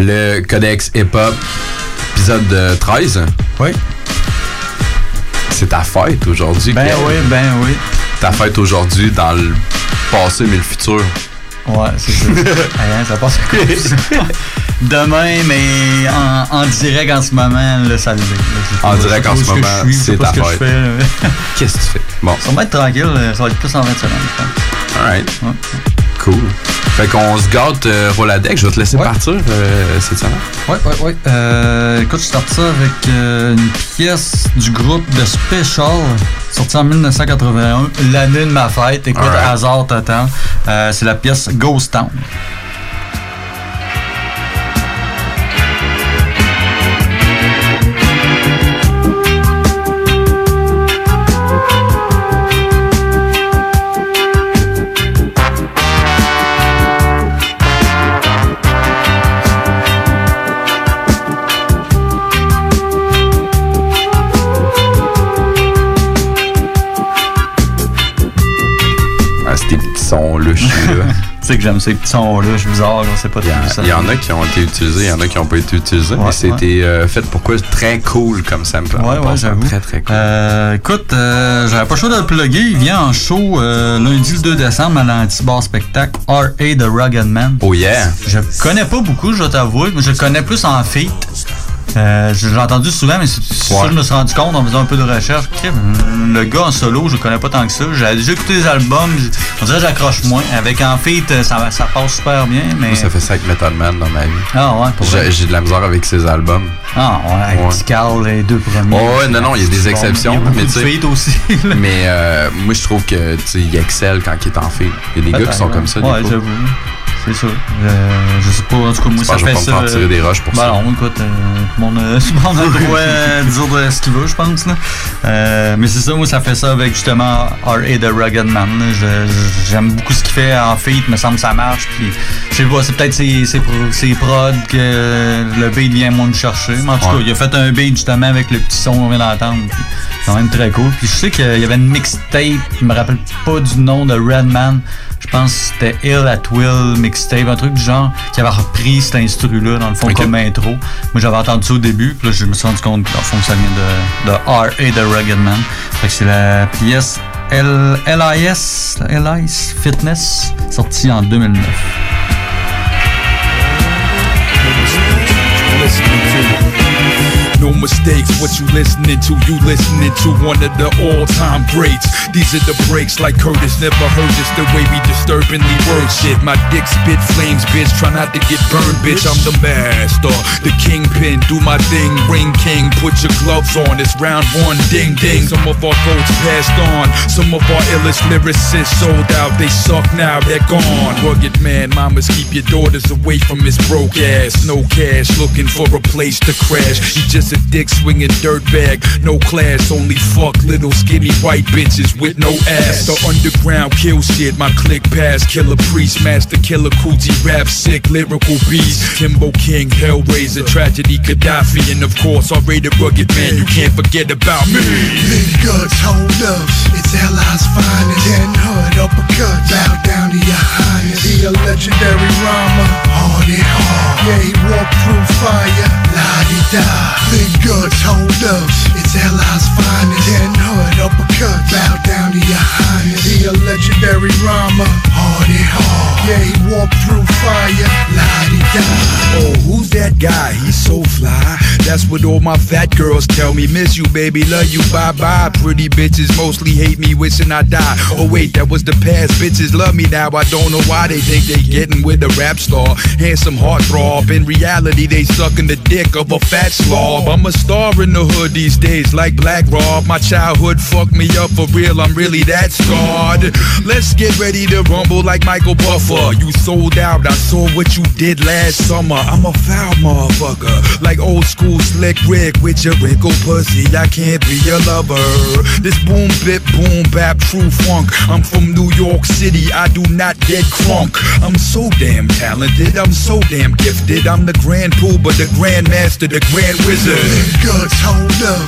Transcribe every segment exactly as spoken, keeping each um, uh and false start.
Le Codex Hip-Hop, épisode treize. Oui. C'est ta fête aujourd'hui. Ben Pierre. oui, ben oui. Ta fête aujourd'hui dans le passé mais le futur. Ouais, c'est ça. Rien, ça passe à cause. Demain, mais en, en direct en ce moment, là, ça le dit. En direct en ce moment, c'est ta fête. Qu'est-ce que tu fais? Bon. Ça va être tranquille, ça va être plus en vingt semaines, je pense. Alright. Ouais. Cool. Fait qu'on se gâte euh, Roladex. Je vais te laisser ouais. partir euh, cette semaine. Ouais, ouais, ouais. Euh, écoute, je starte ça avec euh, une pièce du groupe The Special, sortie en dix-neuf cent quatre-vingt-un, l'année de ma fête. Écoute, right. Hasard total. Euh, c'est la pièce Ghost Town. Là, tu sais que j'aime ces petits sons-là, je suis bizarre, je sais pas trop ça. Il y en a qui ont été utilisés, il y en a qui n'ont pas été utilisés, ouais, mais c'était ouais. euh, fait pourquoi très cool comme sample. Ouais, ouais, j'avoue. Très, très cool. Euh, écoute, euh, j'avais pas le choix de le plugger. Il vient en show euh, lundi le deux décembre à l'Antibar Spectacle, R A The Rugged Man. Oh yeah! Je connais pas beaucoup, je vais t'avouer, mais je le connais plus en feat. Euh, je l'ai entendu souvent, mais c'est ouais. ça que je me suis rendu compte en faisant un peu de recherche. Le gars en solo, je le connais pas tant que ça. J'ai déjà écouté les albums, on dirait que j'accroche moins. Avec en feat, ça, ça passe super bien. Mais... Moi, ça fait ça avec Metal Man dans ma vie. Ah ouais, pour j'ai, j'ai de la misère avec ses albums. Ah ouais, avec ouais. Tical, les deux premiers. Oh, ouais, non, non, il y a des exceptions. Bon, il y a mais tu aussi. mais euh, moi, je trouve que il excelle quand il est en feat. Il y a des Peut-être, gars qui sont ouais. comme ça. Ouais, j'avoue. C'est ça. Euh, je sais pas, en tout cas, moi, ça fait ça. Je vais pas me tirer des roches pour ben ça. Non, écoute, euh, tout le monde euh, a le droit de dire ce qu'il veut, je pense. Là. Euh, mais c'est ça, moi, ça fait ça avec justement R A The Rugged Man. Je, je, j'aime beaucoup ce qu'il fait en feat, me semble que ça marche. Puis, je sais pas, c'est peut-être ses, ses, ses prods que le beat vient moins me chercher. Mais en tout ouais. cas, il a fait un beat justement avec le petit son qu'on vient d'entendre. Puis, c'est quand même très cool. Puis, je sais qu'il y avait une mixtape, je me rappelle pas du nom de Redman. Je pense que c'était Ill at Will mixtape, un truc du genre, qui avait repris cet instru-là, dans le fond, okay. comme intro. Moi, j'avais entendu ça au début, puis là, je me suis rendu compte que, dans le fond, ça vient de, de R A The Rugged Man. Fait que c'est la pièce L I S, L I S Fitness, sortie en deux mille neuf. No mistakes, what you listening to, you listening to one of the all-time greats. These are the breaks like Curtis never heard this, the way we disturbingly word shit. My dick spit flames, bitch, try not to get burned, bitch. I'm the master, the kingpin, do my thing, ring king, put your gloves on, it's round one, ding ding. Some of our goats passed on, some of our illest lyricists sold out, they suck now, they're gone. Rugged man, mamas keep your daughters away from his broke ass. No cash, looking for a place to crash. He just a dick swinging dirtbag, no class, only fuck little skinny white bitches with no ass. The underground kill shit, my click pass, killer priest, master killer coochie, rap sick, lyrical beast, Kimbo King, Hellraiser, tragedy, Gaddafi, and of course R-rated Rugged Man, you can't forget about me. Big guts, hold up, it's L I's finest, ten hood, uppercut, bow down to your highness. The legendary rhymer, hard and hard, yeah he walked through fire, la-di-da. Big guts, hold up, it's L I's finest, ten hood, uppercut, bow down to your highness. The legendary rhymer, hard and hard, yeah he walked through fire, la-di-da. Oh, who's that guy? He's so fly. That's what all my fat girls tell me. Miss you, baby, love you, bye-bye. Pretty bitches mostly hate me, wishing I die. Oh wait, that was the past. Bitches love me now. I don't know why they think they getting with a rap star. Handsome heartthrob. In reality, they sucking the dick of a fat slob. I'm a star in the hood these days, like Black Rob. My childhood fucked me up for real. I'm really that scarred. Let's get ready to rumble like Michael Buffer. You sold out. I saw what you did last summer. I'm a foul motherfucker, like old school slick Rick with your wrinkled pussy. I can't be your lover. This boom bip boom bap true funk. I'm from New York City. I do not get crunk. I'm so damn talented. I'm so damn gifted. I'm the grand pooba, the grand master, the grand wizard. Big guts, hold up, it's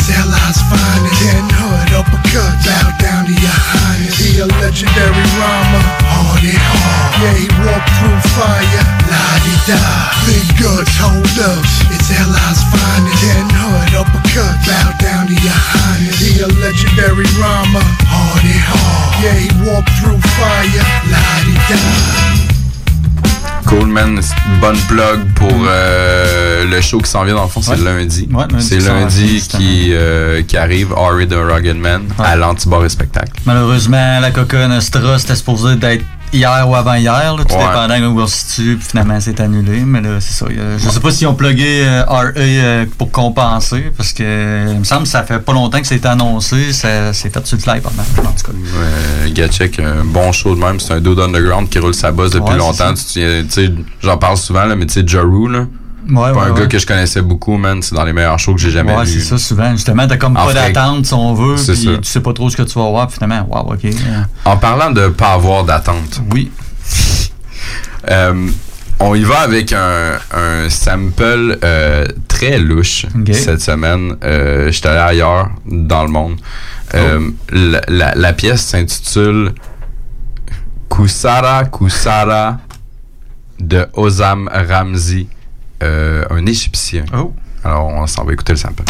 It's Allies finest. Then hood uppercut, bow down to your highness. He a legendary rhymer, hard and hard. Yeah, he walked through fire, la-di-da. Big guts, hold up, it's Allies finest. Then hood uppercut, bow down to your highness. He a legendary rhymer, hard and hard. Yeah, he walked through fire, la-di-da. Cool, man. Bonne plug pour euh, le show qui s'en vient. Dans le fond, c'est ouais. lundi. Ouais, lundi. C'est lundi qui, euh, qui arrive, R A the Rugged Man, ouais. à l'Antibar et Spectacle. Malheureusement, la Coca Nostra, c'était supposé d'être hier ou avant-hier, là, tout ouais. dépendant où on se situe, puis finalement c'est annulé, mais là c'est ça. A, je sais pas s'ils ont plugué euh, R A euh, pour compenser, parce que euh, il me semble que ça fait pas longtemps que ça a été annoncé, ça s'est fait sur le fly pendant, en tout cas. Ouais, Gatchek, un bon show de même, c'est un dude underground qui roule sa bosse depuis ouais, longtemps, tu sais, j'en parle souvent, là, mais tu sais, Jaru, là. Ouais, pas ouais, un ouais. gars que je connaissais beaucoup, man. C'est dans les meilleurs shows que j'ai jamais ouais, vus. Ouais, c'est ça, souvent. Justement, t'as comme en pas fait, d'attente, si on veut, puis ça. tu sais pas trop ce que tu vas voir, puis finalement, wow, ok. En parlant de pas avoir d'attente. Oui. euh, on y va avec un, un sample euh, très louche okay. cette semaine. Euh, J'étais allé ailleurs dans le monde. Euh, oh. la, la, la pièce s'intitule Kusara Kusara de Ozam Ramzi, euh, un Égyptien. Oh. Alors, on s'en va écouter le sample.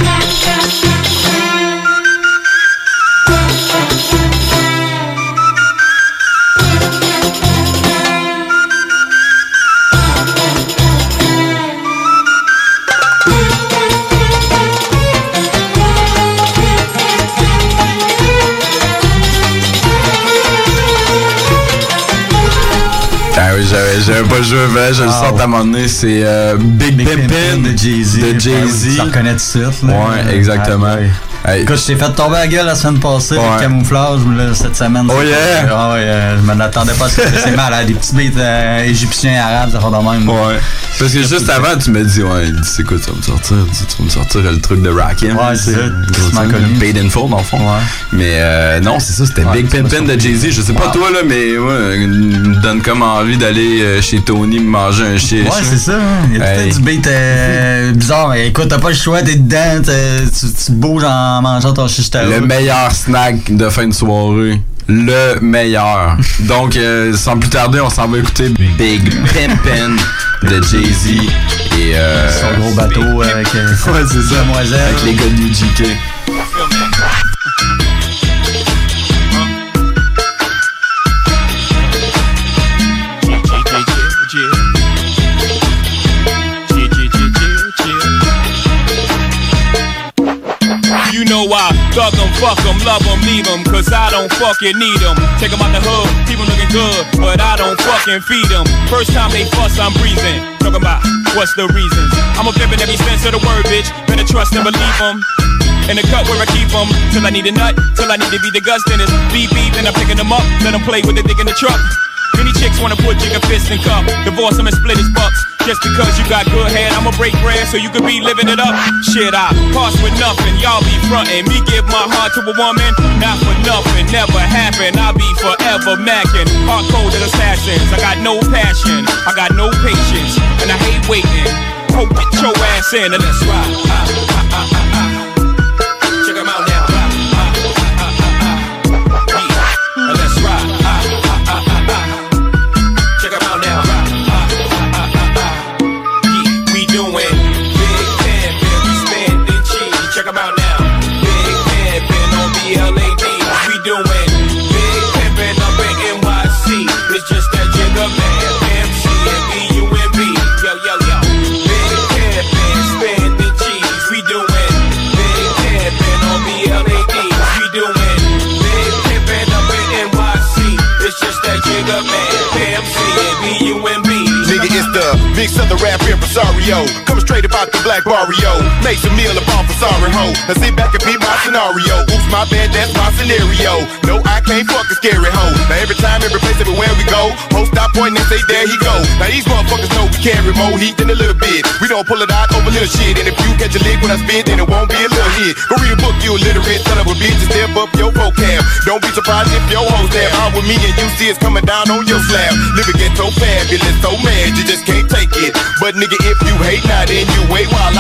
Ah oui, j'avais, j'avais pas joué, vrai, je wow. le sens à un moment donné, c'est euh, Big, Big Pimpin' de Jay-Z. De Jay-Z. Tu reconnais tout de suite. Là. Ouais, exactement. Ah, ouais. Hey. Écoute, je t'ai fait tomber la gueule la semaine passée, ouais. le camouflage, là, cette semaine. Oh yeah! Ah ouais, euh, je m'en attendais pas à ce que c'est mal, hein, des petits beats euh, égyptiens, arabes, ça fait de même. Ouais. Parce que juste avant, tu m'as dit, ouais, il dit, c'est quoi, tu vas me sortir, tu vas me sortir le truc de Rakim. Ouais, c'est ça. Paid in full, dans le fond. Ouais. Mais euh, non, c'est ça, c'était ouais, Big Pimpin' de Jay-Z. Je sais pas wow. toi, là, mais ouais, il me donne comme envie d'aller euh, chez Tony me manger un shit. Ouais, c'est ça. Hein. Il y a hey. tout du beat euh, bizarre, mais écoute, t'as pas le choix, t'es dedans, tu, tu bouges en mangeant ton shit. Le meilleur snack de fin de soirée. Le meilleur. Donc, euh, sans plus tarder, on s'en va écouter Big Pimpin' de Jay-Z. Et euh, son gros bateau avec euh, ouais, c'est ça. Demoiselle. Avec les gars de U G K. You know I thug them, fuck them, love them, leave them, cause I don't fucking need them. Take them out the hood, keep them looking good, but I don't fucking feed them. First time they fuss, I'm breathing. Talking about what's the reasons. I'm a pimpin' every sense of the word, bitch. Better trust and believe them. In the cut where I keep them, till I need a nut, till I need to be the guts, then it's beep beep, then I'm picking them up, let them play with the dick in the truck. Many chicks wanna put jigger fist in cup, divorce him and split his bucks. Just because you got good head, I'ma break bread so you could be living it up. Shit, I pass with nothing, y'all be frontin'. Me give my heart to a woman, not for nothing, never happen. I'll be forever mackin', hard-coded assassins. I got no passion, I got no patience, and I hate waiting. Hope get your ass in and let's ride. Ah, ah, ah, ah, ah. Check 'em out now. Ah, ah, ah, ah, ah, ah. Yeah. Let's ride. Ah, ah, ah, ah, ah. Check 'em out now. Ah, ah, ah, ah, ah. Yeah. We doing big pimpin', we spending cheese. Check 'em out now. Big pimpin' on B L A D. We doing big pimpin' up in N Y C. It's just that jigger man, M C and B U M B. Yo, yo, yo. Big pimpin', spending cheese. We doing big pimpin' on B L A D. We doing big pimpin' up in N Y C. It's just that jigger man, M C and B U M B. Nigga, it's the big southern rap impresario. Coming straight about the black barrio. Make some meal about for sorry ho. Now sit back and be my scenario. Oops, my bad, that's my scenario. No, I can't fuck a scary hoe. Now every time, every place, everywhere we go, hoes stop pointing and say, there he go. Now these motherfuckers know we carry more heat than a little bit. We don't pull it out over little shit. And if you catch a lick when I spit, then it won't be a little hit. Go read a book, you illiterate, son of a bitch, and step up your vocab. Don't be surprised if your hoes there out with me and you see it's coming down on your slab. Living ghetto fabulous, so mad you just can't take it. But nigga, if you hate, now then you wait while I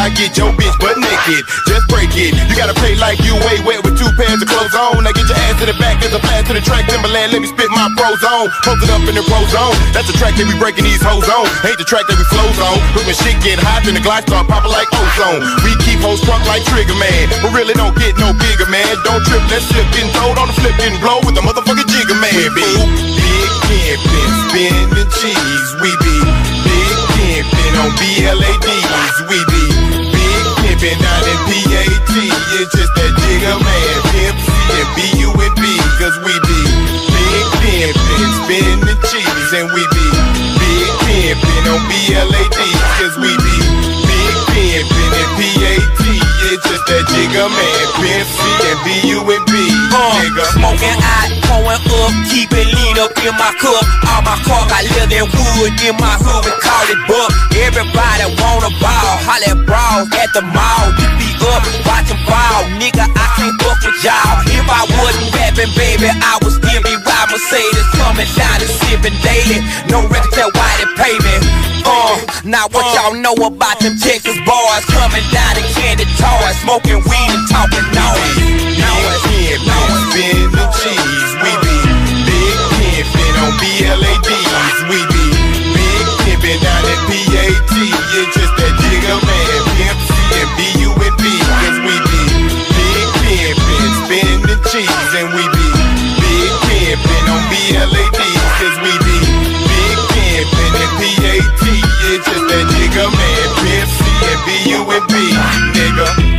I get your bitch butt naked. Just break it. You gotta play like you way wet with two pairs of clothes on. Now get your ass to the back as a pass to the track. Timberland, let me spit my pros on. Post it up in the pro zone. That's the track that we breaking these hoes on. Ain't the track that we flows on. But when shit get hot, then the glass start popping like ozone. We keep hoes drunk like Trigger Man, but really don't get no bigger, man. Don't trip, let's slip, getting throwed on the flip, getting blow with the motherfucking Jigger Man. We be big pimpin', spinning cheese. We be big pimpin' on B L A Ds. We be big pimpin' down in P A T. It's just that Jigger Man, Pimp C and B U N B. Cause we be big pimpin', spinning cheese. And we be big pimpin' on B L A Ds. Cause we be big pimpin' in P A T. It's just that Jigger Man, Pimp C and B U N B. Uh, smoking out, pouring up, keep it lean up in my cup. All my car got leather and wood in my hood, we call it buck. Everybody wanna ball, holla at brawls at the mall. You be up, watching ball, nigga, I can't fuck with y'all. If I wasn't rapping, baby, I would still be riding Mercedes, coming down and sipping daily. No record tell why they pay me. Uh, now what y'all know about them Texas boys coming down and candy toys, smoking weed and talking noise. Noise, noise, spin the cheese. We be big pimpin' on B L A Ds. We be big pimpin' down at P A T. It's just that Jigger Man, Pimp C and B U N B. Cause we be big pimpin', spin the cheese. And we be big pimpin' on B L A Ds. Cause we be big pimpin' and P A T. It's just that Jigger Man, Pimp C and B U N B, nigga.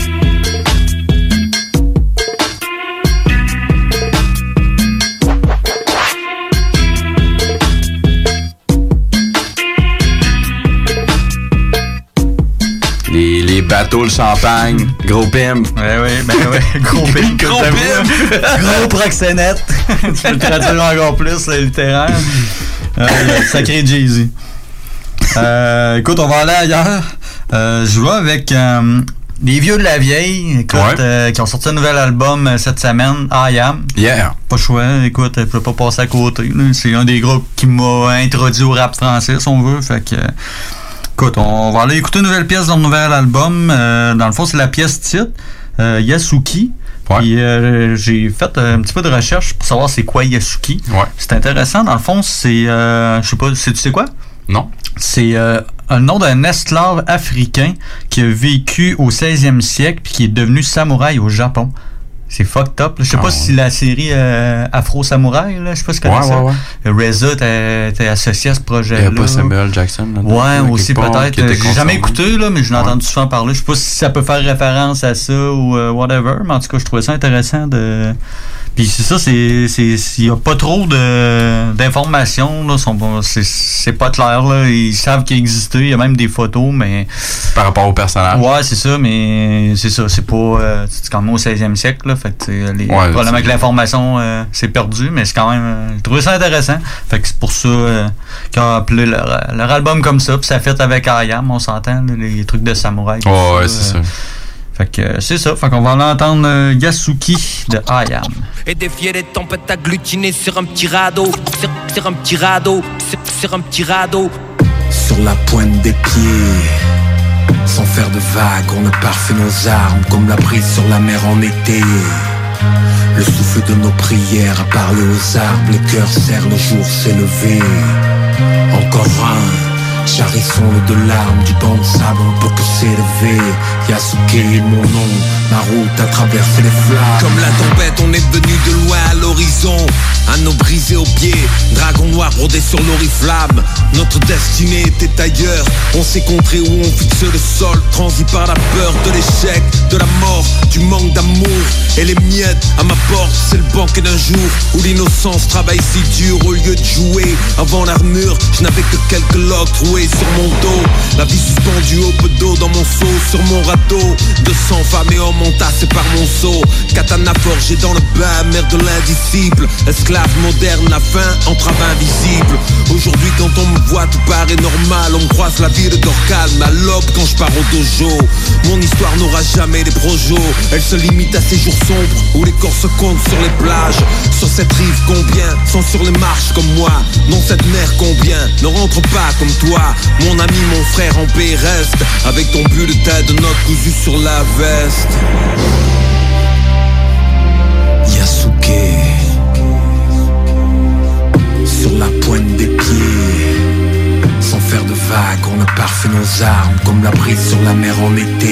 Les, les bateaux, le champagne, gros pimp. Ouais, ouais, ben ouais, gros pimp. Gros pimp. Gros proxénète. Tu peux le traduire encore plus, là, littéraire. Euh, sacré Jay-Z. Euh, écoute, on va aller ailleurs. Euh, je vais avec euh, les vieux de la vieille, écoute, ouais. euh, qui ont sorti un nouvel album euh, cette semaine, I Am. Yeah. Pas choix, écoute, je peux pas passer à côté. Là. C'est un des groupes qui m'a introduit au rap français, si on veut. Fait que, euh, écoute, on va aller écouter une nouvelle pièce dans le nouvel album. Euh, dans le fond, c'est la pièce titre, euh, Yasuki. Ouais. Puis euh, j'ai fait un petit peu de recherche pour savoir c'est quoi Yasuki. Ouais. C'est intéressant. Dans le fond, c'est, euh, je sais pas, c'est, tu sais quoi? Non. C'est euh, un nom d'un esclave africain qui a vécu au seizième siècle puis qui est devenu samouraï au Japon. C'est fucked up. Je sais ah, pas ouais. si la série euh, Afro Samouraï, là, je sais pas si tu connais ouais, ça. Ouais, ouais. Reza t'es associé à ce projet-là. Il n'y a pas Samuel Jackson là. Ouais, aussi peut-être. J'ai jamais écouté, là, mais je l'ai ouais. entendu souvent parler. Je sais pas si ça peut faire référence à ça ou euh, whatever, mais en tout cas, je trouvais ça intéressant de. Puis c'est ça, c'est c'est il y a pas trop de d'informations là, sont c'est c'est pas clair là, ils savent qu'il existait, il y a même des photos mais par rapport au personnage. Ouais, c'est ça, mais c'est ça, c'est pas euh, c'est quand même au seizième siècle là, fait que les ouais, probablement que l'information euh, s'est perdue, mais c'est quand même euh, j'ai trouvé ça intéressant. Fait que c'est pour ça euh, qu'ils ont appelé leur, leur album comme ça, puis ça fait avec I Am, on s'entend là, les trucs de samouraï. Oh, ouais, c'est euh, ça. Fait que c'est ça, fait qu'on va l'entendre euh, Yasuki de I Am. Et défier les tempêtes agglutinées sur un petit radeau, sur, sur un petit radeau, sur, sur un petit radeau. Sur la pointe des pieds, sans faire de vagues, on a parfait nos armes comme la brise sur la mer en été. Le souffle de nos prières a parlé aux arbres, les cœurs serrent, le jour s'est levé. Encore un. Charissons-le de larmes, du banc de sable, on peut que s'élever. Yasuki est mon nom, ma route a traversé les flammes. Comme la tempête, on est venu de loin à l'horizon. Anneau brisé aux pieds, dragon noir brodé sur l'oriflamme. Notre destinée était ailleurs, on s'est contré où on fixe le sol. Transi par la peur de l'échec, de la mort, du manque d'amour. Et les miettes à ma porte, c'est le banquet d'un jour où l'innocence travaille si dur au lieu de jouer. Avant l'armure, je n'avais que quelques loques trouées sur mon dos, la vie suspendue au peu d'eau dans mon seau, sur mon râteau, de sang, femmes et hommes entassés par mon seau. Katana forgé dans le bain, mère de l'indisciple, esclave moderne, la faim, entrave invisible. Aujourd'hui quand on me voit tout paraît normal, on me croise la ville d'Orcane, à l'aube quand je pars au dojo. Mon histoire n'aura jamais les projos, elle se limite à ces jours sombres où les corps se comptent sur les plages. Sur cette rive combien sont sur les marches comme moi, dans cette mer combien ne rentre pas comme toi. Mon ami, mon frère en paix reste avec ton bulletin ouais, de notre cousu sur la veste. Yasuke, sur la pointe des pieds. Sans faire de vagues, on a parfait nos armes, comme la brise sur la mer en été.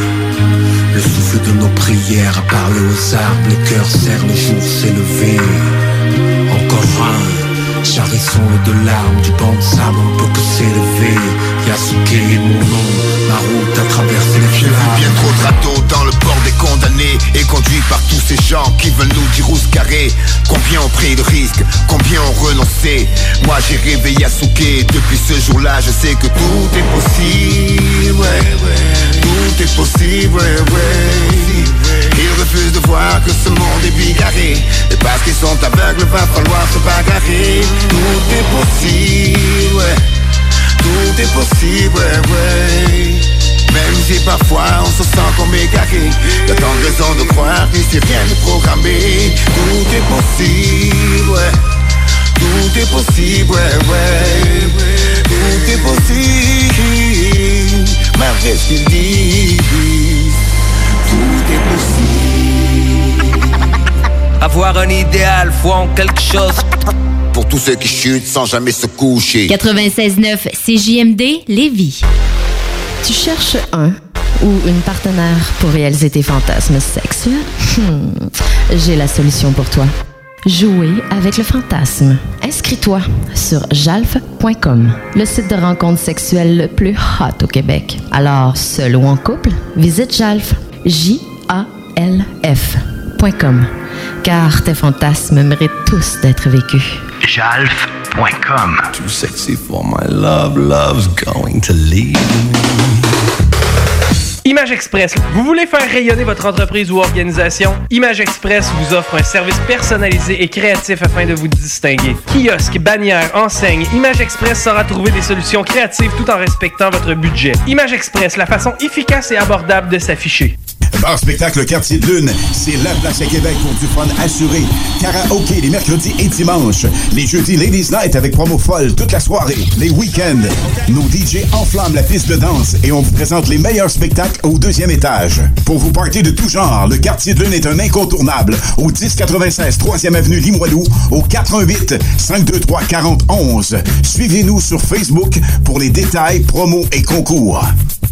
Le souffle de nos prières a parlé aux arbres, le cœur serre, le jour s'est levé. Encore un charisson de larmes, du banc de sable, on peut que s'élever. Yasuke est mon nom, ma route a traversé les J'ai vu flammes. bien trop de râteaux dans le port des condamnés, et conduit par tous ces gens qui veulent nous dire où se carrer. Combien ont pris de risques, combien ont renoncé. Moi j'ai rêvé Yasuke, depuis ce jour-là je sais que tout est possible, ouais, ouais. Tout est possible, ouais, ouais. Ils refusent de voir que ce monde est bigarré, et parce qu'ils sont aveugles va falloir se bagarrer. Tout est possible, ouais. Tout est possible, ouais, ouais. Même si parfois on se sent comme égaré, y'a tant de raisons de croire qu'ici rien n'est programmé. Tout est possible, ouais. Tout est possible, ouais, ouais. Tout est possible, malgré ce qu'ils disent. Tout est possible. Avoir un idéal, foi en quelque chose. Pour tous ceux qui chutent sans jamais se coucher. quatre-vingt-seize neuf C J M D Lévis. Tu cherches un ou une partenaire pour réaliser tes fantasmes sexuels? Hmm. J'ai la solution pour toi. Jouer avec le fantasme. Inscris-toi sur jalf point com, le site de rencontre sexuelle le plus hot au Québec. Alors, seul ou en couple, visite Jalf, J A L F point com, car tes fantasmes méritent tous d'être vécus. jalf point com. Too sexy for my love, love's going to leave me. Image Express. Vous voulez faire rayonner votre entreprise ou organisation? Image Express vous offre un service personnalisé et créatif afin de vous distinguer. Kiosque, bannière, enseigne, Image Express saura trouver des solutions créatives tout en respectant votre budget. Image Express, la façon efficace et abordable de s'afficher. Bar Spectacle Quartier de Lune, c'est la place à Québec pour du fun assuré. Karaoké les mercredis et dimanches. Les jeudis Ladies Night avec promo folle toute la soirée. Les week-ends, nos D J enflamment la piste de danse et on vous présente les meilleurs spectacles au deuxième étage. Pour vous partir de tout genre, le Quartier de Lune est un incontournable au dix quatre-vingt-seize troisième avenue Limoilou au quatre un huit, cinq deux trois, quatre zéro un un. Suivez-nous sur Facebook pour les détails, promos et concours.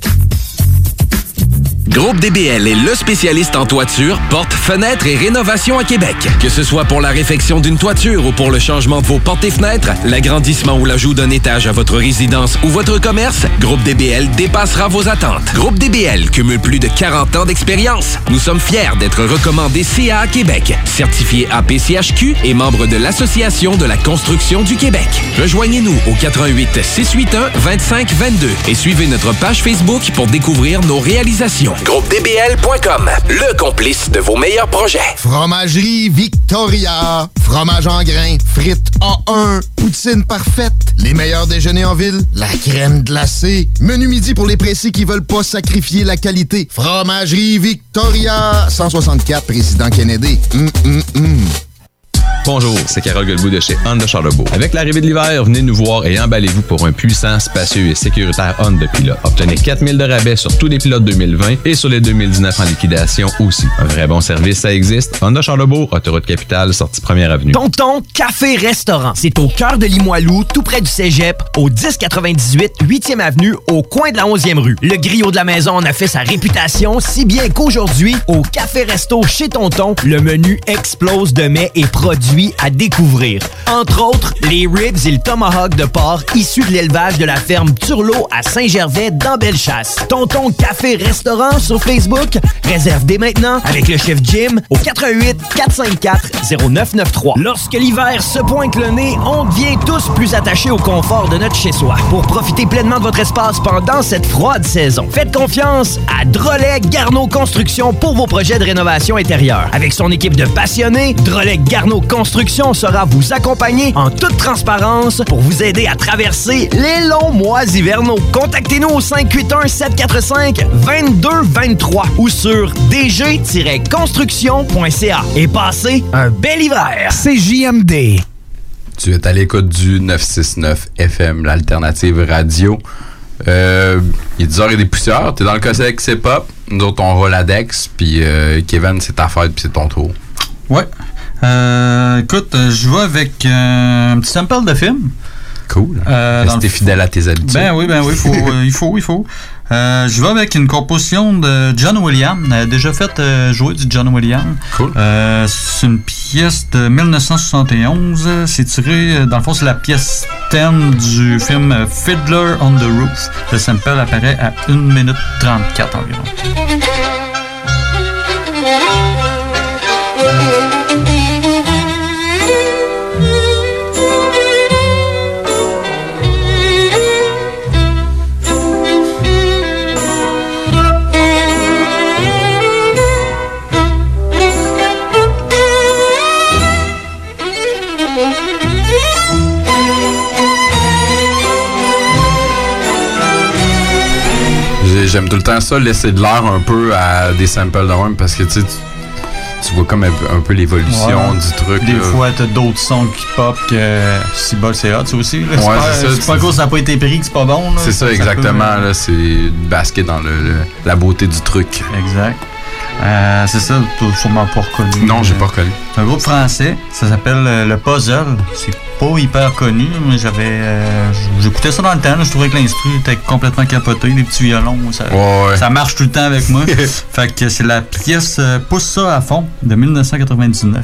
Groupe D B L est le spécialiste en toiture, portes, fenêtres et rénovation à Québec. Que ce soit pour la réfection d'une toiture ou pour le changement de vos portes et fenêtres, l'agrandissement ou l'ajout d'un étage à votre résidence ou votre commerce, Groupe D B L dépassera vos attentes. Groupe D B L cumule plus de quarante ans d'expérience. Nous sommes fiers d'être recommandés C A A Québec, certifié A P C H Q et membre de l'Association de la construction du Québec. Rejoignez-nous au quatre un huit, six huit un, deux cinq deux deux et suivez notre page Facebook pour découvrir nos réalisations. Groupe D B L point com, le complice de vos meilleurs projets. Fromagerie Victoria. Fromage en grains, frites A un, poutine parfaite, les meilleurs déjeuners en ville, la crème glacée, menu midi pour les pressés qui veulent pas sacrifier la qualité. Fromagerie Victoria. cent soixante-quatre, Président Kennedy. Hum, hum, hum. Bonjour, c'est Carole Guilbeault de chez Honda Charlebourg. Avec l'arrivée de l'hiver, venez nous voir et emballez-vous pour un puissant, spacieux et sécuritaire Honda Pilot. Obtenez quatre mille de rabais sur tous les pilotes deux mille vingt et sur les deux mille dix-neuf en liquidation aussi. Un vrai bon service, ça existe. Honda Charlebourg, autoroute capitale, sortie première avenue. Tonton Café Restaurant. C'est au cœur de Limoilou, tout près du Cégep, au dix quatre-vingt-dix-huit huitième avenue, au coin de la onzième rue. Le griot de la maison en a fait sa réputation, si bien qu'aujourd'hui, au Café Resto chez Tonton, le menu explose de mets et produits à découvrir. Entre autres, les ribs et le tomahawk de porc issus de l'élevage de la ferme Turlot à Saint-Gervais dans Bellechasse. Tonton Café Restaurant sur Facebook. Réserve dès maintenant avec le chef Jim au quatre un huit, quatre cinq quatre, zéro neuf neuf trois. Lorsque l'hiver se pointe le nez, on devient tous plus attachés au confort de notre chez-soi. Pour profiter pleinement de votre espace pendant cette froide saison, faites confiance à Drolet Garneau Construction pour vos projets de rénovation intérieure. Avec son équipe de passionnés, Drolet Garneau Construction sera vous accompagner en toute transparence pour vous aider à traverser les longs mois hivernaux. Contactez-nous au cinq huit un, sept quatre cinq, deux deux deux trois ou sur d g tiret construction point c a et passez un bel hiver. C J M D. Tu es à l'écoute du neuf cent soixante-neuf F M, l'alternative radio. Euh, il est dix heures et des poussières. T'es dans le Cossec, c'est pop. Nous autres, on roule à Dex. Puis euh, Kevin, c'est ta fête, puis c'est ton tour. Ouais. Euh, écoute, je vais avec euh, un petit sample de film. Cool. Euh, Rester fidèle à tes habitudes. Ben oui, ben oui, faut, euh, il faut, il faut. Euh, je vais avec une composition de John Williams. Elle a déjà fait euh, jouer du John Williams. Cool. Euh, c'est une pièce de dix-neuf soixante et onze. C'est tiré, dans le fond, c'est la pièce thème du film Fiddler on the Roof. Le sample apparaît à une minute trente-quatre environ. J'aime tout le temps ça, laisser de l'air un peu à des samples de même parce que tu sais, tu vois comme un peu, un peu l'évolution ouais. du truc. Des là. fois, t'as d'autres sons qui pop que si bol c'est hot, ça aussi. Là. Ouais, c'est pas, c'est ça. C'est pas à cause que ça n'a pas été pris que c'est pas bon. Là. C'est ça, ça exactement. Ça peut, là, c'est basket dans le, le, la beauté du truc. Exact. Euh, c'est ça, t'as sûrement pas reconnu. Non, j'ai pas reconnu. C'est un groupe français, ça s'appelle euh, Le Puzzle. C'est pas hyper connu, mais j'avais. Euh, j'écoutais ça dans le temps, là, je trouvais que l'instru était complètement capoté, les petits violons, ça, ouais. ça marche tout le temps avec moi. Fait que c'est la pièce euh, Pousse ça à fond de dix-neuf quatre-vingt-dix-neuf.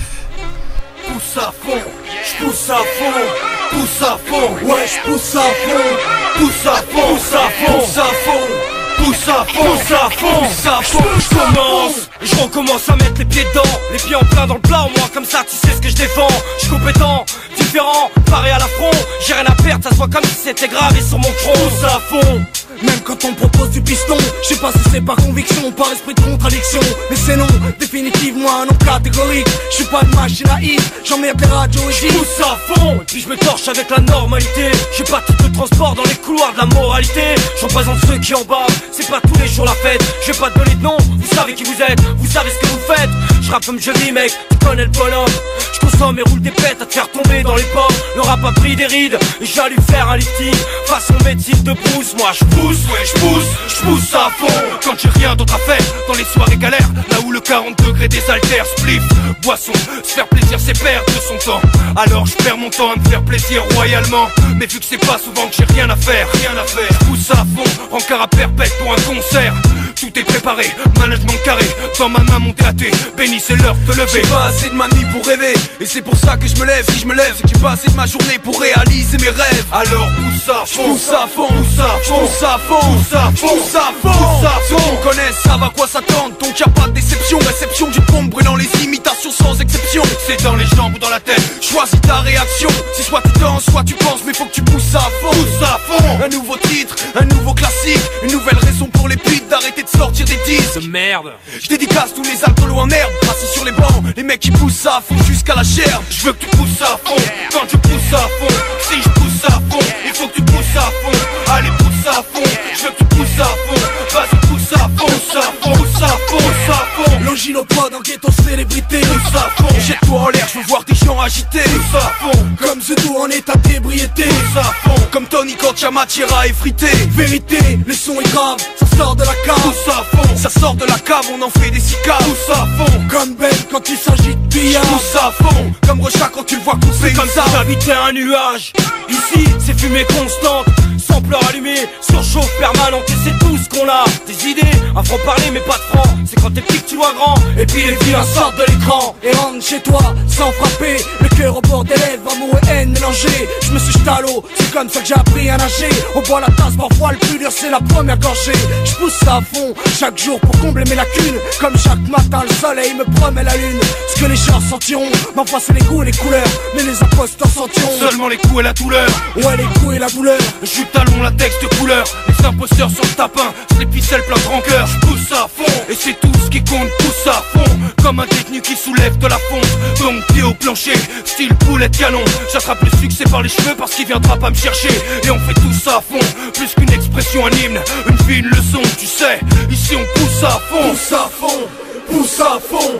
Pousse à fond, j'pousse à fond, pousse à fond, ouais j'pousse à fond, pousse à fond, pousse à fond, pousse à fond. Pousse à fond, pousse à fond, pousse à fond. Je commence, je recommence à mettre les pieds dedans, les pieds en plein dans le plat, au moins comme ça tu sais ce que je défends. Je suis compétent, différent, paré à l'affront. J'ai rien à perdre, ça se voit comme si c'était gravé sur mon front. Pousse à fond, même quand on propose du piston. Je sais pas si c'est par conviction, par esprit de contradiction, mais c'est non, définitivement un non catégorique. Je suis pas une machine à hit, j'emmerde les radios et je pousse à fond, et puis je me torche avec la normalité. J'ai pas tout le transport dans les couloirs de la moralité. Je représente ceux qui en bas. C'est pas tous les jours la fête, je vais pas te donner de nom. Vous savez qui vous êtes, vous savez ce que vous faites. Je rappe comme je vis mec, tu connais le bonhomme. Je consomme et roule des pètes à te faire tomber dans les pommes. Le rap a pris des rides, et j'allais faire un lifting façon médecine de brousse. Moi je pousse, ouais je pousse, je pousse à fond. Quand j'ai rien d'autre à faire, dans les soirées galères, là où le quarante degrés désaltère, spliff, boisson. Se faire plaisir c'est perdre de son temps. Alors je perds mon temps à me faire plaisir royalement. Mais vu que c'est pas souvent que j'ai rien à faire, rien à faire, je pousse à fond, encore à perpète pour un concert. Tout est préparé, management carré, dans ma main mon T A T, béni c'est l'heure de te lever. J'ai pas assez de ma nuit pour rêver, et c'est pour ça que je me lève. Si je me lève, c'est que j'ai pas assez de ma journée pour réaliser mes rêves. Alors pousse à fond, pousse à fond, pousse à fond, pousse à fond, pousse à fond, pousse à fond, pousse à fond. Ceux qui me connaissent savent à quoi s'attendre, donc y'a pas de déception. Réception d'une bombe brûlant les imitations sans exception. C'est dans les jambes ou dans la tête, choisis ta réaction. C'est soit tu danses, soit tu penses, mais faut que tu pousses à fond, pousse à fond. Un nouveau titre, un nouveau classique, une nouvelle raison pour les putes d'arrêter de sortir des disques de merde. Je dédicace tous les alcoolos en herbe, assis sur les bancs, les mecs qui poussent à fond jusqu'à la gerbe. Je veux que tu pousses à fond, quand je pousse à fond. Si je pousse à fond, il faut que tu pousses à fond. Allez pousse à fond, je veux que tu pousses à fond. Vas-y pousse à fond, pousse à fond, pousse à fond, pousse à fond. Longinopodes en ghetto célébrité, pousse à fond. Jette-toi en l'air, je veux voir des gens agités, pousse à fond. Comme Zedo en état d'ébriété, pousse à fond. Comme Tony quand y'a matière à effriter. Vérité, le son est grave, ça sort de la cave, pousse à fond. Ça sort de la cave, on en fait des cicaves, pousse à fond. Comme Ben quand il s'agit de billard, pousse à fond. Comme Rocha quand tu le vois couper comme ça. J'habitais un nuage, ici c'est fumée constante. Sampleur allumé, surchauffe permanente. Et c'est tout ce qu'on a, des idées, un franc parler mais pas de franc. C'est quand t'es petit que tu vois grand, et puis les vilains sortent de l'écran. Et rentre chez toi, sans frapper, le cœur au bord des lèvres, amour et haine mélangés. Je me suis jeté à l'eau, c'est comme ça que j'ai appris à nager. On boit la tasse, parfois le plus dur c'est la première gorgée. Je pousse ça à fond, chaque jour pour combler mes lacunes. Comme chaque matin le soleil me promet la lune. Ce que les gens sentiront, m'envoie c'est les goûts et les couleurs. Mais les imposteurs sentiront seulement les coups et la douleur. Ouais les coups et la douleur. Jus talon, latex de couleur. Les imposteurs sur le tapin, c'est les ficelles plein de rancœur. Je pousse à fond, et c'est tout ce qui compte, pousse à fond. Comme un détenu qui soulève de la fonte. Donc pied au plancher, style poulet de canon. J'attrape le succès par les cheveux parce qu'il viendra pas me chercher. Et on fait tout ça à fond, plus qu'une expression, un hymne, une vie, une leçon, tu sais. Ici on pousse à fond, pousse à fond, pousse à fond,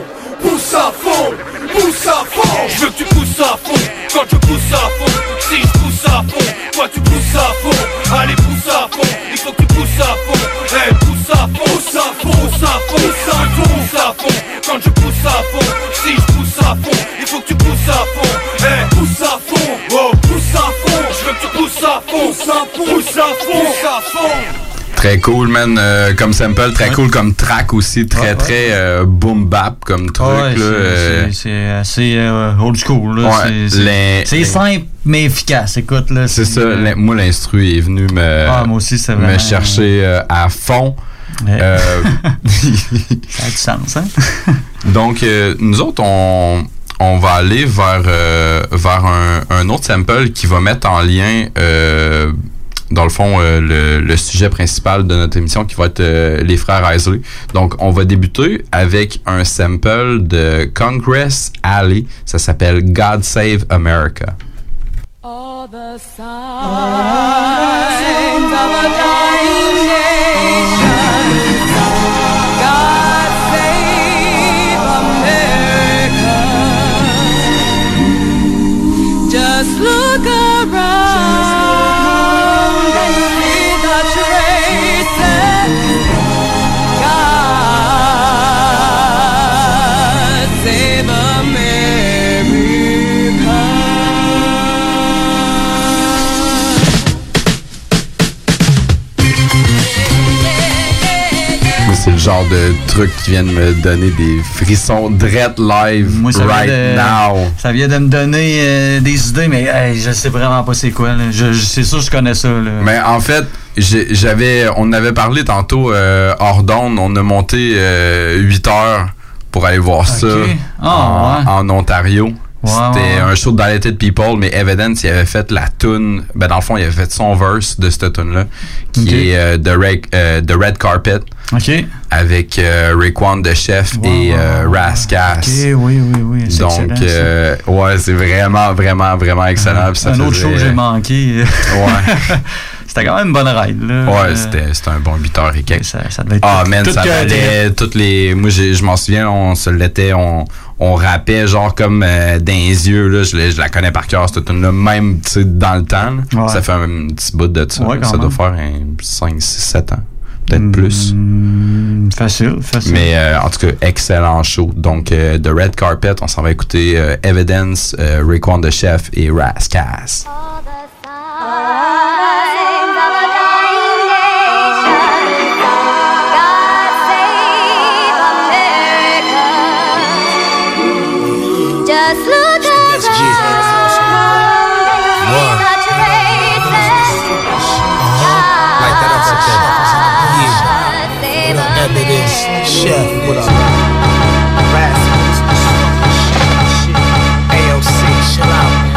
pousse à fond, pousse à fond. Je veux que tu pousses à fond, quand je pousse à fond. Si je pousse à fond, toi tu pousses à fond. Allez pousse à fond, il faut que tu pousses à fond. Hey, pousse à fond, pousse à fond, pousse à fond, pousse à fond, pousse à fond. Quand je pousse à fond, si je pousse à fond, il faut que tu pousses à fond. Hey, pousse à fond, oh, pousse à fond. Je veux que tu pousses à fond, pousse à fond, pousse à fond, pousse à fond. Très cool, man, euh, comme sample, très ouais. cool comme track aussi, très, ouais, ouais. très euh, boom bap comme truc. Ouais, là, c'est, euh... c'est, c'est assez euh, old school. Là. Ouais, c'est, les, c'est les... simple, mais efficace. Écoute, là. C'est, c'est ça, euh... moi, l'instru est venu me, ah, moi aussi, c'est vraiment... me chercher euh, à fond. Ouais. Euh... ça a du sens, hein? Donc, euh, nous autres, on, on va aller vers, euh, vers un, un autre sample qui va mettre en lien... Euh, dans le fond, euh, le, le sujet principal de notre émission qui va être euh, les frères Isley. Donc, on va débuter avec un sample de Congress Alley. Ça s'appelle God Save America. All the signs of a dying nation. God save America. Just look around. C'est le genre de truc qui vient de me donner des frissons dread live. Moi, ça right de, now. Ça vient de me donner euh, des idées, mais hey, je sais vraiment pas c'est quoi. Là. Je, je, c'est sûr que je connais ça. Là. Mais en fait, j'ai, j'avais, on avait parlé tantôt euh, hors d'onde. On a monté euh, huit heures pour aller voir okay. ça oh, en, ouais. en Ontario. Wow, C'était wow. un show de Dilated People, mais Evidence, il avait fait la tune. Ben, dans le fond, il avait fait son verse de cette tune-là, qui okay. est euh, The, Red, euh, The Red Carpet. OK. Avec euh, Raekwon the Chef wow, et euh, Rascas. OK, oui, oui, oui. C'est donc, euh, ouais, c'est vraiment, vraiment, vraiment excellent. Euh, ça un faisait... autre show que j'ai manqué. Ouais. C'était quand même une bonne ride, là. Ouais, c'était, c'était un bon huit heures et quelques. Ça, ça devait être ah, tout, man, tout ça valait toutes les... Moi, j'ai, je m'en souviens, on se l'était, on, on rappait genre comme euh, dans les yeux, là. Je, je la connais par cœur, cette tune-là, même, tu sais, dans le temps. Ouais. Ça fait un petit bout de ça. Ouais, ça même. doit faire un cinq, six, sept ans. Peut-être mmh, plus. Facile, facile. Mais euh, en tout cas, excellent show. Donc, euh, The Red Carpet, on s'en va écouter euh, Evidence, euh, Raekwon the Chef et Rascas. Just look Chef, what up? Rascals, A O C, chill out.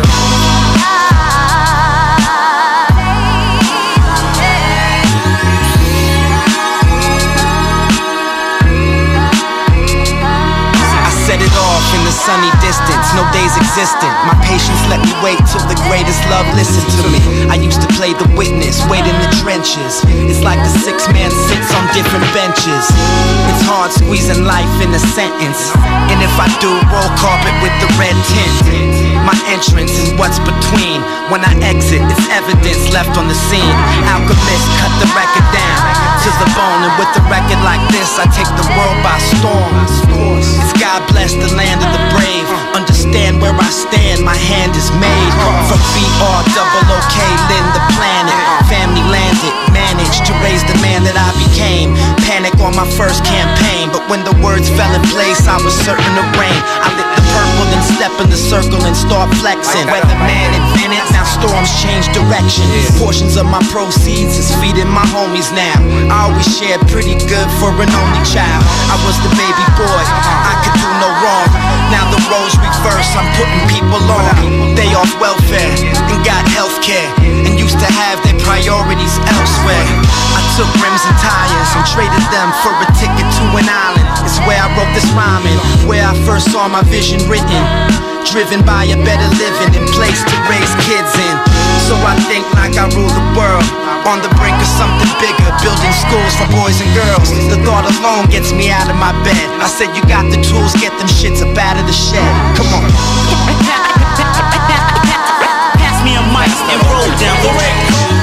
Set it off in the sunny distance, no days existent. My patience let me wait till the greatest love listened to me. I used to play the witness, wait in the trenches. It's like the six man sits on different benches. It's hard squeezing life in a sentence. And if I do, roll carpet with the red tint. My entrance is what's between. When I exit, it's evidence left on the scene. Alchemist cut the record down to the bone. And with a record like this, I take the world by storm. It's God bless the land of the brave. Understand where I stand, my hand is made. From B R double O K, Lynn the planet. Family landed, managed to raise the man that I became. Panic on my first campaign, but when the words fell in place, I was certain to reign. I lit the purple, then step in the circle and start flexing. Weatherman invented, now storms change direction. Portions of my proceeds is feeding my homies now. I always shared pretty good for an only child. I was the baby boy, I could do no wrong. Now the roles reverse, I'm putting people on. They off welfare and got healthcare, and used to have their priorities elsewhere. I took rims and tires and traded them for a ticket to an island. It's where I wrote this rhyming, where I first saw my vision written. Driven by a better living and place to raise kids in. So I think like I rule the world. On the brink of something bigger, building schools for boys and girls. The thought alone gets me out of my bed. I said you got the tools, get them shits up out of the shed. Come on. Pass me a mic and roll down the way.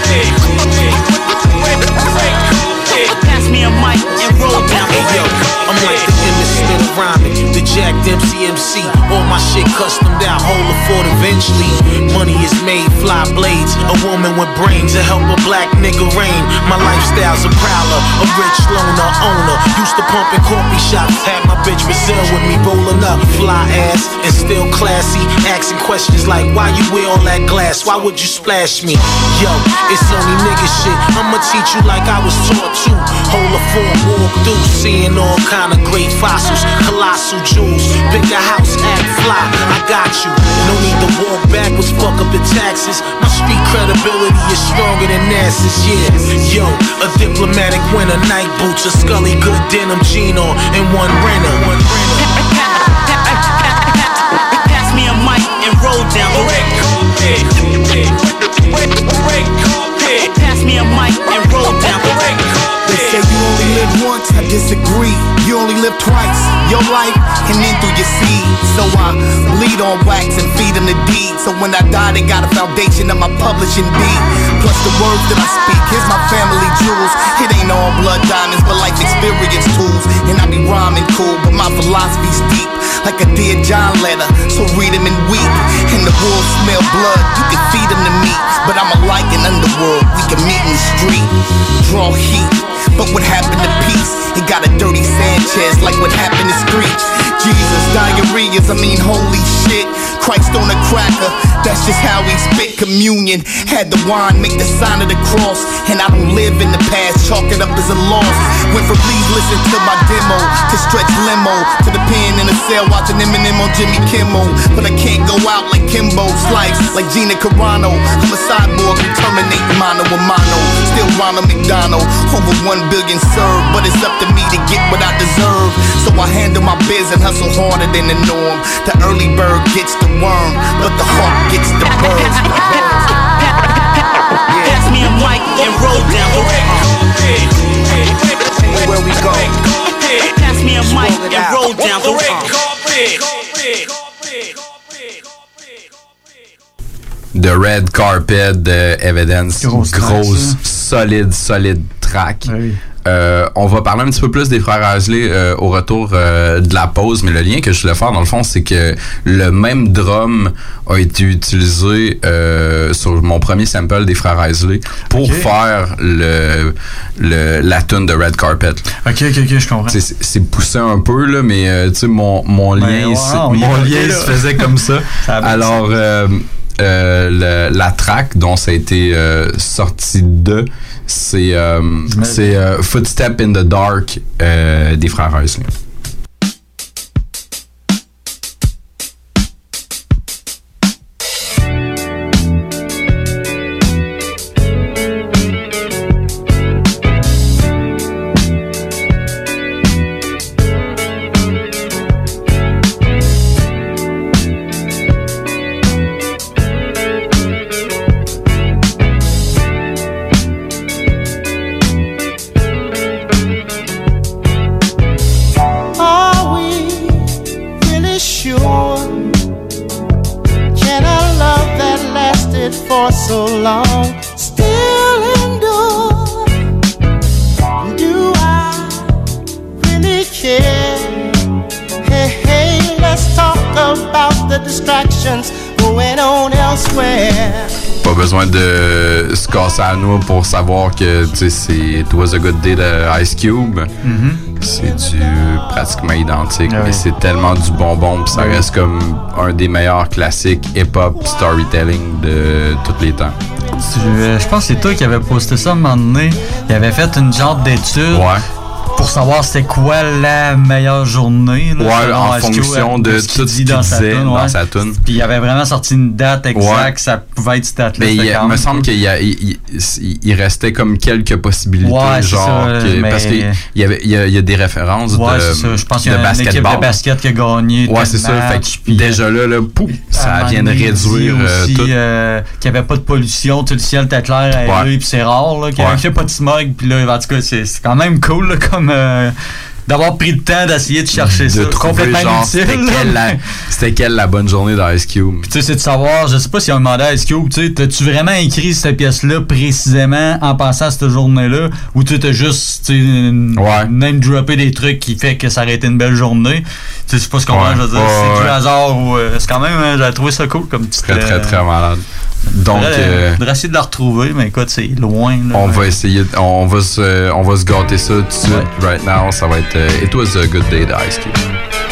Pass me a mic and roll down the way. Hey yo, I'm like the innocent of rhyming, the Jack Dempsey M C. All my shit customed out, whole afford eventually. Money is made, fly blades. A woman with brains to help a black nigga reign. My lifestyle's a prowler, a rich loner owner. Used to pump in coffee shops, had my bitch Brazil with me rolling up. Fly ass and still classy, asking questions like why you wear all that glass? Why would you splash me? Yo, it's only nigga shit. I'ma teach you like I was taught to. Hold a form, walk through, seeing all kind of great fossils, colossal jewels, bigger house, act fly. I got you. No need to walk backwards, fuck up the taxes. My street credibility is stronger than NASA's, yeah. Yo, a diplomatic winner, night boots, a Scully good denim jean on, and one renter. One renter. Pass me a mic and roll down the way. Pass me a mic and roll down the way. They say you only live once, I disagree. You only live twice, your life and then through your seed. So I bleed on wax and feed them the deed. So when I die, they got a foundation of my publishing deed. Plus the words that I speak, here's my family jewels. It ain't all blood diamonds, but life experience tools. And I be rhyming cool, but my philosophy's deep. Like a Dear John letter, so read them and weep. And the wolves smell blood, you can feed them to me. But I'm a like an underworld, we can meet in the street. Draw heat, but what happened to peace? It got a dirty Sanchez, like what happened to Screech. Jesus, diarrheas, I mean holy shit. Christ on a cracker, that's just how we spit communion. Had the wine, make the sign of the cross. And I don't live in the past, chalk it up as a loss. Went from please listen to my demo, to stretch limo, to the pen in the cell watching Eminem on Jimmy Kimmel. But I can't go out like Kimbo, slice like Gina Carano. I'm a cyborg who terminate mano a mano. Still Ronald McDonald, over one billion served. But it's up to me to get what I deserve. So I handle my biz and hustle harder than the norm. The early bird gets the worm, but the hawk gets the birds. Pass me a mic and roll down the way. Where we go? Pass me a mic and roll down the way. The Red Carpet de Evidence, grosse, grosse solide, solide track. Oui. Euh, on va parler un petit peu plus des frères Isley euh, au retour euh, de la pause, mais le lien que je voulais faire dans le fond, c'est que le même drum a été utilisé euh, sur mon premier sample des frères Isley pour okay. faire le, le la tune de Red Carpet. Ok, ok, ok, je comprends. C'est, c'est poussé un peu là, mais euh, tu sais mon mon lien, ben, wow, mon lien okay, se faisait comme ça. ça Alors euh, euh, le, la track dont ça a été euh, sorti de c'est euh, c'est euh, Footstep in the Dark euh, des frères Isley. So long, still endure. Do I really care? Hey, hey, let's talk about the distractions going on elsewhere. Pas besoin de se casser à nous pour savoir que tu sais c'est It Was a Good Day de Ice Cube. Mm-hmm. C'est du pratiquement identique, ah oui. mais c'est tellement du bonbon, puis ça oui. reste comme un des meilleurs classiques hip-hop storytelling de tous les temps. Je, je pense que c'est toi qui avais posté ça à un moment donné. Il avait fait une genre d'étude. Ouais. pour savoir c'était quoi la meilleure journée. Là, ouais, en fonction de, de tout ce qu'il disait dans, dans sa tune. Puis il avait vraiment sorti une date exacte, ouais. Ça pouvait être cette date-là. Mais il me semble qu'il y a, il, il, il restait comme quelques possibilités, ouais, genre ça, que, parce qu'il y avait, il y a, il y a des références ouais, de, c'est ça. Je pense qu'il y a une basketball. équipe de basket qui a gagné. Ouais, c'est ça. Fait que puis, déjà là, là pouf, ça vient de réduire euh, aussi, tout. Euh, qu'il n'y avait pas de pollution, tout le ciel était clair à lui, puis c'est rare, là, qu'il n'y avait pas de smog, puis là, en tout cas, c'est, c'est quand même cool, là, comme. Euh, d'avoir pris le temps d'essayer de chercher de ça. Complètement genre, inutile. C'était quelle, la, c'était quelle la bonne journée d'Ice Cube? Puis tu sais, c'est de savoir, je sais pas si on demandé à Ice Cube, tu sais, t'as-tu vraiment écrit cette pièce-là précisément en pensant à cette journée-là, ou tu t'as juste, tu sais, ouais. name droppé des trucs qui fait que ça aurait été une belle journée? Tu sais, je sais pas ce qu'on ouais. je veux dire, ouais, c'est ouais. du hasard ou euh, c'est quand même, hein, j'ai trouvé ça cool comme petite. Très, très, très malade. Donc, euh, faudrait essayer de la retrouver, mais écoute, c'est loin. Là, on ouais. va essayer, on va se, on va se gâter ça tout de suite. Ouais. Right now, ça va être uh, It Was a Good Day de Ice Cube.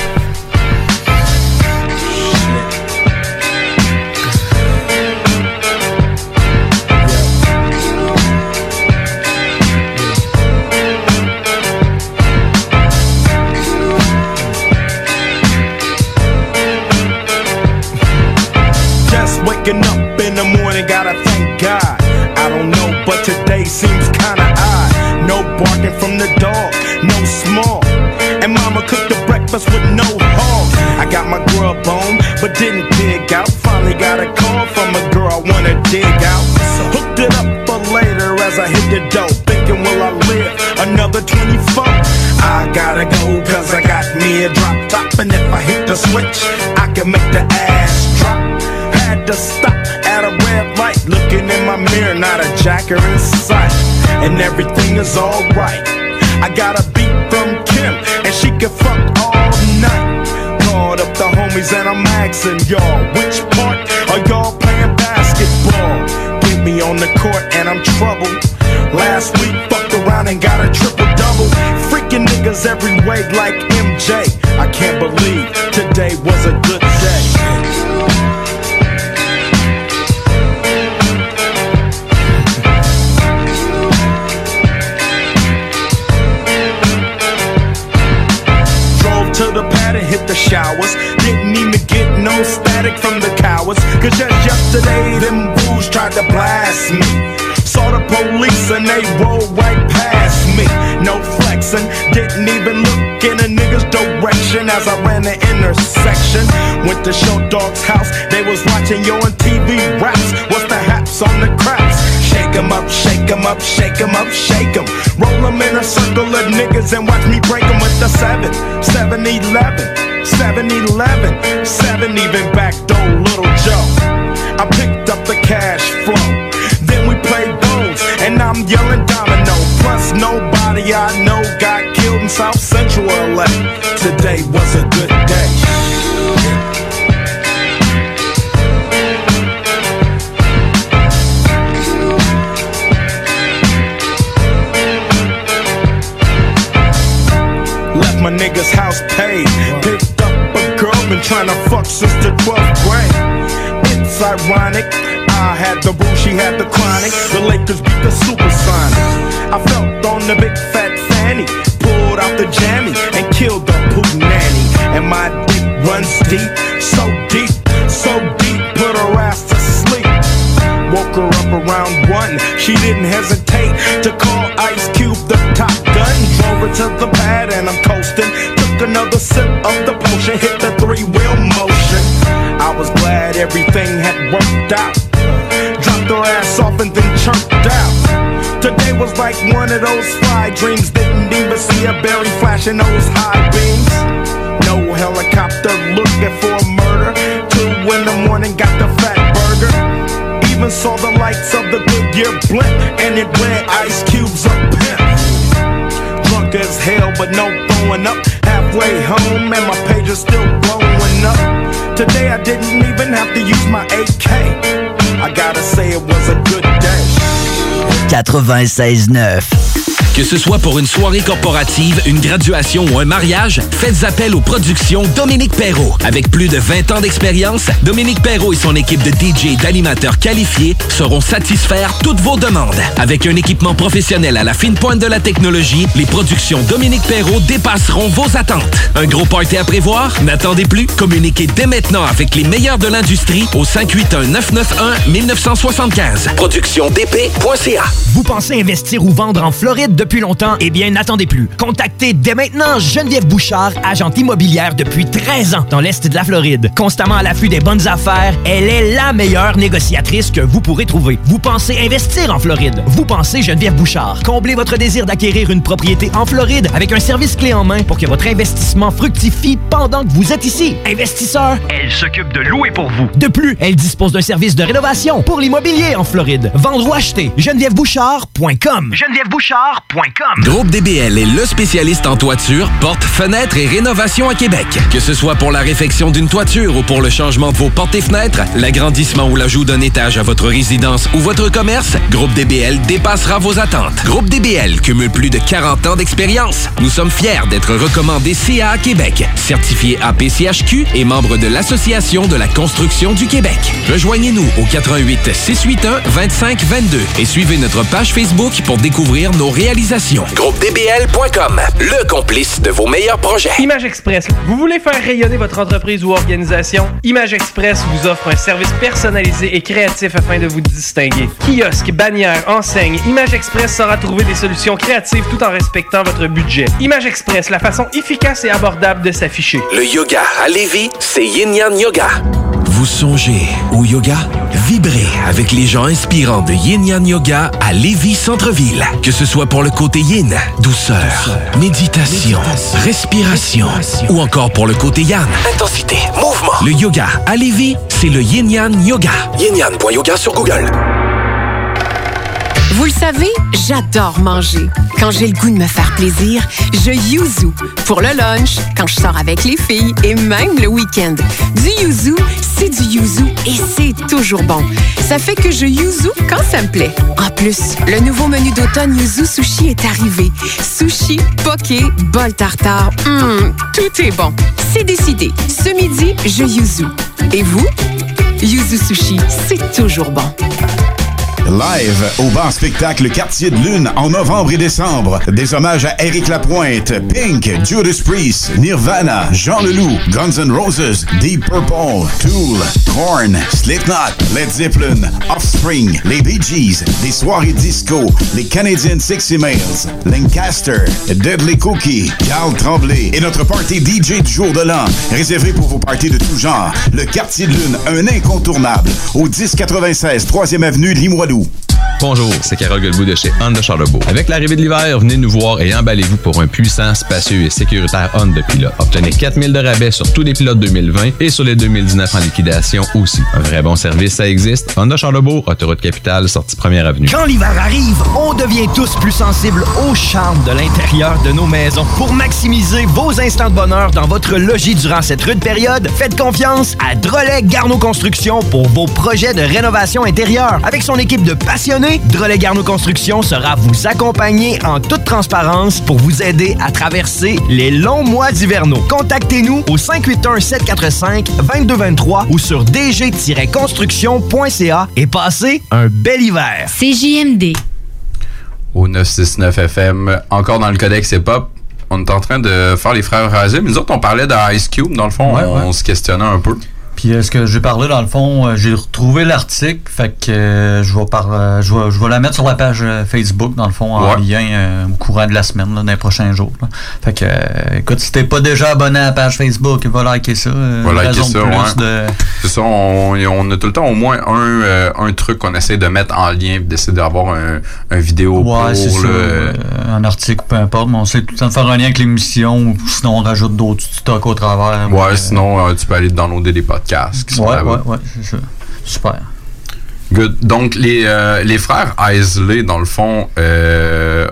Just waking up in the morning, gotta thank God. I don't know, but today seems kinda odd. No barking from the dog, no small. And mama cooked the breakfast with no hog. I got my grub on, but didn't dig out. Finally got a call from a girl I wanna dig out. Hooked it up for later as I hit the dough. Thinking, will I live another twenty-four? I gotta go, cause I got me a drop top. And if I hit the switch, I can make the ass drop. Had to stop at a red light, looking in my mirror, not a jacker in sight. And everything is alright. I got a beat from Kim, and she can fuck all night. Called up the homies and I'm asking y'all, which part are y'all playing basketball? Get me on the court and I'm troubled. Last week fucked around and got a triple-double. Freaking niggas every way like M J. I can't believe today was a good day. To the pad and hit the showers. Didn't even get no static from the cowards. Cause just yesterday them fools tried to blast me. Saw the police and they rolled right past me. No flexing, didn't even look in a nigga's direction as I ran the intersection. Went to Show Dog's house, they was watching yo on T V raps. What's the haps on the craps? Shake 'em up, shake 'em up, shake 'em up, shake 'em. Roll 'em in a circle of niggas and watch me break 'em with the seven, seven eleven, seven eleven, seven even back door Little Joe. I picked up the cash flow, then we played bones, and I'm yelling domino. Plus nobody I know got killed in South Central L A. Today was a good day. Left my nigga's house paid. Picked up a girl, been tryna fuck since the twelfth grade. It's ironic, I had the boo, she had the chronic. The Lakers beat the Supersonics. I felt on the big fat fanny, pulled out the jammy and killed the poop nanny. And my dick runs deep, so deep, so deep, put her ass to sleep. Woke her up around one, she didn't hesitate to call Ice Cube the top gun. Drove her to the pad and I'm coasting. Took another sip of the potion, hit the three-wheel motion. I was glad everything had worked out. Dropped her ass off and then chirped out. Today was like one of those fly dreams. Didn't even see a berry flashing those high beams. No helicopter looking for a murder. Two in the morning, got the fat burger. Even saw the lights of the Goodyear blimp, and it read Ice Cube's a pimp. Drunk as hell, but no throwing up. Halfway home, and my page is still blowing up. Today I didn't even have to use my A K. I gotta say it was a good day. quatre-vingt-seize neuf Que ce soit pour une soirée corporative, une graduation ou un mariage, faites appel aux productions Dominique Perrault. Avec plus de vingt ans d'expérience, Dominique Perrault et son équipe de D J et d'animateurs qualifiés sauront satisfaire toutes vos demandes. Avec un équipement professionnel à la fine pointe de la technologie, les productions Dominique Perrault dépasseront vos attentes. Un gros party à prévoir? N'attendez plus. Communiquez dès maintenant avec les meilleurs de l'industrie au cinq huit un neuf neuf un neuf neuf sept cinq. production d p point c a. Vous pensez investir ou vendre en Floride depuis longtemps? Eh bien, n'attendez plus. Contactez dès maintenant Geneviève Bouchard, agente immobilière depuis treize ans dans l'Est de la Floride. Constamment à l'affût des bonnes affaires, elle est la meilleure négociatrice que vous pourrez trouver. Vous pensez investir en Floride? Vous pensez Geneviève Bouchard. Comblez votre désir d'acquérir une propriété en Floride avec un service clé en main pour que votre investissement fructifie pendant que vous êtes ici. Investisseur, elle s'occupe de louer pour vous. De plus, elle dispose d'un service de rénovation pour l'immobilier en Floride. Vendre ou acheter, geneviève bouchard point com. geneviève bouchard point com. Groupe D B L est le spécialiste en toiture, portes, fenêtres et rénovation à Québec. Que ce soit pour la réfection d'une toiture ou pour le changement de vos portes et fenêtres, l'agrandissement ou l'ajout d'un étage à votre résidence ou votre commerce, Groupe D B L dépassera vos attentes. Groupe D B L cumule plus de quarante ans d'expérience. Nous sommes fiers d'être recommandés C A A Québec, certifié A P C H Q et membre de l'Association de la construction du Québec. Rejoignez-nous au quatre un huit, six huit un, deux cinq deux deux et suivez notre page Facebook pour découvrir nos réalisations. Groupe D B L point com, le complice de vos meilleurs projets. Image Express. Vous voulez faire rayonner votre entreprise ou organisation? Image Express vous offre un service personnalisé et créatif afin de vous distinguer. Kiosque, bannière, enseigne, Image Express saura trouver des solutions créatives tout en respectant votre budget. Image Express, la façon efficace et abordable de s'afficher. Le yoga à Lévis, c'est Yin Yang Yoga. Vous songez au yoga? Vibrez avec les gens inspirants de Yin Yang Yoga à Lévis Centre-Ville. Que ce soit pour le côté yin, douceur, douceur méditation, méditation, respiration, respiration, ou encore pour le côté yang, intensité, mouvement. Le yoga à Lévis, c'est le Yin Yang Yoga. yin yang point yoga sur Google. Vous le savez, j'adore manger. Quand j'ai le goût de me faire plaisir, je yuzu. Pour le lunch, quand je sors avec les filles et même le week-end. Du yuzu, c'est du yuzu et c'est toujours bon. Ça fait que je yuzu quand ça me plaît. En plus, le nouveau menu d'automne Yuzu Sushi est arrivé. Sushi, poké, bol tartare, hum, tout est bon. C'est décidé. Ce midi, je yuzu. Et vous? Yuzu Sushi, c'est toujours bon. Live au bar spectacle Quartier de Lune en novembre et décembre. Des hommages à Éric Lapointe, Pink, Judas Priest, Nirvana, Jean Leloup, Guns N' Roses, Deep Purple, Tool, Korn, Slipknot, Led Zeppelin, Offspring, les Bee Gees, des soirées disco, les Canadian Sexy Males, Lancaster, Deadly Cookie, Carl Tremblay et notre party D J du jour de l'an, réservé pour vos parties de tout genre. Le Quartier de Lune, un incontournable, au dix quatre-vingt-seize troisième avenue Limoilou. Bonjour, c'est Carole Guilbeault de chez Honda Charlebourg. Avec l'arrivée de l'hiver, venez nous voir et emballez-vous pour un puissant, spacieux et sécuritaire Honda Pilot. Obtenez quatre mille de rabais sur tous les pilotes deux mille vingt et sur les deux mille dix-neuf en liquidation aussi. Un vrai bon service, ça existe. Honda Charlebourg, autoroute capitale, sortie première avenue. Quand l'hiver arrive, on devient tous plus sensibles au charme de l'intérieur de nos maisons. Pour maximiser vos instants de bonheur dans votre logis durant cette rude période, faites confiance à Drolet Garneau Construction pour vos projets de rénovation intérieure. Avec son équipe de passionnés, Drolet Garneau Construction sera vous accompagner en toute transparence pour vous aider à traverser les longs mois hivernaux. Contactez-nous au cinq huit un, sept quatre cinq, deux deux deux trois ou sur d g tiret construction point c a et passez un bel hiver. C J M D. Au neuf cent soixante-neuf F M, encore dans le Codex hip-hop, on est en train de faire les frères Razim. Nous autres, on parlait de Ice Cube, dans le fond, ouais, on, ouais. on se questionnait un peu. Puis euh, ce que j'ai parlé, dans le fond, euh, j'ai retrouvé l'article, fait que euh, je vais par, euh, je vais, je vais la mettre sur la page euh, Facebook, dans le fond, en ouais. lien euh, au courant de la semaine, là, dans les prochains jours. Là. Fait que, euh, écoute, si t'es pas déjà abonné à la page Facebook, va liker ça. Euh, va liker ça, plus ouais. de... C'est ça, on, on a tout le temps au moins un, euh, un truc qu'on essaie de mettre en lien, d'essayer d'avoir un, un vidéo ouais, pour, c'est ça, euh, un article, peu importe, mais on sait tout le temps de faire un lien avec l'émission, ou sinon on rajoute d'autres stocks au travers. Ouais, euh, sinon euh, tu peux aller downloader des podcasts qui sont ouais, là-bas. Ouais, ouais, c'est ça. Super. Good. Donc, les, euh, les frères Isley, dans le fond, euh,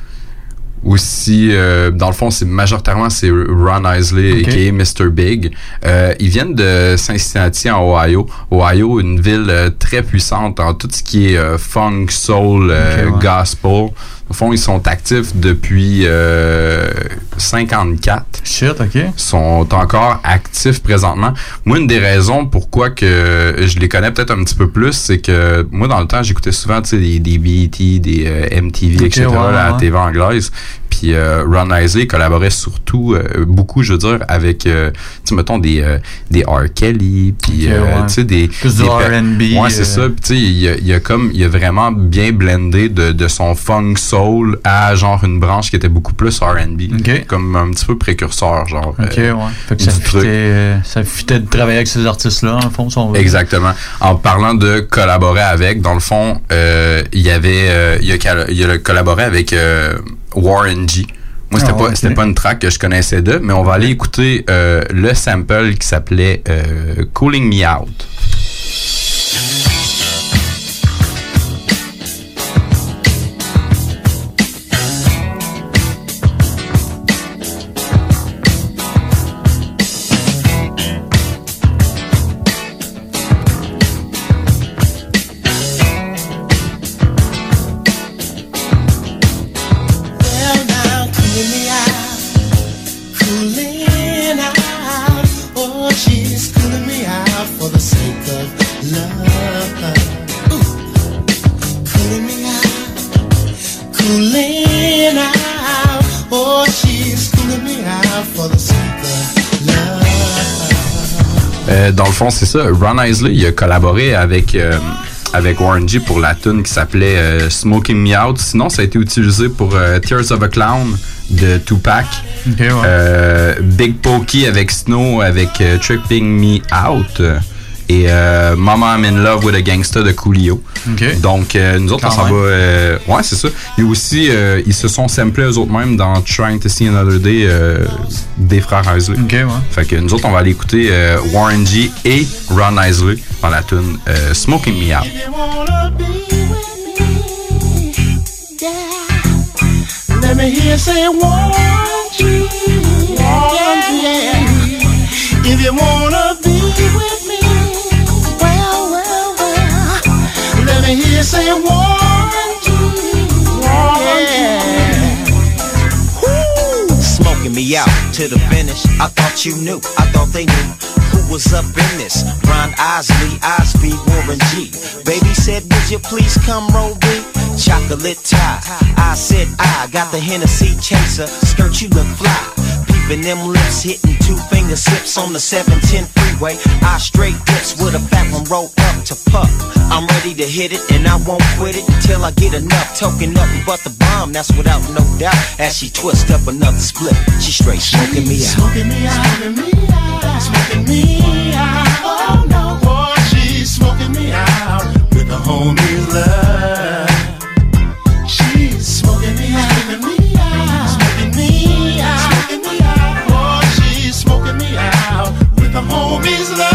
aussi, euh, dans le fond, c'est majoritairement, c'est Ron Isley, okay. aka mister Big. Euh, ils viennent de Cincinnati, en Ohio. Ohio, une ville euh, très puissante en tout ce qui est euh, funk, soul, euh, okay, ouais. gospel. Au fond, ils sont actifs depuis euh, cinquante-quatre. Shit, OK. Ils sont encore actifs présentement. Moi, une des raisons pourquoi que je les connais peut-être un petit peu plus, c'est que moi, dans le temps, j'écoutais souvent des, des B E T, des euh, M T V, okay, et cetera, ouais, à la ouais. T V anglaise. Puis euh, Ron Isley collaborait surtout euh, beaucoup, je veux dire, avec, euh, tu sais, mettons, des, euh, des R. Kelly, puis, okay, euh, ouais. tu sais, des... Plus des R and B. Ouais, c'est euh... ça. Puis, tu sais, il a, il a comme, il a vraiment bien blendé de, de son funk soul à, genre, une branche qui était beaucoup plus R and B. Okay. Comme un petit peu précurseur, genre. OK, euh, ouais. Fait que ça fitait, euh, ça fitait de travailler avec ces artistes-là, en fond, si on veut. Exactement. En parlant de collaborer avec, dans le fond, euh, il y avait, euh, il, a, il a collaboré avec euh, Warren G. Moi, c'était ah, pas, okay. c'était pas une track que je connaissais d'eux, mais on va aller écouter euh, le sample qui s'appelait euh, Cooling Me Out. Euh, dans le fond, c'est ça. Ron Isley, il a collaboré avec, euh, avec Warren G pour la tune qui s'appelait euh, Smoking Me Out. Sinon, ça a été utilisé pour euh, Tears of a Clown de Tupac. Okay, ouais. euh, Big Pokey avec Snow avec euh, Tripping Me Out. Et euh, Mama I'm in Love with a Gangsta de Coolio. Okay. Donc, euh, nous autres, Quand on s'en va... Euh, ouais, c'est ça. Et aussi, euh, ils se sont samplés eux autres mêmes dans Trying to See Another Day euh, des frères Isley. Okay, ouais. Fait que nous autres, on va aller écouter euh, Warren G et Ron Isley dans la tune euh, Smoking Me Out. Let me hear say Warren G, Warren G. If you wanna be with me, well, well, well. Let me hear say Warren G, Warren G. Woo. Smoking me out to the finish. I thought you knew. I thought they knew who was up in this. Ron Isley, Osby, Warren G. Baby said, would you please come roll me? Chocolate tie. I said I got the Hennessy chaser. Skirt, you look fly. Peeping them lips, hitting two finger sips on the seven ten freeway. I straight dips with a fat one roll up to puff. I'm ready to hit it and I won't quit it until I get enough. Token nothing but the bomb, that's without no doubt. As she twists up another split, she straight smoking me out. Smoking me out, smoking me out, smoking me out. Oh no, boy, she's smoking me out with the homie's love. She's smoking me out, smoking me out, smoking me out, smoking me out. Oh, she's smoking me out with the homies' love.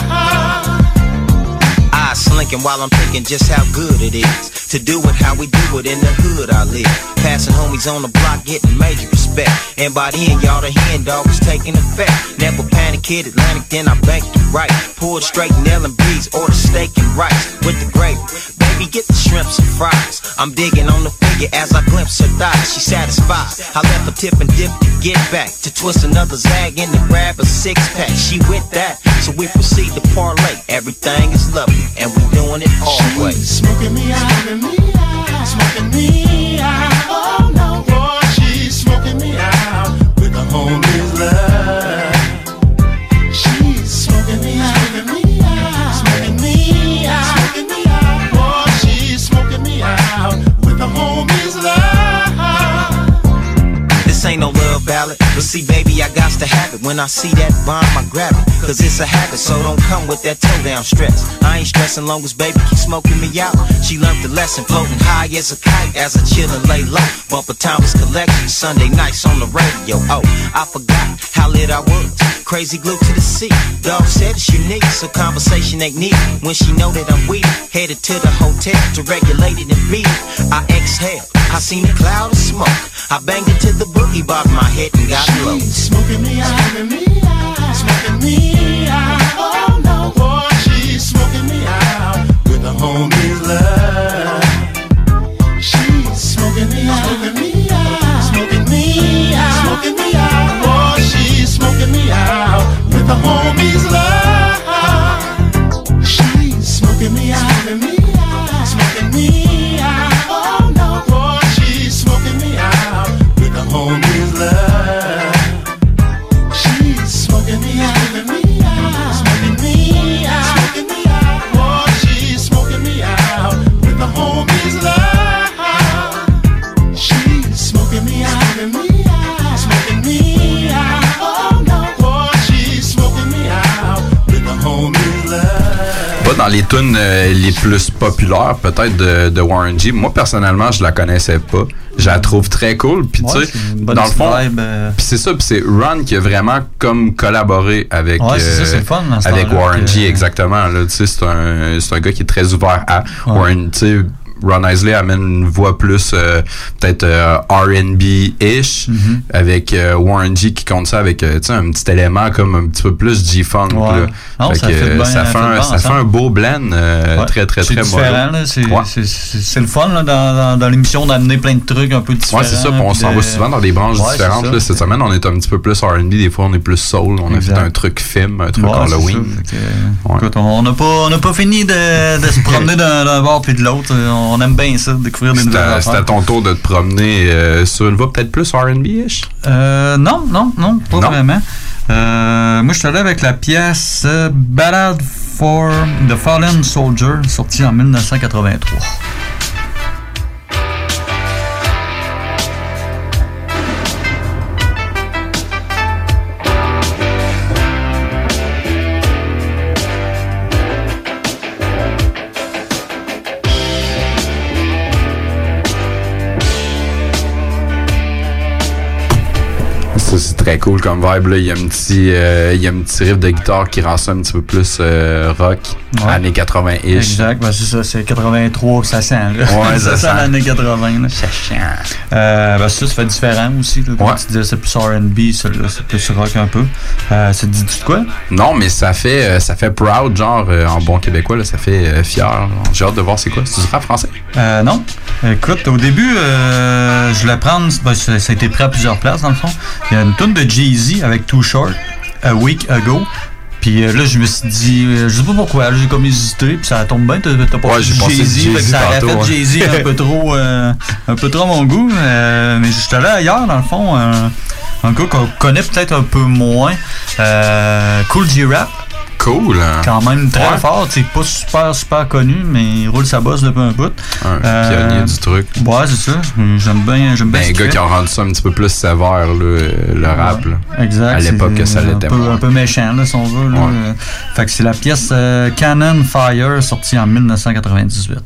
I slinking while I'm thinking just how good it is to do it how we do it in the hood I live. Passing homies on the block, getting major respect. And by then, y'all, the hand dog was taking effect. Never panic, hit Atlantic, then I banked it right. Poured straight in L and B's, ordered steak and rice with the gravy. Baby, get the shrimps and fries. I'm digging on the figure as I glimpse her thighs. She satisfied. I left her tip and dip to get back. To twist another zag and to grab a six pack. She with that, so we proceed to parlay. Everything is lovely, and we doing it all way. Smoking me out, smoking me out, smoking me out. Oh no, boy, she's smoking me out with the homies' love. She's smoking me out, smoking me out, smoking me out, smoking me out. Boy, she's smoking me out with the homies' love. This ain't no love ballad, but see, baby, I got to have it. When I see that bomb, I grab it, cause it's a habit, so don't come with that toe down stress. I ain't stressing long as baby keep smoking me out. She learned the lesson, floating high as a kite, as I chill and lay low. Bumper Thomas collection, Sunday nights on the radio. Oh, I forgot how lit I was. Crazy glued to the seat. Dog said it's unique, so conversation ain't needed. When she know that I'm weak, headed to the hotel to regulate it and beat it. I exhale, I seen a cloud of smoke. I banged it to the boogie, bobbed my head and got low. Smoking me out, smoking me out, smoking me out. Oh no, boy, she's smoking me out with the homies' love. She's smoking me out, dans les tunes euh, les plus populaires, peut-être, de, de Warren G. Moi, personnellement, je la connaissais pas. Je la trouve très cool. Puis, Ouais, tu sais, c'est une bonne dans le fond, vibe, euh. puis c'est ça. Puis c'est Ron qui a vraiment comme collaboré avec, Ouais, c'est ça, c'est le fun, dans ce avec temps-là, Warren que- G, exactement. Là, tu sais, c'est un, c'est un gars qui est très ouvert à Warren, tu sais. Ron Isley amène une voix plus euh, peut-être euh, R and B-ish Mm-hmm. avec euh, Warren G qui compte ça avec euh, tu sais, un petit élément comme un petit peu plus G-Funk. Ouais. là. Non, Fait ça que, fait bien- ça fait fait un, bien ça fait ensemble. un beau blend euh, Ouais. très très C'est très différent, mollo. là. C'est, Ouais. c'est, c'est, c'est le fun là, dans, dans, dans l'émission d'amener plein de trucs un peu différents. Ouais, c'est ça. Puis on puis s'en de- va souvent dans des branches Ouais, différentes. c'est Là. ça. Cette semaine, on est un petit peu plus R and B. Des fois, on est plus soul. On Exact. a fait un truc film, un truc Ouais, c'est Halloween. ça. Fait que, écoute, on n'a pas, on n'a pas fini de, de se promener d'un, d'un bord puis de l'autre. On aime bien ça, découvrir des nouvelles C'était affaires. c'était à ton tour de te promener euh, sur une voie peut-être plus R and B-ish? Euh, non, non, non, pas Non. vraiment. Euh, moi, je suis allé avec la pièce euh, Ballad for the Fallen Soldier, sortie en dix-neuf cent quatre-vingt-trois. Ça, c'est très cool comme vibe. Là. Il y a un petit, euh, il y a un petit riff de guitare qui rend ça un petit peu plus euh, rock, Ouais. années quatre-vingt-ish. Exact, ben c'est ça, c'est quatre-vingt-trois, ça sent. Là. Ouais, ça ça sent sent. l'année quatre-vingts. Là. Ça sent. Euh, ben ça, ça fait différent aussi. Là. Comme Ouais. tu disais, c'est plus R and B, celui-là, c'est plus rock un peu. Euh, ça te dit de quoi? Non, mais ça fait, euh, ça fait proud, genre, euh, en bon québécois, là, ça fait euh, fier. Genre. J'ai hâte de voir c'est quoi. C'est du rap français? Euh, non. Écoute, au début, euh, je voulais prendre. Ben, ça, ça a été pris à plusieurs places, dans le fond. Il y a une tune de Jay-Z avec Too Short, A Week Ago. Puis euh, là, je me suis dit, euh, je sais pas pourquoi, là, j'ai comme hésité, puis ça tombe bien, t'as, t'as pas Ouais, fait j'ai pensé Jay-Z, Jay-Z fait que ça aurait tantôt, fait ouais. Jay-Z un peu trop, euh, un peu trop à mon goût. Euh, mais j'étais allé ailleurs, dans le fond, un, un gars qu'on connaît peut-être un peu moins, euh, Cool G-Rap. Cool, hein? Quand même très Ouais. fort, c'est pas super super connu, mais il roule sa bosse depuis un bout. Un Euh, pionnier du truc. Ouais, c'est ça. J'aime bien, j'aime bien Ben, ce un qu'il gars fait. qui a rendu ça un petit peu plus sévère, là, euh, le rap. Là. Exact. À l'époque c'est que ça un l'était peu, moins. un peu méchant, là, si on veut. Là. Ouais. Euh, Fait que c'est la pièce euh, Cannon Fire, sortie en dix-neuf cent quatre-vingt-dix-huit.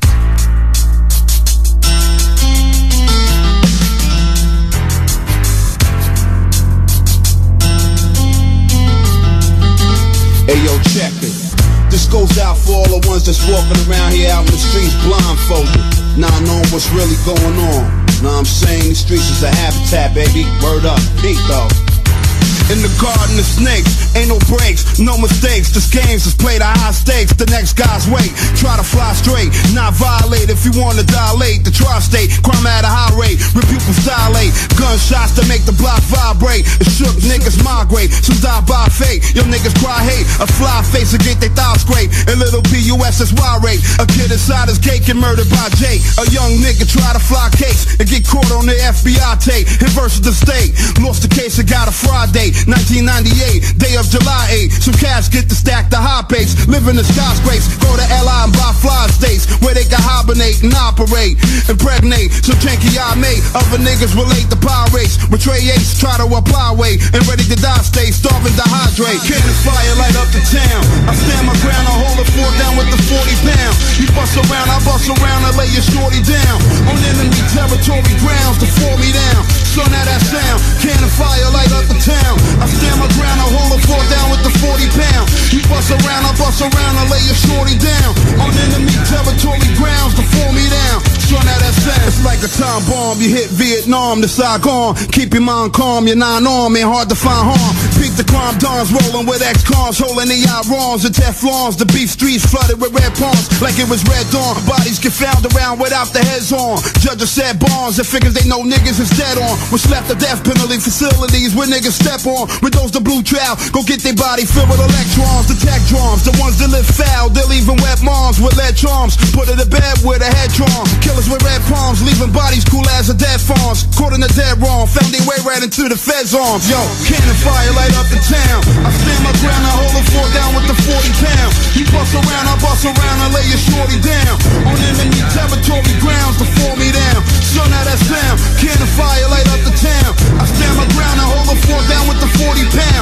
Hey yo, check it. This goes out for all the ones that's walking around here out in the streets blindfolded, not knowing what's really going on. Know what I'm saying? The streets is a habitat, baby. Word up, peak though. In the garden of snakes, ain't no breaks, no mistakes. This game's just played at high stakes. The next guy's wait, try to fly straight, not violate. If you wanna dilate, the tri-state, crime at a high rate, reputable dilate. Gunshots to make the block vibrate. The shook niggas migrate, some die by fate. Your niggas cry hate, a fly face will get their thighs scraped. A little P U S S Y rate, a kid inside his cake and murdered by Jake. A young nigga try to fly cakes and get caught on the F B I tape. Hit versus the state, lost the case and got a Friday. nineteen ninety-eight, day of July eighth. Some cats get to stack the high pace. Live in the skyscrapes, go to L I and buy fly states where they can hibernate and operate. Impregnate, some janky I made. Other niggas relate to pirates. Betray ace, try to apply weight. And ready to die, stay starving, dehydrate. Cannon fire, light up the town. I stand my ground, I hold the fort down with the forty pound. You bust around, I bust around, I lay your shorty down. On enemy territory grounds to fall me down. Son of that sound, cannon fire, light up the town. I stand my ground, I hold the fort down with the forty pound. You bust around, I bust around, I lay your shorty down. On enemy territory grounds to fall me down. Son of that sound, it's like a time bomb. You hit Vietnam to Saigon. Keep your mind calm, you're non-armed, ain't hard to find harm. Peak the crime dons, rolling with ex-cons, holding the irons and Teflons. The beef streets flooded with red palms, like it was red dawn. Bodies get found around without the heads on. Judges said bonds and figures they know niggas is dead on. Was left the death penalty facilities where niggas step on. With those the blue trout, go get their body filled with electrons. The tech drums, the ones that live foul, they'll even wet moms with lead charms. Put her to bed with a head trauma. Killers with red palms, leaving bodies cool as a dead farms. Caught in the dead wrong, found their way right into the feds' arms. Yo, cannon fire light up the town. I stand my ground, I hold the fort down with the forty pound. You bust around, I bust around, I lay your shorty down. On enemy territory grounds to fall me down. Son of that sound, cannon fire light up the town. I stand my ground, I hold the fort down with the forty pound. You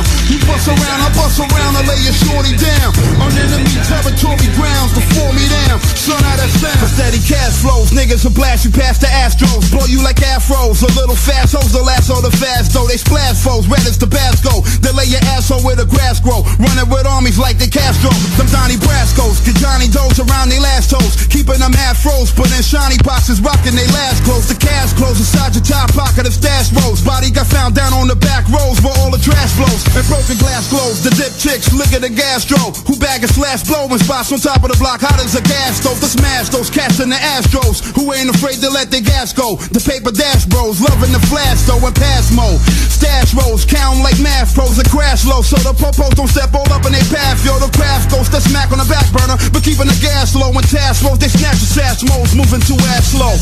bust around, I bust around, I lay your shorty down. On enemy territory grounds before me down. Son, how that sound? For steady cash flows, niggas will blast you past the Astros. Blow you like afros, a little fast hoes, the last of the fast though. They splash foes, red as Tabasco. They lay your asshole where the grass grow. Running with armies like the Castro. Them Donnie Brascos, get Johnny Does around they last toes. Keeping them half froze, but in shiny boxes, rocking they last clothes. The cash close inside your top pocket of stash rolls. Body got found down on the back rows where all the trash blows. And broken glass glows, the dip chicks, lick at the gastro. Who bag and slash blowing spots on top of the block, hot as a gas stove. To smash those cats in the Astros, who ain't afraid to let their gas go. The paper dash bros, loving the flash though in pass mode. Stash rolls, count like math pros and crash low. So the popos don't step all up in their path, yo. The craft goes to smack on the back burner, but keeping the gas low. When task rolls, they snatch the sash modes, moving too ass slow.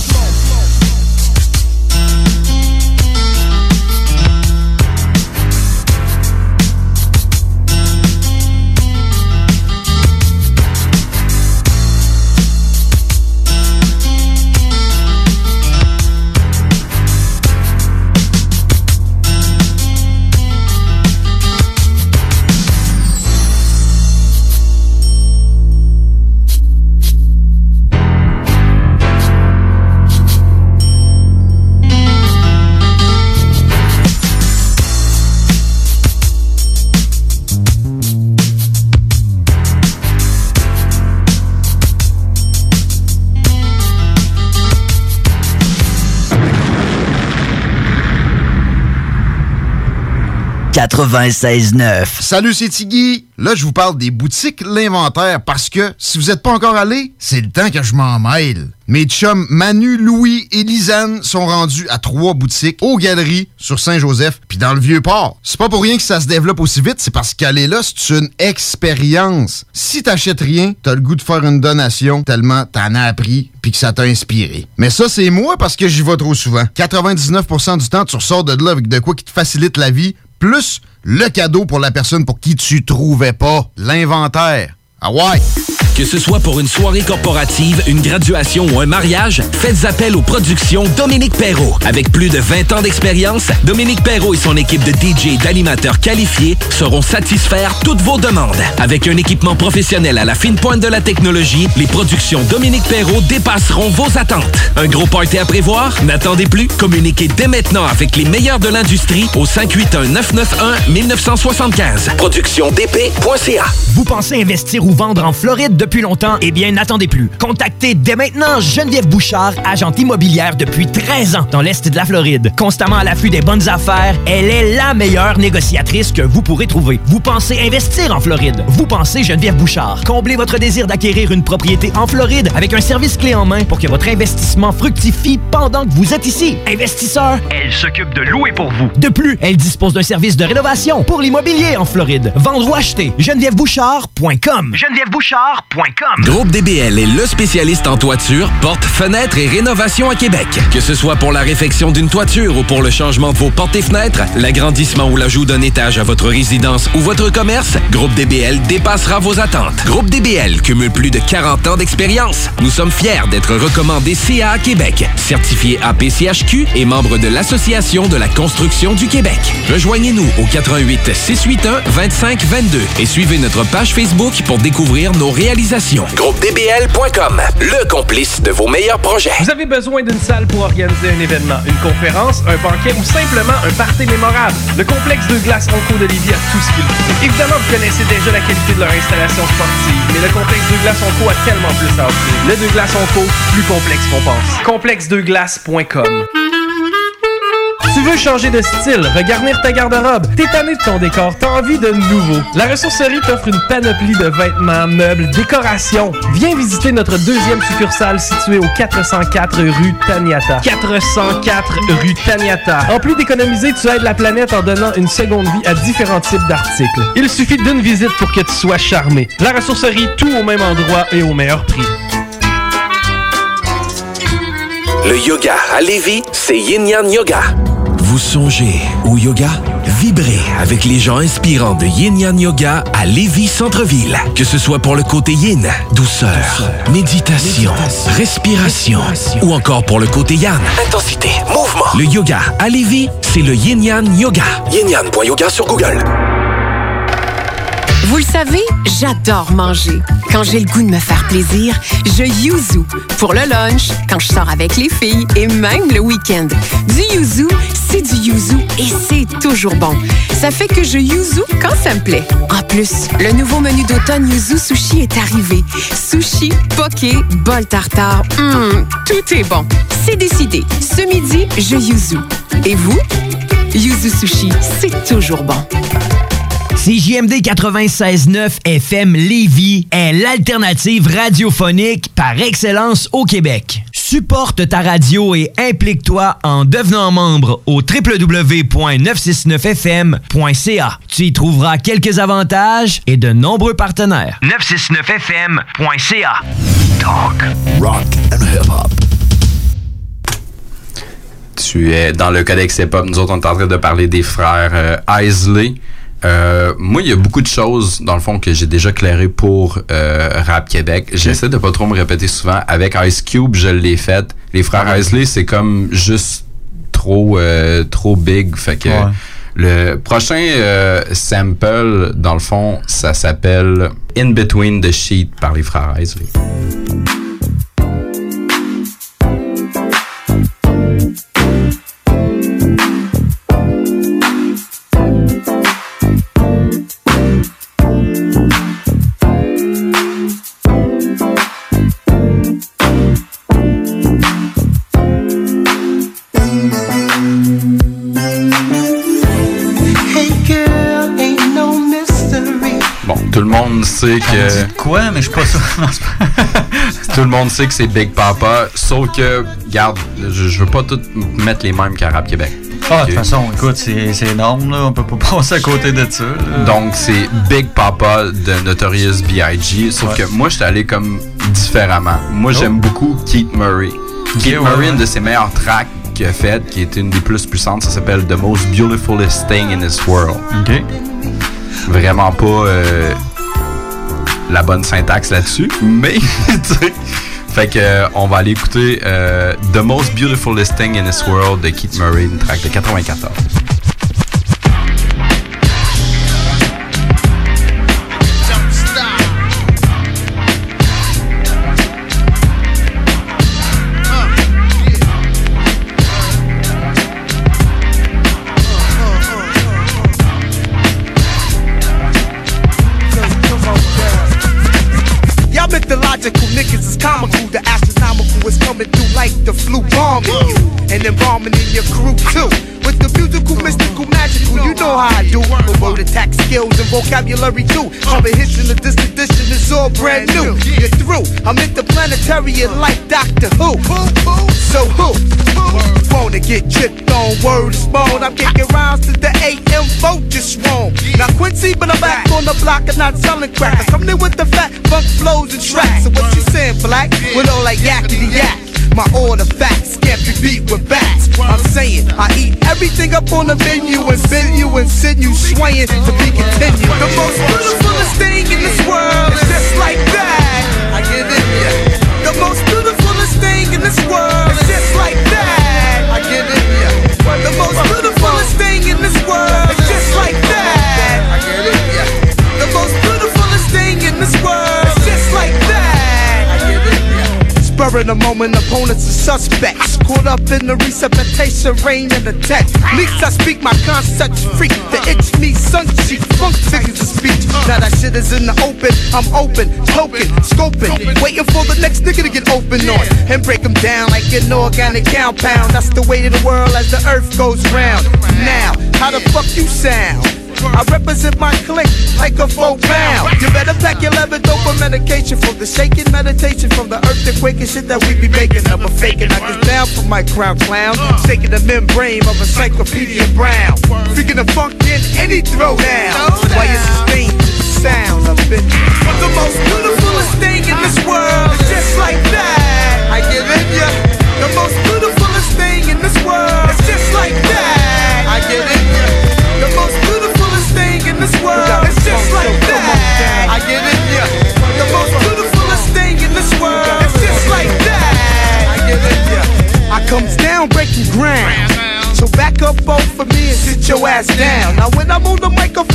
quatre-vingt-seize neuf. Salut, c'est Tiggy. Là, je vous parle des boutiques L'Inventaire parce que si vous n'êtes pas encore allé, c'est le temps que je m'en mêle. Mes chums Manu, Louis et Lisanne sont rendus à trois boutiques aux Galeries sur Saint-Joseph puis dans le Vieux-Port. C'est pas pour rien que ça se développe aussi vite, c'est parce qu'aller là, c'est une expérience. Si t'achètes rien, t'as le goût de faire une donation tellement t'en as appris puis que ça t'a inspiré. Mais ça, c'est moi parce que j'y vais trop souvent. quatre-vingt-dix-neuf pour cent du temps, tu ressors de là avec de quoi qui te facilite la vie, plus le cadeau pour la personne pour qui tu trouvais pas. L'Inventaire. Ah ouais! Que ce soit pour une soirée corporative, une graduation ou un mariage, faites appel aux productions Dominique Perrault. Avec plus de vingt ans d'expérience, Dominique Perrault et son équipe de D J et d'animateurs qualifiés sauront satisfaire toutes vos demandes. Avec un équipement professionnel à la fine pointe de la technologie, les productions Dominique Perrault dépasseront vos attentes. Un gros party à prévoir? N'attendez plus. Communiquez dès maintenant avec les meilleurs de l'industrie au cinq huit un neuf neuf un neuf neuf cinq cinq. production d p point c a. Vous pensez investir ou vendre en Floride depuis longtemps? Eh bien, n'attendez plus. Contactez dès maintenant Geneviève Bouchard, agente immobilière depuis treize ans dans l'Est de la Floride. Constamment à l'affût des bonnes affaires, elle est la meilleure négociatrice que vous pourrez trouver. Vous pensez investir en Floride? Vous pensez Geneviève Bouchard. Comblez votre désir d'acquérir une propriété en Floride avec un service clé en main pour que votre investissement fructifie pendant que vous êtes ici. Investisseur, elle s'occupe de louer pour vous. De plus, elle dispose d'un service de rénovation pour l'immobilier en Floride. Vendre ou acheter, geneviève bouchard point com. geneviève bouchard point com. Groupe D B L est le spécialiste en toiture, portes, fenêtres et rénovation à Québec. Que ce soit pour la réfection d'une toiture ou pour le changement de vos portes et fenêtres, l'agrandissement ou l'ajout d'un étage à votre résidence ou votre commerce, Groupe D B L dépassera vos attentes. Groupe D B L cumule plus de quarante ans d'expérience. Nous sommes fiers d'être recommandés C A A Québec, certifié A P C H Q et membre de l'Association de la construction du Québec. Rejoignez-nous au quatre un huit, six huit un, deux cinq deux deux et suivez notre page Facebook pour découvrir nos réalisations. groupe d b l point com, le complice de vos meilleurs projets. Vous avez besoin d'une salle pour organiser un événement, une conférence, un banquet ou simplement un party mémorable. Le complexe de glace Onco de Lévis a tout ce qu'il faut. Évidemment, vous connaissez déjà la qualité de leur installation sportive, mais le complexe de glace Onco a tellement plus à offrir. Le de glace Onco, plus complexe qu'on pense. complexe de glace point com. Tu veux changer de style, regarnir ta garde-robe, t'es tanné de ton décor, t'as envie de nouveau. La ressourcerie t'offre une panoplie de vêtements, meubles, décorations. Viens visiter notre deuxième succursale située au quatre cent quatre rue Taniata. quatre cent quatre rue Taniata. En plus d'économiser, tu aides la planète en donnant une seconde vie à différents types d'articles. Il suffit d'une visite pour que tu sois charmé. La ressourcerie, tout au même endroit et au meilleur prix. Le yoga à Lévis, c'est Yin Yang Yoga. Vous songez au yoga? Vibrez avec les gens inspirants de Yin Yang Yoga à Lévis Centre-Ville. Que ce soit pour le côté yin, douceur, douceur méditation, méditation, respiration, respiration, ou encore pour le côté yang, intensité, mouvement. Le yoga à Lévis, c'est le Yin Yang Yoga. yin yang point yoga sur Google. Vous le savez, j'adore manger. Quand j'ai le goût de me faire plaisir, je yuzu. Pour le lunch, quand je sors avec les filles et même le week-end. Du yuzu, c'est du yuzu et c'est toujours bon. Ça fait que je yuzu quand ça me plaît. En plus, le nouveau menu d'automne Yuzu Sushi est arrivé. Sushi, poké, bol tartare, hum, tout est bon. C'est décidé. Ce midi, je yuzu. Et vous? Yuzu Sushi, c'est toujours bon. C J M D quatre-vingt-seize neuf F M Lévis est l'alternative radiophonique par excellence au Québec. Supporte ta radio et implique-toi en devenant membre au w w w point neuf cent soixante-neuf f m point c a. Tu y trouveras quelques avantages et de nombreux partenaires. neuf cent soixante-neuf f m point c a. Talk, rock and hip-hop. Tu es dans le Codex Hip-Hop. Nous autres, on est en train de parler des frères euh, Isley. Euh, moi, il y a beaucoup de choses, dans le fond, que j'ai déjà clairées pour euh, Rap Québec. J'essaie de pas trop me répéter souvent. Avec Ice Cube, je l'ai fait. Les frères ouais. Isley, c'est comme juste trop euh, trop big. Fait que ouais. le prochain euh, sample, dans le fond, ça s'appelle In Between the Sheet par les frères Isley. Tout le monde sait que... Quoi? Mais je suis pas sûr. Tout le monde sait que c'est Big Papa, sauf que, regarde, je, je veux pas tout mettre les mêmes qu'à Rap Québec. Ah, de toute façon, écoute, c'est, c'est énorme, là. On peut pas passer à côté de ça, là. Donc, c'est Big Papa de Notorious B I G, sauf ouais. que moi, j'étais allé comme différemment. Moi, oh. j'aime beaucoup Keith Murray. Okay, Keith ouais, Murray, ouais. une de ses meilleures tracks qu'il a faites, qui est une des plus puissantes, ça s'appelle The Most Beautifulest Thing in This World. OK. Vraiment pas euh, la bonne syntaxe là-dessus, mais tu sais, fait que euh, on va aller écouter euh, The Most Beautifulest Thing in This World de Keith Murray, une track de quatre-vingt-quatorze. Niggas is comical, the astronomical is coming through like the flu bombing you, and embalming in your crew too. With the musical, mystical, magical, you know how I do. With word attack skills and vocabulary too. Common history of this edition is all brand new. You're through, I'm interplanetary like Doctor Who. So who? Wanna get tripped on word is born. I'm kicking rounds to the A M vote just wrong. Now Quincy, but I'm back on the block and not selling crack. I'm coming in with the fat funk flows and tracks. So what you saying, black? With all like yakety yak. My order facts can't be beat with bats. I'm saying I eat everything up on the menu and spin you and send you swaying to be continued. The most beautifulest thing in this world is just like that. I get in ya. The most beautifulest thing in this world is just like that. I get in ya. The most beautifulest thing in this world is just like that. I get in ya. The most beautifulest thing in this world is just like that. I get in ya. Spur in the moment, opponents are suspects. Caught up in the resuscitation, rain and the text. Least I speak my concept freak. The itch me, sun cheek, funk figures of speech. Now that shit is in the open, I'm open, token, scoping, waiting for the next nigga to get open on and break them down like an organic compound. That's the way of the world as the earth goes round. Now, how the fuck you sound? I represent my clique like a four pound. You better pack your leather dope for medication from the shaking meditation from the earthquake and shit that we be making. I'm a faking, I get down for my crown clown. Shaking the membrane of Encyclopedia Brown. Freaking the funk in any throwdown. Why you sustain the sound of it? But the most beautifulest thing in this world is just like that. I give it ya. The most beautifulest thing in this world is just like that. I give it ya. The most beautifulest thing in this world is just like that. I get it, yeah. The most beautifulest thing in this world is just like that. I get it, yeah. I comes down breaking ground. So back up both for me and sit your ass down. Now when I'm on the microphone,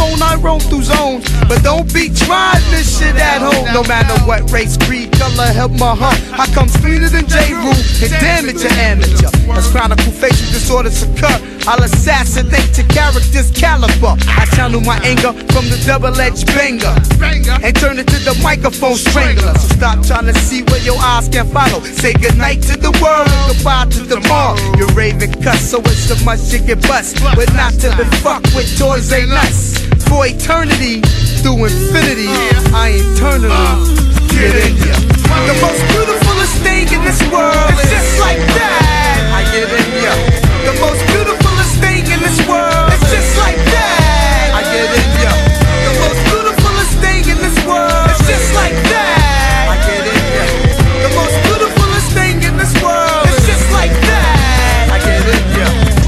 phone, I roam through zones. But don't be trying this shit at home. No matter what race, creed, color, help my heart. I come cleaner than J. Rule and damage your amateur. As chronicle facial disorders occur, I'll assassinate your character's caliber. I channel my anger from the double-edged banger and turn it to the microphone strangler. So stop trying to see where your eyes can follow. Say goodnight to the world and goodbye to tomorrow. You're raving cuss, so it's so much you get bust. But not to be fucked with toys ain't nuts. For eternity, through infinity, I eternally get in ya. The most beautifulest thing in this world is just like that. I get in ya. The most beautifulest thing in this world is just like that. I get in ya. The most beautifulest thing in this world is just like that. I get in ya. The most beautifulest thing in this world is just like that. I get in ya.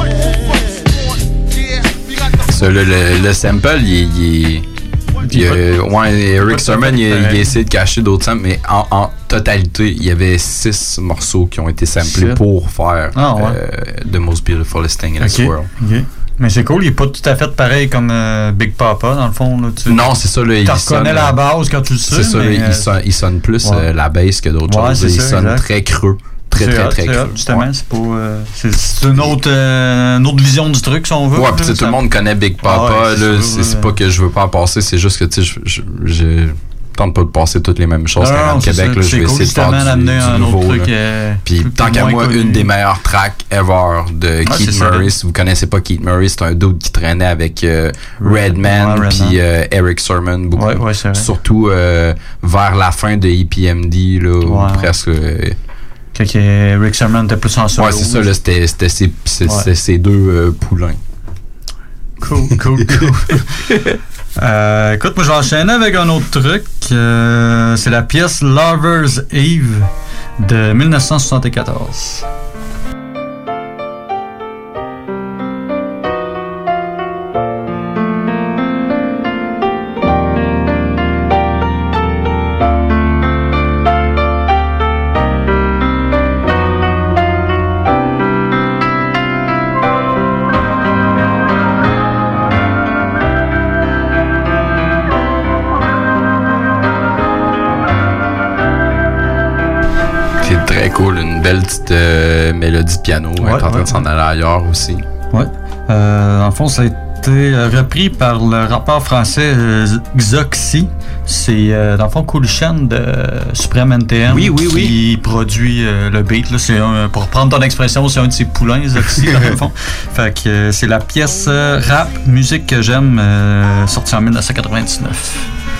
Ça, le, le, le sample, il, il, il, il ouais, Eric Sermon, il, il a essayé de cacher d'autres samples, mais en, en totalité, il y avait six morceaux qui ont été samplés Shit. pour faire ah, ouais. euh, The Most Beautifulest Thing in okay. This World. Okay. Mais c'est cool, il est pas tout à fait pareil comme euh, Big Papa, dans le fond. Là, tu, non, c'est ça. Là, tu reconnais la base quand tu le sais. C'est ça, mais, là, il, sonne, il sonne plus ouais. euh, la bass que d'autres ouais, choses. Il ça, sonne exact. très creux. Très, très, très, très creux. Justement, ouais. c'est, pas, euh, c'est, c'est une, autre, euh, une autre vision du truc, si on veut. Ouais, puis tout le monde connaît Big Papa. Ah ouais, c'est, là, c'est, c'est pas que je veux pas en passer, c'est juste que, tu sais, je, je, je tente pas de passer toutes les mêmes choses qu'à Québec. Là, je vais essayer de faire du, du un nouveau. Autre truc, euh, puis tant qu'à moi, connu. Une des meilleures tracks ever de ah, Keith Murray. Si vous connaissez pas Keith Murray, c'est un dude qui traînait avec euh, Redman ouais, puis euh, Eric Sermon beaucoup. Ouais, ouais, c'est vrai. Surtout euh, vers la fin de E P M D, là, ouais. ou presque... Euh, Quand Eric Sermon était plus en solo. Ouais, c'est ça, là, c'était, c'était, ces, c'est, ouais. c'est ces deux euh, poulains. Cool, cool, cool. euh, écoute, moi, je vais enchaîner avec un autre truc. Euh, c'est la pièce Lover's Eve de dix-neuf cent soixante-quatorze. Cool, une belle petite euh, mélodie de piano. Ouais, elle est en train ouais, de s'en aller ailleurs aussi. Ouais. Euh, en fond, ça a été repris par le rappeur français euh, Xoxy. C'est euh, dans le fond Cool Chan de Supreme N T M oui, oui, qui oui. produit euh, le beat. Là. C'est un, pour prendre ton expression, c'est un de ses poulains, Xoxy, dans le fond. Fait que euh, c'est la pièce euh, rap, musique que j'aime, euh, sortie en dix-neuf cent quatre-vingt-dix-neuf.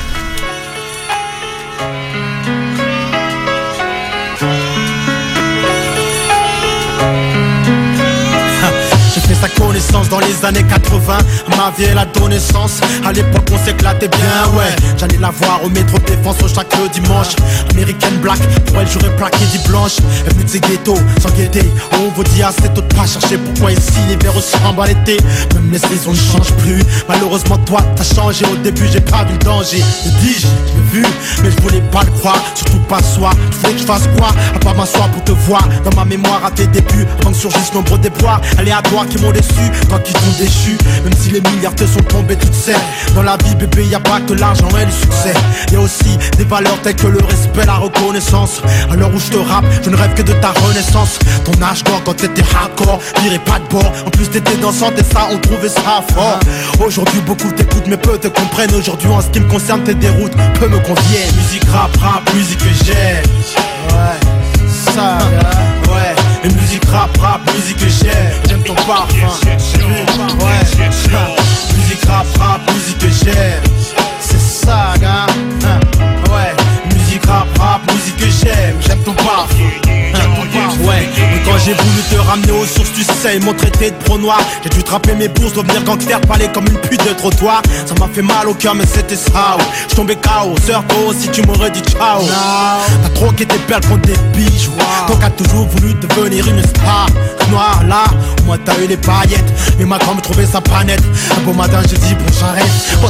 Sa connaissance dans les années quatre-vingts, ma vie elle a donné sens. À l'époque on s'éclatait bien, ouais. J'allais la voir au métro Défense au chaque dimanche. American Black, pour elle j'aurais plaqué dit blanche. Elle venue de ses ghettos, sans guetter. On vous dit assez tôt de pas chercher pourquoi ici l'hiver ressemble à l'été. Même les saisons ne changent plus. Malheureusement toi t'as changé. Au début j'ai pas vu le danger. Je dis je l'ai vu, mais je voulais pas le croire. Surtout pas soi, je voulais que je fasse quoi à part m'asseoir pour te voir. Dans ma mémoire à tes débuts, avant que surgissent nombreux déboires aléatoires qui m'ont déçu, tant qu'ils t'ont déchu. Même si les milliards te sont tombés toutes seules. Dans la vie bébé y'a pas que l'argent et le succès. Y'a aussi des valeurs telles que le respect, la reconnaissance. À l'heure où je te rappe, je ne rêve que de ta renaissance. Ton âge d'or quand t'étais hardcore, virais pas de bord. En plus t'étais dansante et ça on trouvait ça fort. Aujourd'hui beaucoup t'écoutent mais peu te comprennent. Aujourd'hui en ce qui me concerne tes déroutes peu me conviennent. Musique rap, rap, musique que j'aime. Ouais, ça ouais. Et musique rap, rap, musique que j'aime. J'aime ton parfum. Ouais, musique rap, rap, musique que j'aime. C'est ça, gars. Ouais, musique rap, rap, musique que j'aime. J'aime ton parfum. Ouais, mais quand j'ai voulu te ramener aux sources, tu sais, ils m'ont traité de pro noir. J'ai dû trapper mes bourses, devenir gangster, parler comme une pute de trottoir. Ça m'a fait mal au cœur, mais c'était ça. Je tombais K O, sœur Ko, si tu m'aurais dit ciao. T'as troqué tes perles contre des bijoux. Toi qui as toujours voulu devenir une star. Noir là, au moins t'as eu les paillettes. Mais ma grand me trouvait sa panette. Un beau matin, j'ai dit bon, j'arrête. Pendant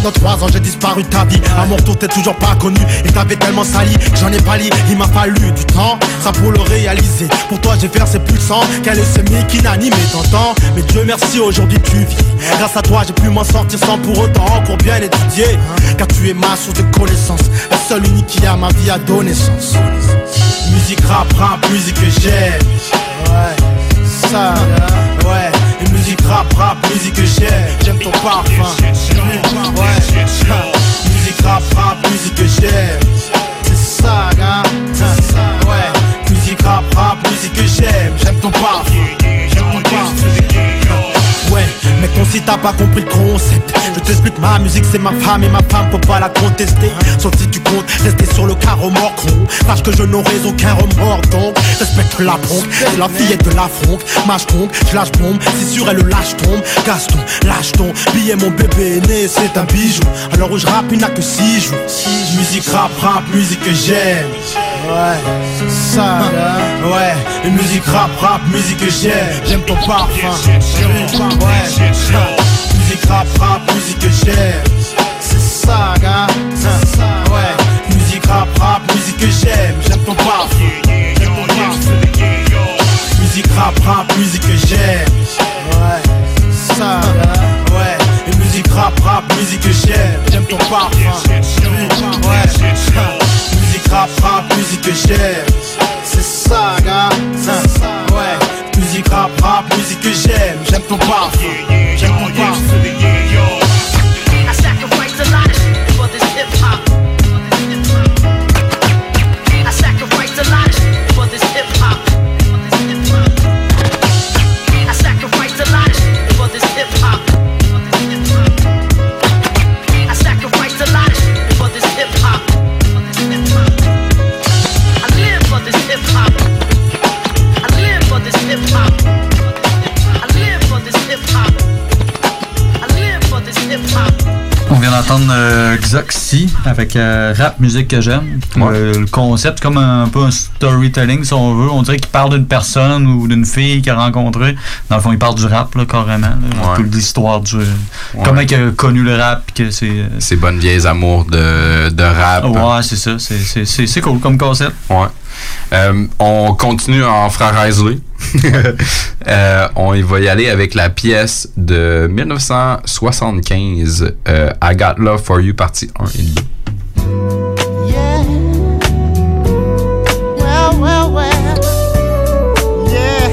Pendant trois ans j'ai disparu de ta vie. À mon retour t'es toujours pas connu. Et t'avais tellement sali, j'en ai pas li. Il m'a fallu du temps, ça pour le réaliser. Pour toi j'ai versé plus de sang qu'un leucémie qui n'animait t'entends. Mais Dieu merci aujourd'hui tu vis. Grâce à toi j'ai pu m'en sortir sans pour autant encore bien étudier. Car tu es ma source de connaissance, la seule unique qui a ma vie à donner sens. Musique rap, rap, musique que j'aime. Ouais, ça, ouais. Et musique rap, rap, musique que j'aime. J'aime ton parfum. Ouais, musique rap, rap, musique que j'aime. C'est ça, gars. Ouais, musique rap, rap, musique que j'aime. J'aime ton parfum. J'aime ton parfum. Ouais, mais ton si t'as pas compris le concept. Je t'explique, ma musique c'est ma femme et ma femme peut pas la contester. Sauf si tu comptes rester sur le carreau mort con. Sache que je n'aurai aucun remords donc respecte la bronque, c'est la fillette de la fronque. Mâche donc, je lâche bombe, si sûr elle le lâche tombe. Gaston, lâche ton billet, mon bébé est né, c'est un bijou. Alors où je rappe, il n'a que six jours. Musique rap, rap, musique que j'aime. Ouais, c'est ça, ouais. Et musique rap, rap, musique que j'aime. J'aime ton parfum. Ouais, musique rap, rap, musique que j'aime. C'est ça, gars. Ouais, musique rap, rap, musique que j'aime. J'aime ton parfum. J'aime ton parfum. Musique rap, rap, musique que j'aime. Ouais, c'est ça, gars. Ouais, et musique rap, rap, musique que j'aime. J'aime ton parfum. Ouais, musique rap, rap, musique que j'aime. C'est ça, gars. Ouais, musique rap, rap, musique que j'aime. J'aime ton parfum. J'aime ton parfum. I sacrificed a lot of shit for this hip hop. I sacrificed a lot of shit for this hip hop. I sacrificed a lot of shit for this hip hop. I sacrificed a lot of shit for this hip hop. I live for this hip hop. I live for this hip hop. I live for this hip hop. I live for this hip hop. On vient d'entendre euh, Xoxy avec euh, Rap Musique que j'aime. Ouais. Euh, le concept, comme un, un peu un storytelling, si on veut. On dirait qu'il parle d'une personne ou d'une fille qu'il a rencontrée. Dans le fond, il parle du rap, là, carrément. Là. Ouais. Un peu de l'histoire du. Ouais. Comment il a connu le rap. Que c'est. Ces bonnes vieilles amours de, de rap. Ouais, c'est ça. C'est, c'est, c'est, c'est cool comme concept. Ouais. Euh, on continue en frère Isley. euh, on y va y aller avec la pièce de dix-neuf cent soixante-quinze, euh, I Got Love For You, partie un et deux. Well, well, well. Yeah.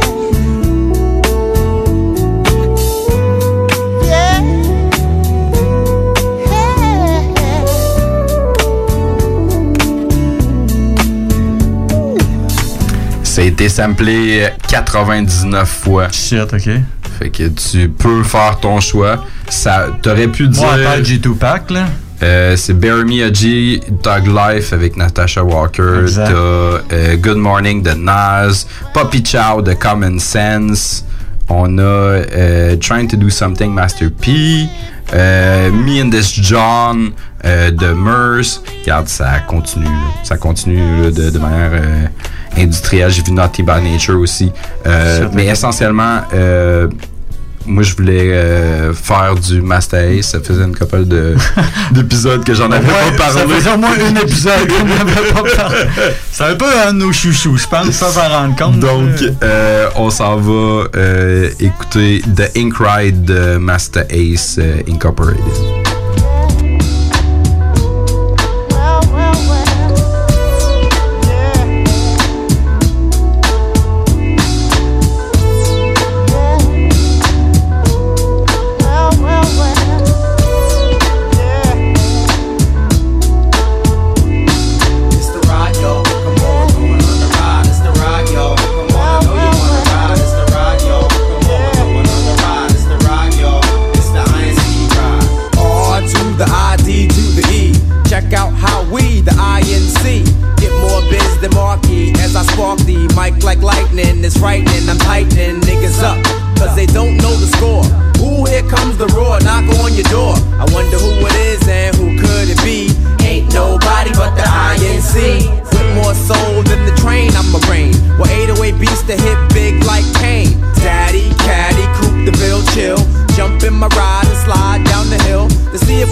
Yeah. Ça a été samplé quatre-vingt-dix-neuf fois. Shit, ok. Fait que tu peux faire ton choix. Ça, t'aurais pu dire. Ouais, pas G deux Pack, là. Euh, c'est Bury Me a G, Thug Life avec Natasha Walker. Exact. T'as euh, Good Morning de Nas, Poppy Chow de Common Sense. On a euh, Trying to Do Something, Master P. Euh, Me and This John euh, de Merce. Regarde, ça continue. Là. Ça continue là, de, de manière euh, industrielle. J'ai vu Naughty by Nature aussi. Euh, mais essentiellement, euh, moi, je voulais euh, faire du Master Ace. Ça faisait une couple de, d'épisodes que j'en avais Ouais, pas parlé. Ça faisait au moins un épisode qu'on n'avait pas parlé. C'est un peu un de nos chouchous, je pense, sans s'en rendre compte. Donc, euh, on s'en va euh, écouter The Ink Ride de Master Ace euh, Incorporated. All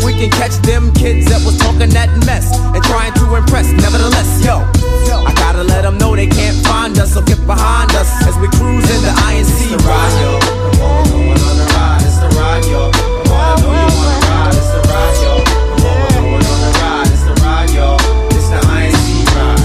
we can catch them kids that was talking that mess and trying to impress. Nevertheless, yo, I gotta let them know they can't find us, so get behind us as we cruise in the I N C ride, yo. Come on, going on the ride, it's the ride, yo. Come on, I know you wanna ride, it's the ride, yo. Come on, we're going on the ride, it's the ride, yo. It's the I N C ride.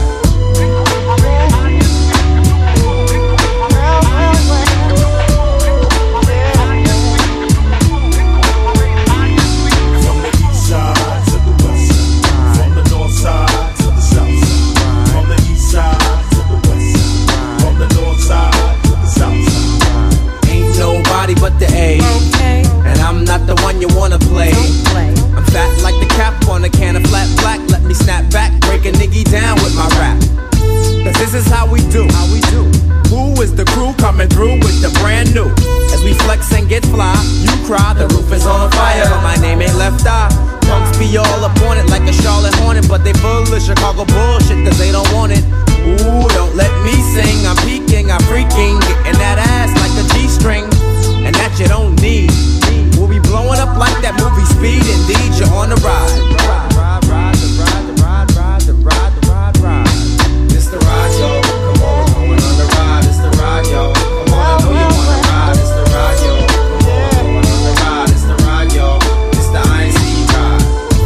But the A, okay. And I'm not the one you wanna play. play. I'm fat like the cap on a can of flat black. Let me snap back, break a nigga down with my rap. Cause this is how we do, how we do. Who is the crew coming through with the brand new? As we flex and get fly, you cry, the roof is on fire, but my name ain't Left Eye. Punks be all up on it like a Charlotte Hornet, but they full of Chicago bullshit cause they don't want it. Ooh, don't let me sing, I'm peeking, I'm freaking, getting that ass like a G-string. And that you don't need. We'll be blowing up like that movie Speed. Indeed, you're on the ride. Ride, ride, ride, the ride, the ride, ride, the ride, the ride, ride. It's the ride, yo. Come on, we're going on the ride. It's the ride, yo. Come on, I know you wanna ride. It's the ride, yo. Come on, we're going on the ride. It's the ride, yo. It's the I N C ride.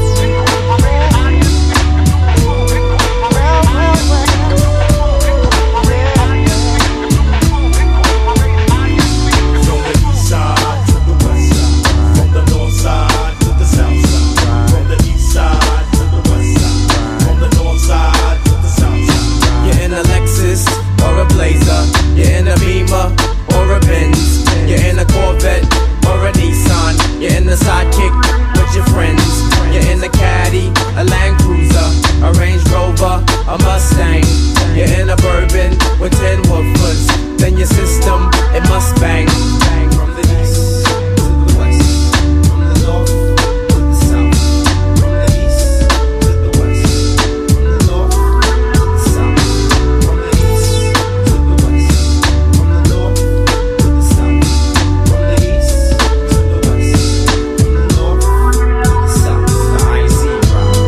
You're in a Beamer or a Benz. You're in a Corvette or a Nissan. You're in a Sidekick with your friends. You're in a Caddy, a Land Cruiser, a Range Rover, a Mustang. You're in a Bourbon with ten woofers. Then your system, it must bang. Bang from the east to the west, from the north to the south, from the east to the west, from the north to the south, from the east to the west, from the north to the south, from the east to the west, from the north to the south. The I N C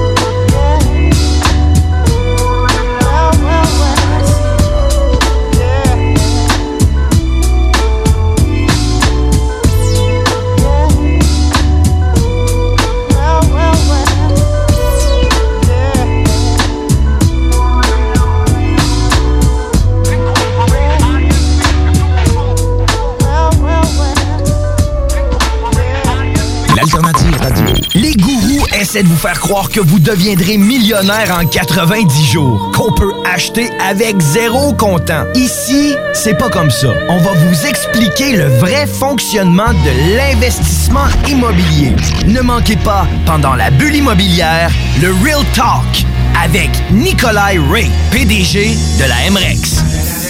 L'Alternative Radio. Les gourous essaient de vous faire croire que vous deviendrez millionnaire en quatre-vingt-dix jours, qu'on peut acheter avec zéro comptant. Ici, c'est pas comme ça. On va vous expliquer le vrai fonctionnement de l'investissement immobilier. Ne manquez pas, pendant la bulle immobilière, le Real Talk avec Nikolai Ray, P D G de la M R E X.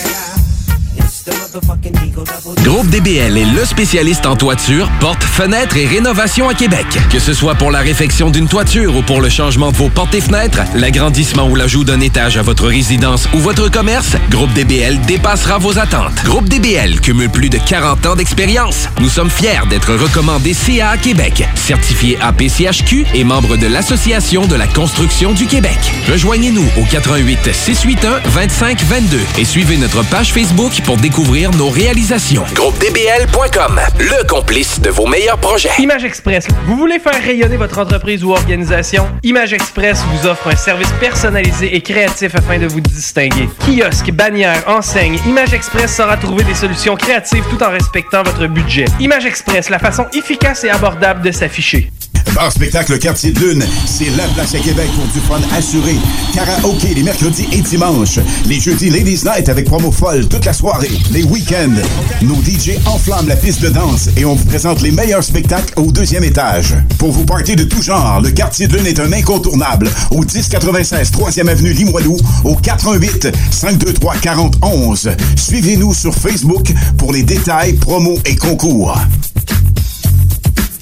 Groupe D B L est le spécialiste en toiture, portes, fenêtres et rénovation à Québec. Que ce soit pour la réfection d'une toiture ou pour le changement de vos portes et fenêtres, l'agrandissement ou l'ajout d'un étage à votre résidence ou votre commerce, Groupe D B L dépassera vos attentes. Groupe D B L cumule plus de quarante ans d'expérience. Nous sommes fiers d'être recommandés C A A Québec, certifié A P C H Q et membre de l'Association de la construction du Québec. Rejoignez-nous au quatre un huit, six huit un, deux cinq deux deux et suivez notre page Facebook pour découvrir nos réalisations. Groupe D B L point com, le complice de vos meilleurs projets. Image Express. Vous voulez faire rayonner votre entreprise ou organisation? Image Express vous offre un service personnalisé et créatif afin de vous distinguer. Kiosque, bannière, enseigne, Image Express saura trouver des solutions créatives tout en respectant votre budget. Image Express, la façon efficace et abordable de s'afficher. Bar spectacle Quartier de Lune, c'est la place à Québec pour du fun assuré. Karaoké les mercredis et dimanches. Les jeudis Ladies Night avec promo folle toute la soirée. Les week-ends, nos D J enflamment la piste de danse et on vous présente les meilleurs spectacles au deuxième étage. Pour vos parties de tout genre, le Quartier de Lune est un incontournable. Au dix quatre-vingt-seize troisième avenue Limoilou, au quatre un huit, cinq deux trois, quatre zéro un un. Suivez-nous sur Facebook pour les détails, promos et concours.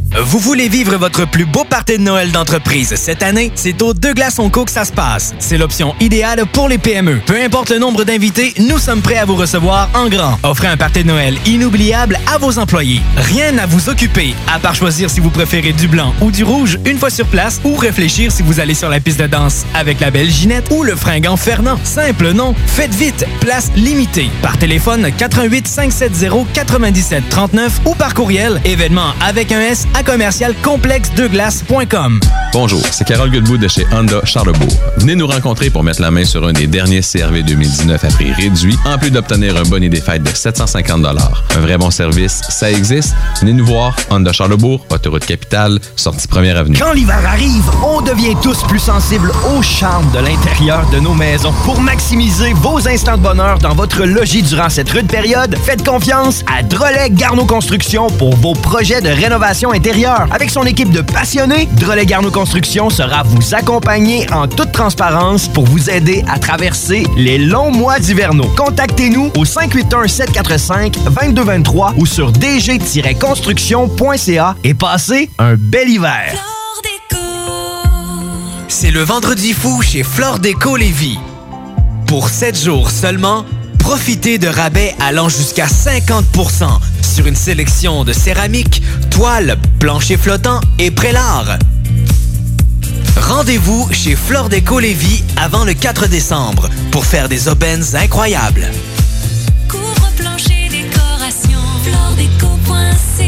Vous voulez vivre votre plus beau party de Noël d'entreprise cette année? C'est au Deux Glaçons Co que ça se passe. C'est l'option idéale pour les P M E. Peu importe le nombre d'invités, nous sommes prêts à vous recevoir en grand. Offrez un party de Noël inoubliable à vos employés. Rien à vous occuper, à part choisir si vous préférez du blanc ou du rouge une fois sur place ou réfléchir si vous allez sur la piste de danse avec la belle Ginette ou le fringant Fernand. Simple, non? Faites vite, place limitée. Par téléphone quatre-vingt-huit cinq cent soixante quatre-vingt-dix-sept trente-neuf ou par courriel événement avec un S à commercial complexe deux glaces point com. Bonjour, c'est Carole Goodbout de chez Honda Charlebourg. Venez nous rencontrer pour mettre la main sur un des derniers C R V deux mille dix-neuf à prix réduit, en plus d'obtenir un bonnet des fêtes de sept cent cinquante dollars. Un vrai bon service, ça existe. Venez nous voir, Honda Charlebourg, autoroute Capitale, sortie première avenue. Quand l'hiver arrive, on devient tous plus sensibles au charme de l'intérieur de nos maisons. Pour maximiser vos instants de bonheur dans votre logis durant cette rude période, faites confiance à Drolet Garneau Construction pour vos projets de rénovation intérieure. Avec son équipe de passionnés, Drolet Garneau Construction sera vous accompagner en toute transparence pour vous aider à traverser les longs mois d'hivernaux. Contactez-nous au cinq huit un sept quatre cinq deux deux deux trois ou sur d g tiret construction point c a et passez un bel hiver. C'est le vendredi fou chez Flore Déco Lévis. Pour sept jours seulement, profitez de rabais allant jusqu'à cinquante pour cent sur une sélection de céramique, toiles, planchers flottants et prélats. Rendez-vous chez Flore Déco Lévis avant le quatre décembre pour faire des aubaines incroyables. Couvre-plancher décoration, floredeco point c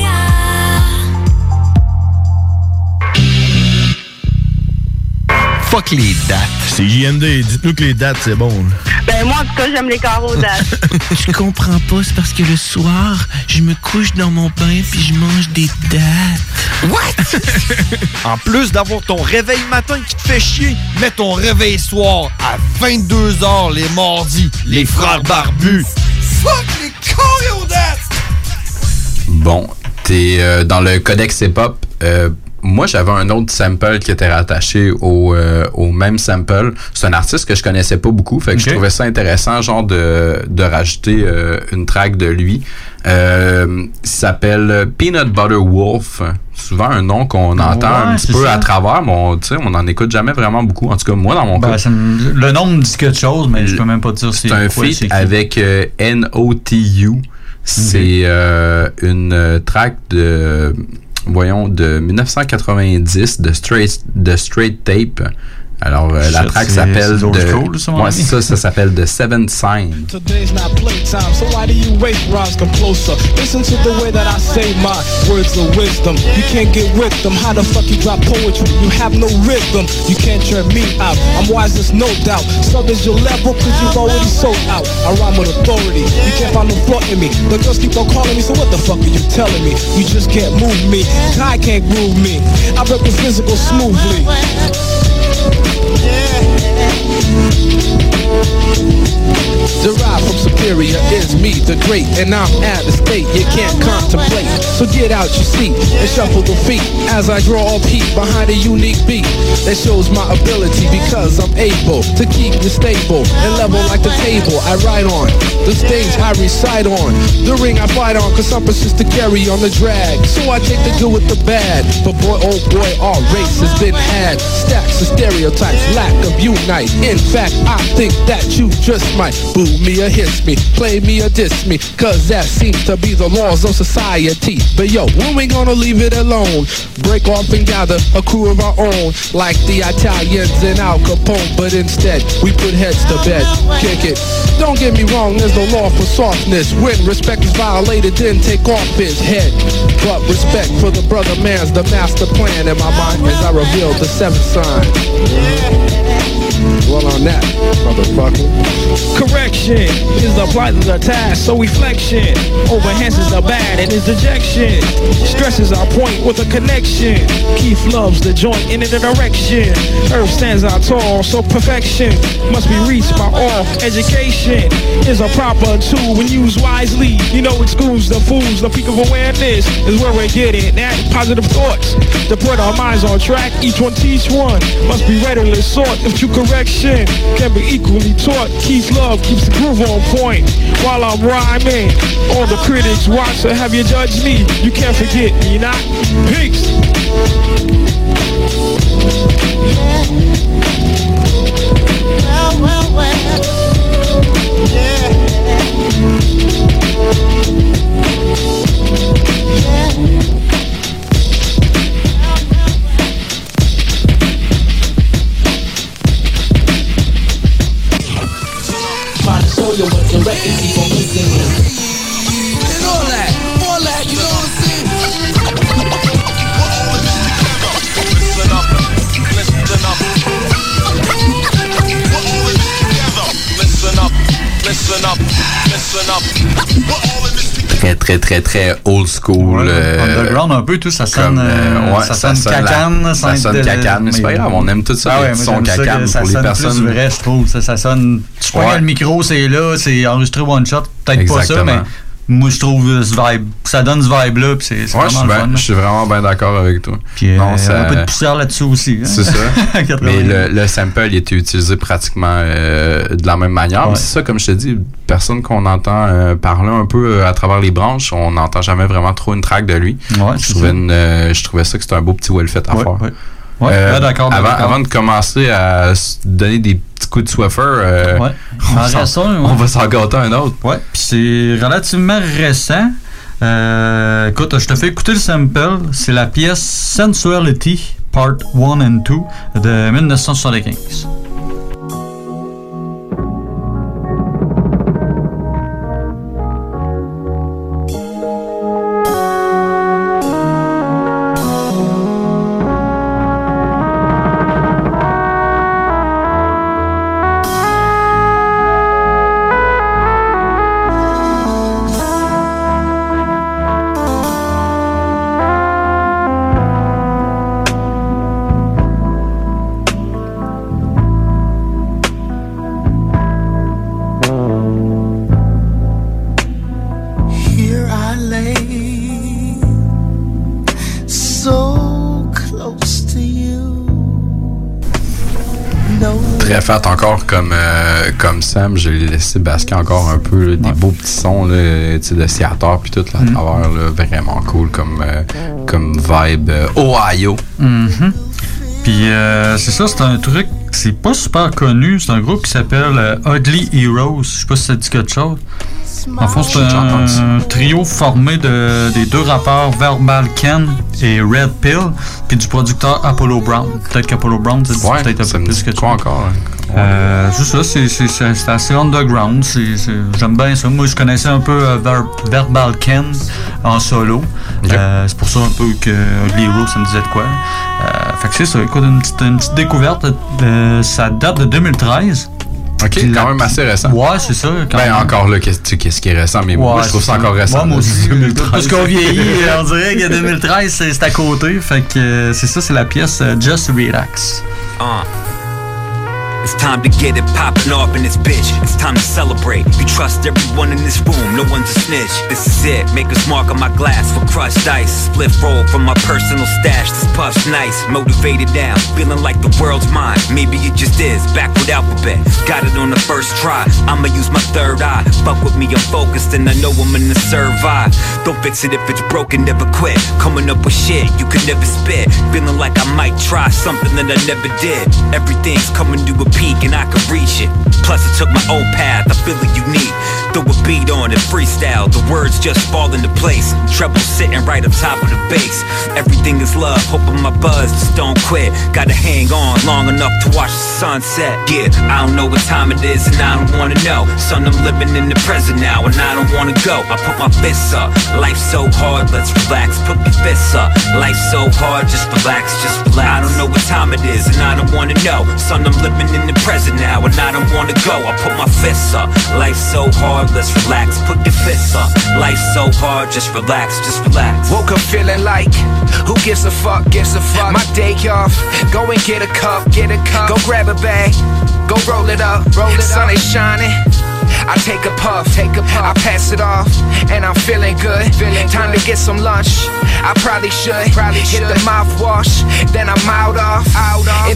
a. Fuck les dates. C'est J M D, dites-nous que les dates, c'est bon. Ben moi, en tout cas, j'aime les carreaux dates. Je comprends pas, c'est parce que le soir, je me couche dans mon bain puis je mange des dates. What? En plus d'avoir ton réveil matin qui te fait chier, mets ton réveil soir à vingt-deux heures les mardis. Les frères barbus. Fuck les carreaux dates! Bon, t'es euh, dans le codex hip-hop. Euh, Moi, j'avais un autre sample qui était rattaché au, euh, au même sample. C'est un artiste que je connaissais pas beaucoup, fait que okay. je trouvais ça intéressant, genre de, de rajouter euh, une track de lui. Euh, il s'appelle Peanut Butter Wolf. Souvent un nom qu'on entend ouais, un petit peu ça. à travers, mais on on n'en écoute jamais vraiment beaucoup. En tout cas, moi, dans mon ben, cas. Me, le nom me dit quelque chose, mais je peux même pas dire c'est, c'est un quoi, feat c'est avec euh, N O T U. C'est okay. euh, une track de... voyons, de dix-neuf cent quatre-vingt-dix de Straight, de Straight Tape. Alors, euh, la track s'appelle de... Cool, ça, ouais, ça, ça s'appelle The Seventh Sign. Today's not playtime, so why do you wait, Roz? Come closer. Listen to the way that I say my words of wisdom. You can't get with them. How the fuck you drop poetry? You have no rhythm. You can't turn me out. I'm wise, there's no doubt. So there's your level, cause you've already sold out. I rhyme with authority. You can't find no flaw in me. The girls keep on calling me, so what the fuck are you telling me? You just can't move me. I can't groove me. I rep the physical smoothly. Derived from superior is me, the great, and I'm at a state you can't contemplate. So get out your seat and shuffle the feet as I draw up heat behind a unique beat that shows my ability because I'm able to keep you stable and level like the table I ride on, the stage I recite on, the ring I fight on, cause I'm persistent to carry on the drag. So I take the good with the bad, but boy oh boy our race has been had. Stacks of stereotypes, lack of unite. In fact, I think that you just might boo me or hiss me, play me or diss me, cause that seems to be the laws of society. But yo, when we gonna leave it alone? Break off and gather a crew of our own, like the Italians and Al Capone, but instead we put heads to bed, kick it. Don't get me wrong, there's no law for softness. When respect is violated, then take off his head. But respect for the brother man's the master plan in my mind as I reveal the seventh sign. Well on that, motherfucker. Correction is applied to the task, so reflection overenhances the bad and his dejection. Stresses our point with a connection. Keith loves the joint in the direction. Earth stands out tall, so perfection must be reached by all. Education is a proper tool when used wisely. You know it schools the fools. The peak of awareness is where we're getting at. Positive thoughts to put our minds on track. Each one teach one must be readily sought if you could correction can be equally taught. Keith Love keeps the groove on point while I'm rhyming. All the critics watch, so have you judge me? You can't forget me, not. Peace. Well, well, well. Yeah. Trying to show you what the record keep on listening. And all that, all that, you know what I'm saying? Listen up, listen up. We're all in this together. Listen up, listen up, listen up. We're all in this together. Très, très, très, très old school. Ouais, euh, underground un peu, tout ça sonne, comme, euh, ouais, ça sonne sonne cacane. la- ça sonne de- cacane, mais c'est pas grave, on aime tout ça, Ah ouais, les moi, sons j'aime ça cacane que ça pour les sonne personnes. plus vrai, je trouve. Ça, ça sonne. Tu prends Ouais. le micro, c'est là, c'est enregistré one shot. Peut-être pas ça, Exactement. mais moi, je trouve euh, ce vibe, ça donne ce vibe-là, puis c'est c'est Ouais, je vraiment suis le bien- fun. je suis vraiment bien d'accord avec toi. Puis, Non, euh, ça- un peu de poussière là-dessus aussi. hein. C'est ça. quatre-vingts. Mais le, le sample, il était utilisé pratiquement euh, de la même manière. Ouais. Mais c'est ça, comme je te dis, personne qu'on entend euh, parler un peu euh, à travers les branches, on n'entend jamais vraiment trop une track de lui. Ouais, je, c'est trouvais ça. une, euh, je trouvais ça que c'était un beau petit well fait à Ouais, faire. ouais. Ouais, ouais, d'accord, avant, d'accord. avant de commencer à se donner des petits coups de Swiffer, euh, Ouais. on, En s'en- restant, ouais. on va s'en gâter un autre. Ouais, puis c'est relativement récent. Euh, écoute, je te fais écouter le sample. C'est la pièce Sensuality Part one and two de dix-neuf cent soixante-quinze. Here I lay, so close to you. No. Très fait encore comme, euh, comme Sam, je l'ai laissé basquer encore un peu là, des beaux petits sons là, tu sais, de Seattle puis tout là, à Mm. travers là, vraiment cool comme, euh, comme vibe euh, Ohio. Mhm. Puis euh, c'est ça, c'est un truc, c'est pas super connu. C'est un groupe qui s'appelle euh, Ugly Heroes. Je sais pas si ça dit quelque chose. En fond, c'est J'ai déjà entendu ça. un trio formé de, des deux rappeurs Verbal Ken et Red Pill, puis du producteur Apollo Brown. Peut-être qu'Apollo Brown, c'est Ouais, peut-être un ça peu me plus dit que quoi encore? hein? Euh, c'est ça, c'est, c'est, c'est, c'est assez underground. C'est, c'est, j'aime bien ça. Moi, je connaissais un peu euh, Ver, Verbal Ken en solo. Okay. Euh, c'est pour ça un peu que Ugly Heroes, ça me disait de quoi. Euh, fait que c'est ça, écoute, une petite, une petite découverte. Euh, ça date de deux mille treize. Ok, Puis quand la- même assez récent. Ouais, c'est ça. Quand Ben même. encore là, qu'est-ce, tu sais, qu'est-ce qui est récent, mais moi Ouais, je trouve c'est ça encore récent. Ouais, moi là, aussi. deux mille treize. Parce qu'on vieillit, on dirait que deux mille treize, c'est, c'est à côté. Fait que euh, c'est ça, c'est la pièce euh, Just Relax. Uh. It's time to get it poppin' off in this bitch. It's time to celebrate. You trust everyone in this room, no one's a snitch. This is it, maker's mark on my glass for crushed ice. Split roll from my personal stash, this puff's nice. Motivated now, feeling like the world's mine. Maybe it just is, back with alphabet. Got it on the first try, I'ma use my third eye. Fuck with me, I'm focused and I know I'm in the survive. Don't fix it if it's broken, never quit. Coming up with shit, you could never spit. Feeling like I might try something that I never did. Everything's coming to a peak and I can reach it. Plus I took my own path, I feel it unique. Throw a beat on it, freestyle, the words just fall into place. Treble sitting right up top of the bass. Everything is love, hoping my buzz just don't quit. Gotta hang on long enough to watch the sunset. Yeah, I don't know what time it is and I don't wanna know. Son, I'm living in the present now and I don't wanna go. I put my fists up, life's so hard, let's relax. Put your fists up, life's so hard, just relax, just relax. I don't know what time it is and I don't wanna know. Son, I'm living in the present now and I don't wanna go. I put my fists up, life's so hard, let's relax. Put your fists up, life's so hard, just relax, just relax. Woke up feeling like, who gives a fuck, gives a fuck. My day off, go and get a cup, get a cup. Go grab a bag, go roll it up, roll it Sun up. Sun is shining, I take a puff, take a puff. I pass it off, and I'm feeling good. Feeling Time good. to get some lunch. I probably should, probably hit should. the mouthwash, then I'm out off. Out off. It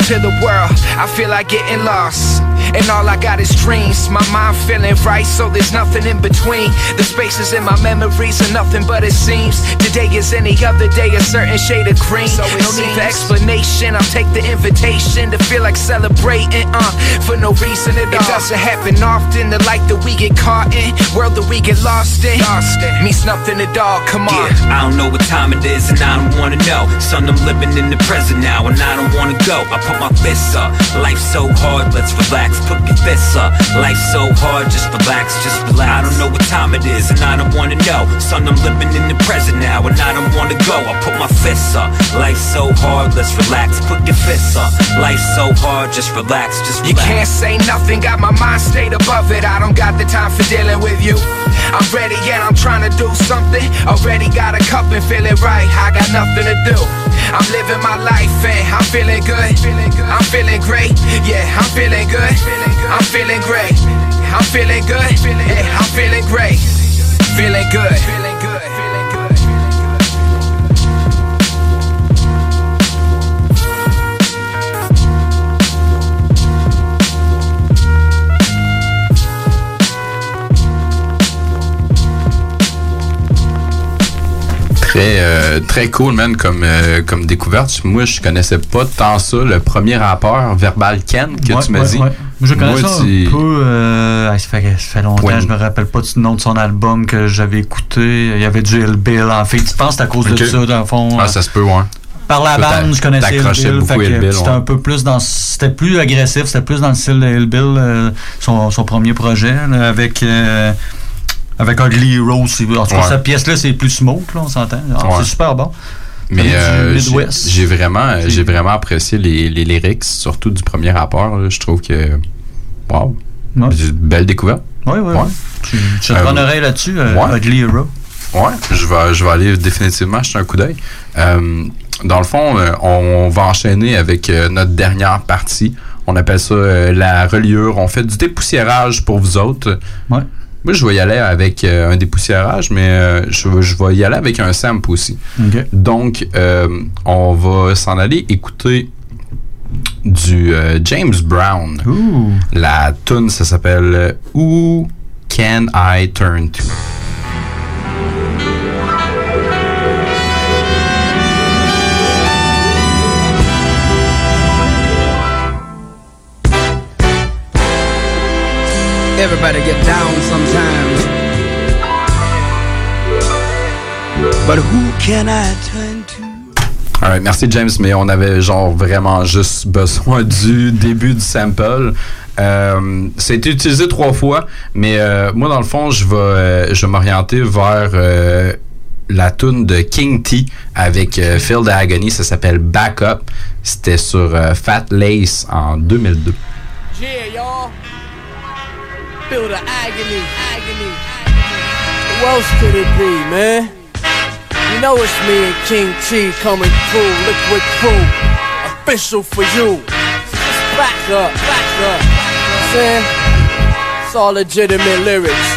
to the world, I feel like getting lost. And all I got is dreams. My mind feeling right, so there's nothing in between. The spaces in my memories are nothing but it seems. Today is any other day, a certain shade of green. So no seems. Need for explanation, I'll take the invitation to feel like celebrating, uh, for no reason at all. It doesn't happen often, the life that we get caught in, world that we get lost in, lost in. Means nothing at all, come on. Yeah, I don't know what time it is and I don't wanna know. Son, I'm living in the present now and I don't wanna go. I put my fists up, life's so hard, let's relax. Put your fists up, life's so hard, just relax, just relax. I don't know what time it is and I don't wanna know. Son, I'm living in the present now and I don't wanna go. I put my fists up, life's so hard, let's relax. Put your fists up, life's so hard, just relax, just relax. You can't say nothing, got my mind stayed above it. I don't got the time for dealing with you. I'm ready and I'm trying to do something. Already got a cup and feeling right, I got nothing to do. I'm living my life and I'm feeling good. I'm feeling great, yeah, I'm feeling good. I'm feeling great, I'm feeling good, yeah, I'm feeling great. Feeling good. Très, euh, très cool, man, comme, euh, comme découverte. Moi, je connaissais pas tant ça. Le premier rappeur, Verbal Ken, que ouais, tu m'as ouais, dit. Ouais. Je connais Moi, ça tu... un peu. Euh, ça, fait, ça fait longtemps, ouais. Je me rappelle pas du nom de son album que j'avais écouté. Il y avait du Ill Bill. En fait, tu penses que c'est à cause okay. de ça, dans le fond. Ah, ça se peut, ouais. Par la bande, je connaissais Ill Bill. Beaucoup Ill Bill, c'était ouais. un peu plus dans. C'était plus agressif, c'était plus dans le style de Ill Bill, euh, son, son premier projet, là, avec. Euh, Avec Ugly Hero, en tout cas, ouais. Cette pièce-là, c'est plus smoke, là, on s'entend. Alors, ouais. C'est super bon. Mais euh, j'ai, j'ai vraiment j'ai vraiment apprécié les, les lyrics, surtout du premier rappeur. Là, je trouve que, wow, ouais. C'est une belle découverte. Oui, oui, ouais. oui. Tu, tu te prends euh, oreille là-dessus, euh, ouais. Ugly Hero? Oui, je vais, je vais aller définitivement jeter un coup d'œil. Euh, dans le fond, euh, on va enchaîner avec euh, notre dernière partie. On appelle ça euh, la reliure. On fait du dépoussiérage pour vous autres. Ouais. Moi, je vais y aller avec euh, un dépoussiérage, mais euh, je, je vais y aller avec un sample aussi. Okay. Donc, euh, on va s'en aller écouter du euh, James Brown. Ooh. La tune, ça s'appelle « Who Can I Turn To ». Everybody get down sometimes, but who can I turn to? Alright, merci James, mais on avait genre vraiment juste besoin du début du sample. Euh, ça a été utilisé trois fois, mais euh, moi dans le fond, je vais, euh, je vais m'orienter vers euh, la tune de King T avec euh, Feel the Agony. Ça s'appelle Back Up. C'était sur euh, Fat Lace en deux mille deux. Yeah, y'all. Feel the agony, agony. Who else could it be, man? You know it's me and King T coming through, Liquid Crew, official for you. Just back up, back up. You know what I'm saying? It's all legitimate lyrics.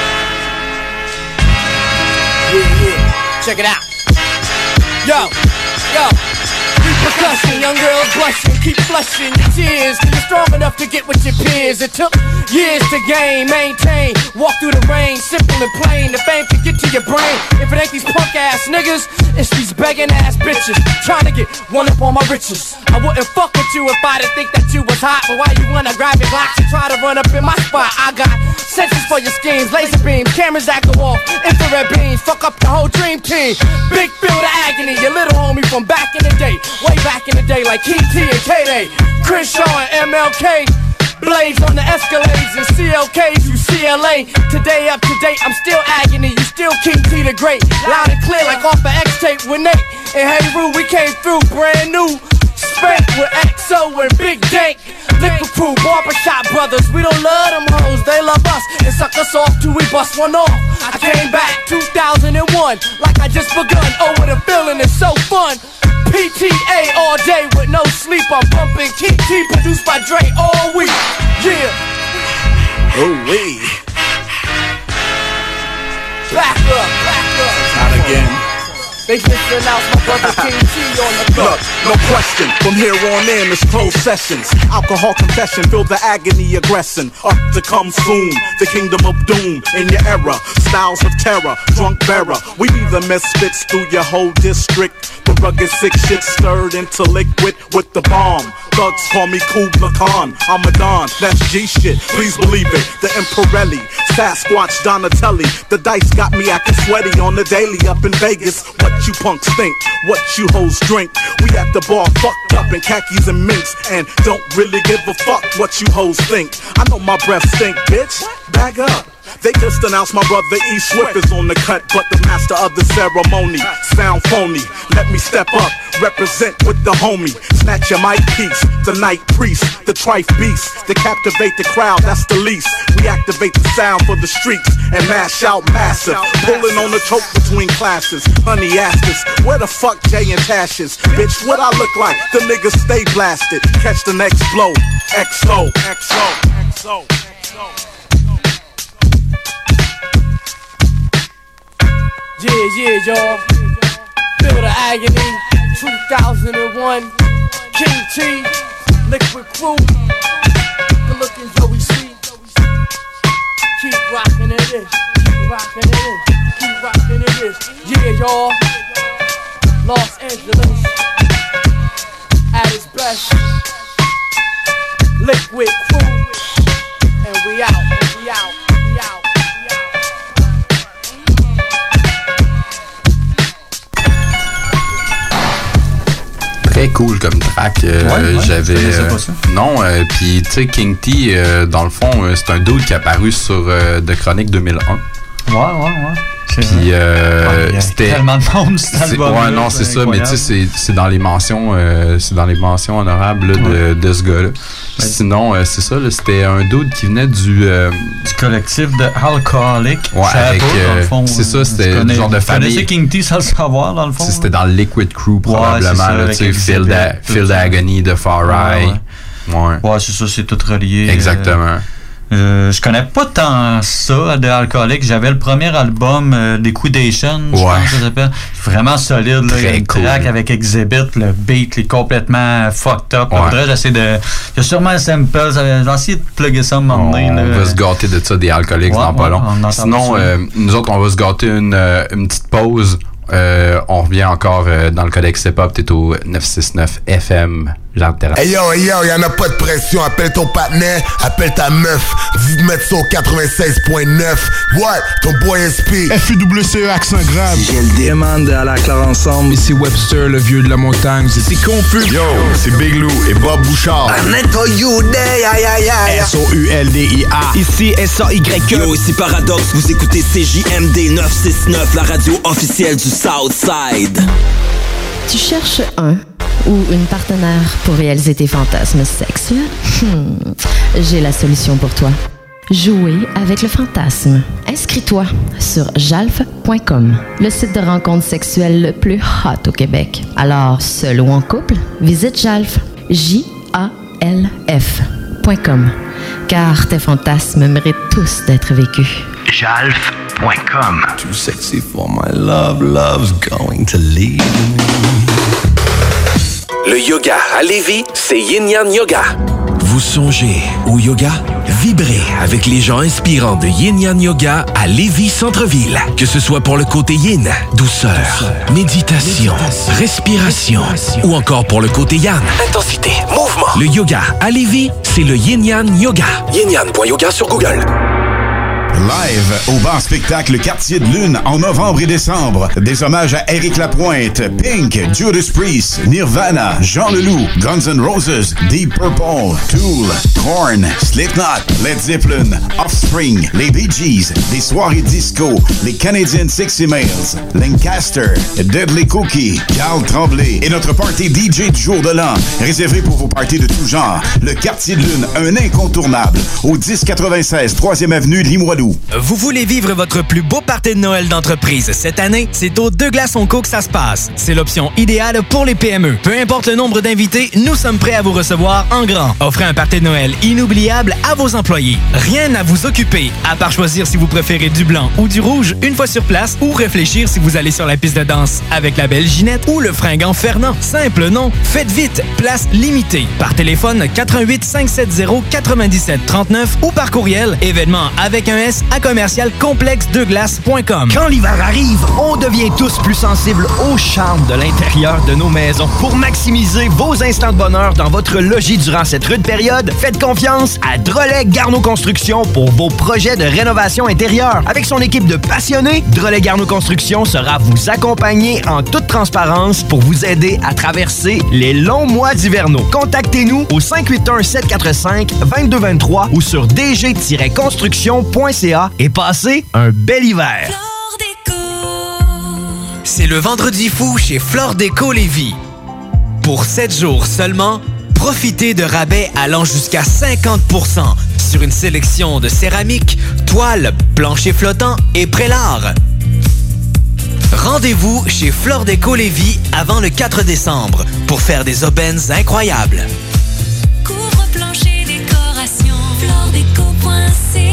Yeah, yeah. Check it out. Yo, yo. Repercussion, young girls blushing, keep flushing your tears. You're strong enough to get with your peers. It took years to gain, maintain, walk through the rain, simple and plain. The fame can get to your brain. If it ain't these punk ass niggas, it's these begging ass bitches trying to get one up on my riches. I wouldn't fuck with you if I didn't think that you was hot. But why you wanna grab your glocks and try to run up in my spot? I got sensors for your schemes, laser beams, cameras that go off, infrared beams, fuck up the whole dream team. Big Feel the Agony, your little homie from back in the day. Way back in the day, like King T and K-Day, Crenshaw and M L K. Blades on the Escalades and C L Ks, you C L A. Today up to date, I'm still agony. You still King T the Great. Loud and clear like off of X-Tape with Nate. And Hey Roo, we came through brand new. Spank with X O and Big Dank. Liquor Crew, Barbershop Brothers. We don't love them hoes, they love us. And suck us off till we bust one off. I came back two thousand one, like I just begun. Oh, what a feeling, it's so fun. P T A all day with no sleep. I'm bumping King T, produced by Dre all week. Yeah. Oh, we. Back up, back up. Not again. They just announced my brother King T on the block. Look, no question, from here on in it's closed sessions. Alcohol confession, feel the agony aggressing. Up to come soon, the kingdom of doom in your era. Styles of terror, drunk bearer. We be the misfits through your whole district. The rugged sick shit stirred into liquid with the bomb. Thugs call me Kubla Khan, I'm a Don, that's G shit, please believe it. The Imperelli, Sasquatch, Donatelli. The dice got me acting sweaty on the daily up in Vegas. What you punks think, what you hoes drink. We at the bar fucked up in khakis and minks, and don't really give a fuck what you hoes think. I know my breath stink, bitch, bag up. They just announced my brother E. Swift is on the cut, but the master of the ceremony sound phony. Let me step up, represent with the homie. Snatch your mic piece, the night priest, the trife beast. To captivate the crowd, that's the least. We activate the sound for the streets and mash out massive. Pulling on the choke between classes. Honey asked us, where the fuck Jay and Tash is? Bitch, what I look like? The niggas stay blasted. Catch the next blow. X O, X O, X O, X O. Yeah, yeah, y'all. Feel the agony. two thousand one. King T. Liquid Crew. Good looking Joey C. Keep rocking it is. Keep rocking it is. Keep rocking it is. Yeah, y'all. Los Angeles. At its best. Liquid Crew. And we out. We out. We out. Très cool comme track. Euh, ouais, ouais, j'avais. Je euh, pas ça. Non, euh, puis tu sais, King T, euh, dans le fond, euh, c'est un dude qui est apparu sur euh, The Chronic deux mille un. Ouais, ouais, ouais. Puis euh, ouais, c'était tellement de monde cet album. Ouais, non, c'est ça, mais tu sais, c'est, c'est dans les mentions, euh, c'est dans les mentions honorables là, de, de ce gars-là. Ouais. Sinon, euh, c'est ça, là, c'était un dude qui venait du euh, du collectif de Alcoholic. Ouais, avec, euh, dans le fond, c'est ça, c'était le genre de famille. Tu connaissais King T sans le savoir, dans le fond. C'était dans le Liquid Crew probablement, ouais, là, tu sais, Phil, da, Phil d'Agony de Far Eye. Ouais, ouais. ouais. ouais c'est ça, c'est tout relié. Exactement. Euh, Euh, je connais pas tant ça de Alcoolic. J'avais le premier album euh, Liquidation, je ouais. pense que ça s'appelle. Vraiment solide. Là. Il y a une cool. Track avec Exhibit, le beat est complètement fucked up. Ouais. Là, j'essaie de. Il y a sûrement un sample. J'ai essayé de plugger ça un moment donné. On là. va se gâter de ça des Alcoolics ouais, dans pas ouais, long. Sinon, euh, nous autres, on va se gâter une, euh, une petite pause. Euh, on revient encore euh, dans le codex hip-hop. T'es au neuf cent soixante-neuf F M. Hey yo, hey yo, y'en a pas de pression. Appelle ton partenaire, appelle ta meuf. Vous mettre ça au quatre-vingt-seize neuf. What? Ton boy S P. F U W C E accent grave. J'ai le demande à la clare ensemble. Ici Webster, le vieux de la montagne. C'est confus. Yo, c'est Big Lou et Bob Bouchard. S O U L D I A. Ici S A Y E. Yo, ici Paradox. Vous écoutez C J M D neuf cent soixante-neuf, la radio officielle du Southside. Tu cherches un ou une partenaire pour réaliser tes fantasmes sexuels? Hmm. J'ai la solution pour toi. Jouer avec le fantasme. Inscris-toi sur jalf point com, le site de rencontre sexuelle le plus hot au Québec. Alors, seul ou en couple, visite Jalf, J A L F point com, car tes fantasmes méritent tous d'être vécus. jalf point com. Too sexy for my love, love's going to leave me. Le yoga à Lévis, c'est Yin Yang Yoga. Vous songez au yoga? Vibrez avec les gens inspirants de Yin Yang Yoga à Lévis Centre-Ville. Que ce soit pour le côté yin, douceur, douceur méditation, méditation, respiration, respiration, ou encore pour le côté yang, intensité, mouvement. Le yoga à Lévis, c'est le Yin Yang Yoga. yin yang point yoga sur Google. Live au bar spectacle Quartier de Lune en novembre et décembre. Des hommages à Éric Lapointe, Pink, Judas Priest, Nirvana, Jean Leloup, Guns N' Roses, Deep Purple, Tool, Korn, Slipknot, Led Zeppelin, Offspring, les Bee Gees, des soirées disco, les Canadian Sexy Males, Lancaster, Deadly Cookie, Carl Tremblay et notre party D J du jour de l'an, réservé pour vos parties de tout genre. Le Quartier de Lune, un incontournable, au dix quatre-vingt-seize troisième avenue Limoilou. tout. Vous voulez vivre votre plus beau party de Noël d'entreprise cette année? C'est au Deux Glaces Onco que ça se passe. C'est l'option idéale pour les P M E. Peu importe le nombre d'invités, nous sommes prêts à vous recevoir en grand. Offrez un party de Noël inoubliable à vos employés. Rien à vous occuper, à part choisir si vous préférez du blanc ou du rouge une fois sur place ou réfléchir si vous allez sur la piste de danse avec la belle Ginette ou le fringant Fernand. Simple, non? Faites vite, place limitée. Par téléphone quatre-vingt-huit cinq cent soixante quatre-vingt-dix-sept trente-neuf ou par courriel événement avec un S à commercial complexe deux glaces point com. Quand l'hiver arrive, on devient tous plus sensibles au charme de l'intérieur de nos maisons. Pour maximiser vos instants de bonheur dans votre logis durant cette rude période, faites confiance à Drolet Garneau Construction pour vos projets de rénovation intérieure. Avec son équipe de passionnés, Drolet Garneau Construction sera vous accompagner en toute transparence pour vous aider à traverser les longs mois d'hivernaux. Contactez-nous au cinq huit un sept quatre cinq deux deux deux trois ou sur d g tiret construction point c a et passez un bel hiver. C'est le vendredi fou chez Flore Déco Lévis. Pour sept jours seulement, profitez de rabais allant jusqu'à cinquante pour cent sur une sélection de céramique, toiles, planchers flottants et prélats. Rendez-vous chez Flore Déco Lévis avant le quatre décembre pour faire des aubaines incroyables. Couvre-plancher décoration, floredeco point c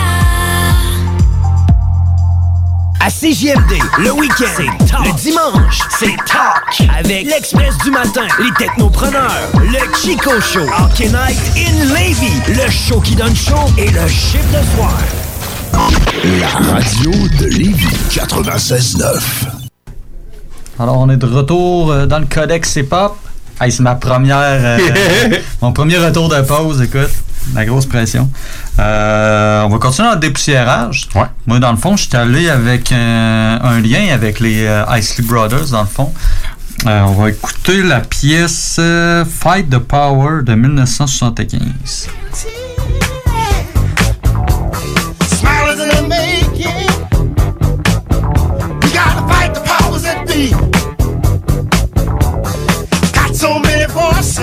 a. À C J M D, le week-end, le dimanche, c'est talk avec l'Express du matin, les technopreneurs, le Chico Show, Hockey Night in Lévis, le show qui donne chaud et le chiffre de soir. La radio de Lévis, quatre-vingt-seize neuf. Alors, on est de retour euh, dans le Codex C-Pop. Hey, c'est ma première... Euh, mon premier retour de pause, écoute. La grosse pression. Euh, on va continuer dans le dépoussiérage. Ouais. Moi, dans le fond, je suis allé avec euh, un lien avec les euh, Isley Brothers, dans le fond. Euh, on va écouter la pièce euh, Fight the Power de dix-neuf cent soixante-quinze. Smilers in the making. We gotta fight the powers that be. Got so many voices.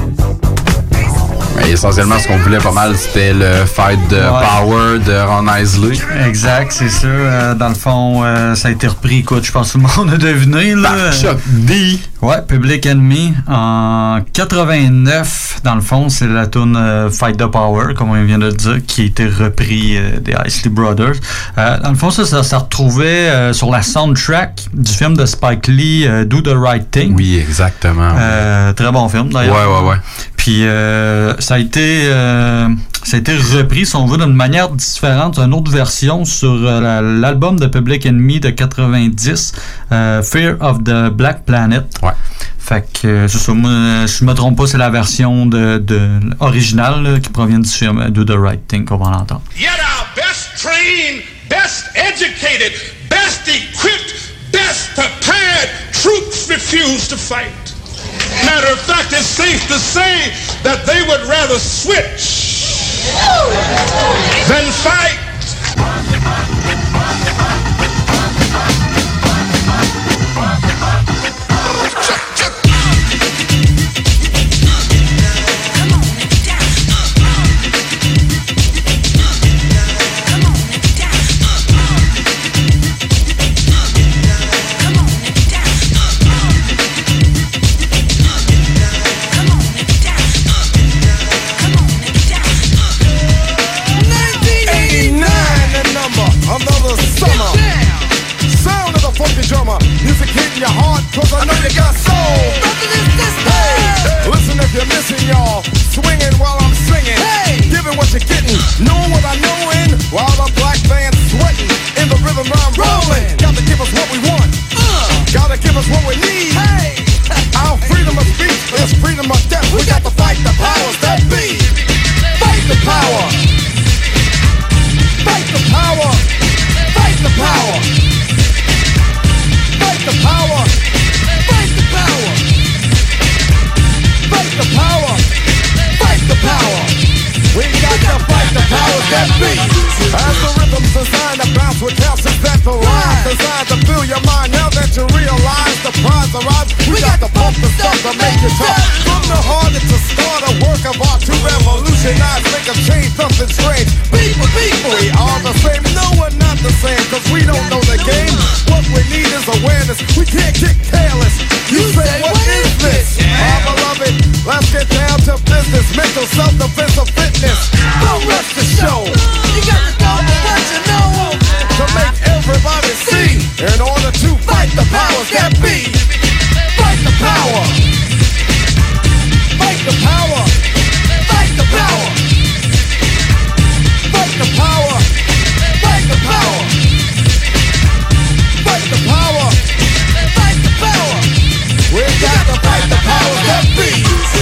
Mais essentiellement, ce qu'on voulait pas mal, c'était le Fight the Ouais. Power de Ron Isley. Exact, c'est ça. Euh, dans le fond, euh, ça a été repris, écoute, je pense que tout le monde a deviné. Là. Par Chuck D. Ouais, Public Enemy. En quatre-vingt-neuf, dans le fond, c'est la tune euh, Fight the Power, comme on vient de le dire, qui a été repris euh, des Isley Brothers. Euh, dans le fond, ça, ça se retrouvait euh, sur la soundtrack du film de Spike Lee, euh, Do the Right Thing. Oui, exactement. Euh, très bon film, d'ailleurs. Ouais, ouais, ouais. Puis euh, ça a été euh, ça a été repris, si on veut, d'une manière différente, une autre version sur euh, la, l'album de Public Enemy de quatre-vingt-dix, euh, Fear of the Black Planet. Ouais. Fait que euh, c'est ça, moi, si je me trompe pas, c'est la version de, de originale là, qui provient du film Do the Right Thing qu'on va l'entendre. Yet our best trained, best educated, best equipped, best prepared troops refuse to fight. Matter of fact, it's safe to say that they would rather switch than fight. Another summer. Sound of the funky drummer. Music hitting your heart, cause I know you got soul. Hey, listen if you're missing, y'all. Swinging while I'm singing. Hey, giving what you're getting. Knowing what I knowin'. While the black band's sweating. In the rhythm I'm rolling. Gotta give us what we want. Uh, gotta give us what we need. Hey, our freedom of speech is freedom of death. We got to fight the powers that be. Fight the power. Fight the power. Fight the power. Fight the power. Fight the power. Fight the power. Fight the power. We got to fight the powers that be. As the rhythm's designed to bounce with calcium that the line designed to fill your mind. Now that you realize the prize arrives, we got to pump the stuff to make it tough. From the heart, it's a start, a work of art to revolutionize, make a change, something strange. People, people, we are the same. business. We can't get careless. You, you say, what is this? Our beloved, let's get down to business. Mental self-defense of fitness. Don't rush the show. You got to go with what you know. To make everybody see. In order to fight the powers that be. Fight the power. Fight the power. Fight the power. Fight the power. Fight the power. Fight the power. Fight the power. We got to fight the powers that be.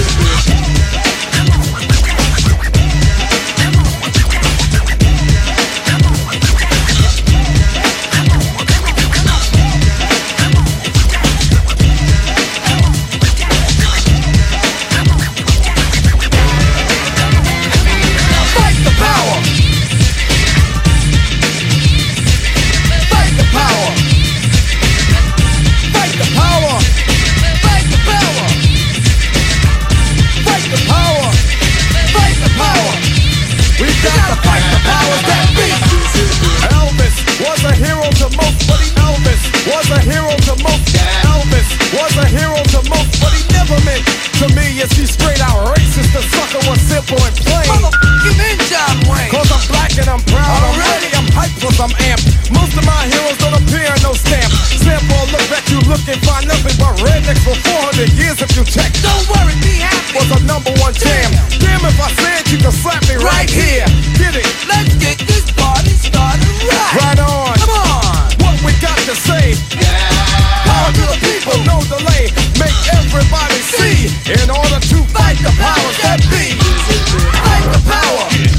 I'm amped. Most of my heroes don't appear in no stamp. Sample look back, you look and find nothing but rednecks for four hundred years if you check. Don't worry, be happy. Was a number one jam. Damn, if I said you could slap me right here. Get it? Let's get this party started right. Right on. Come on. What we got to say? Yeah. Power to the people, no delay. Make everybody see. In order to fight the powers that be. Fight the power.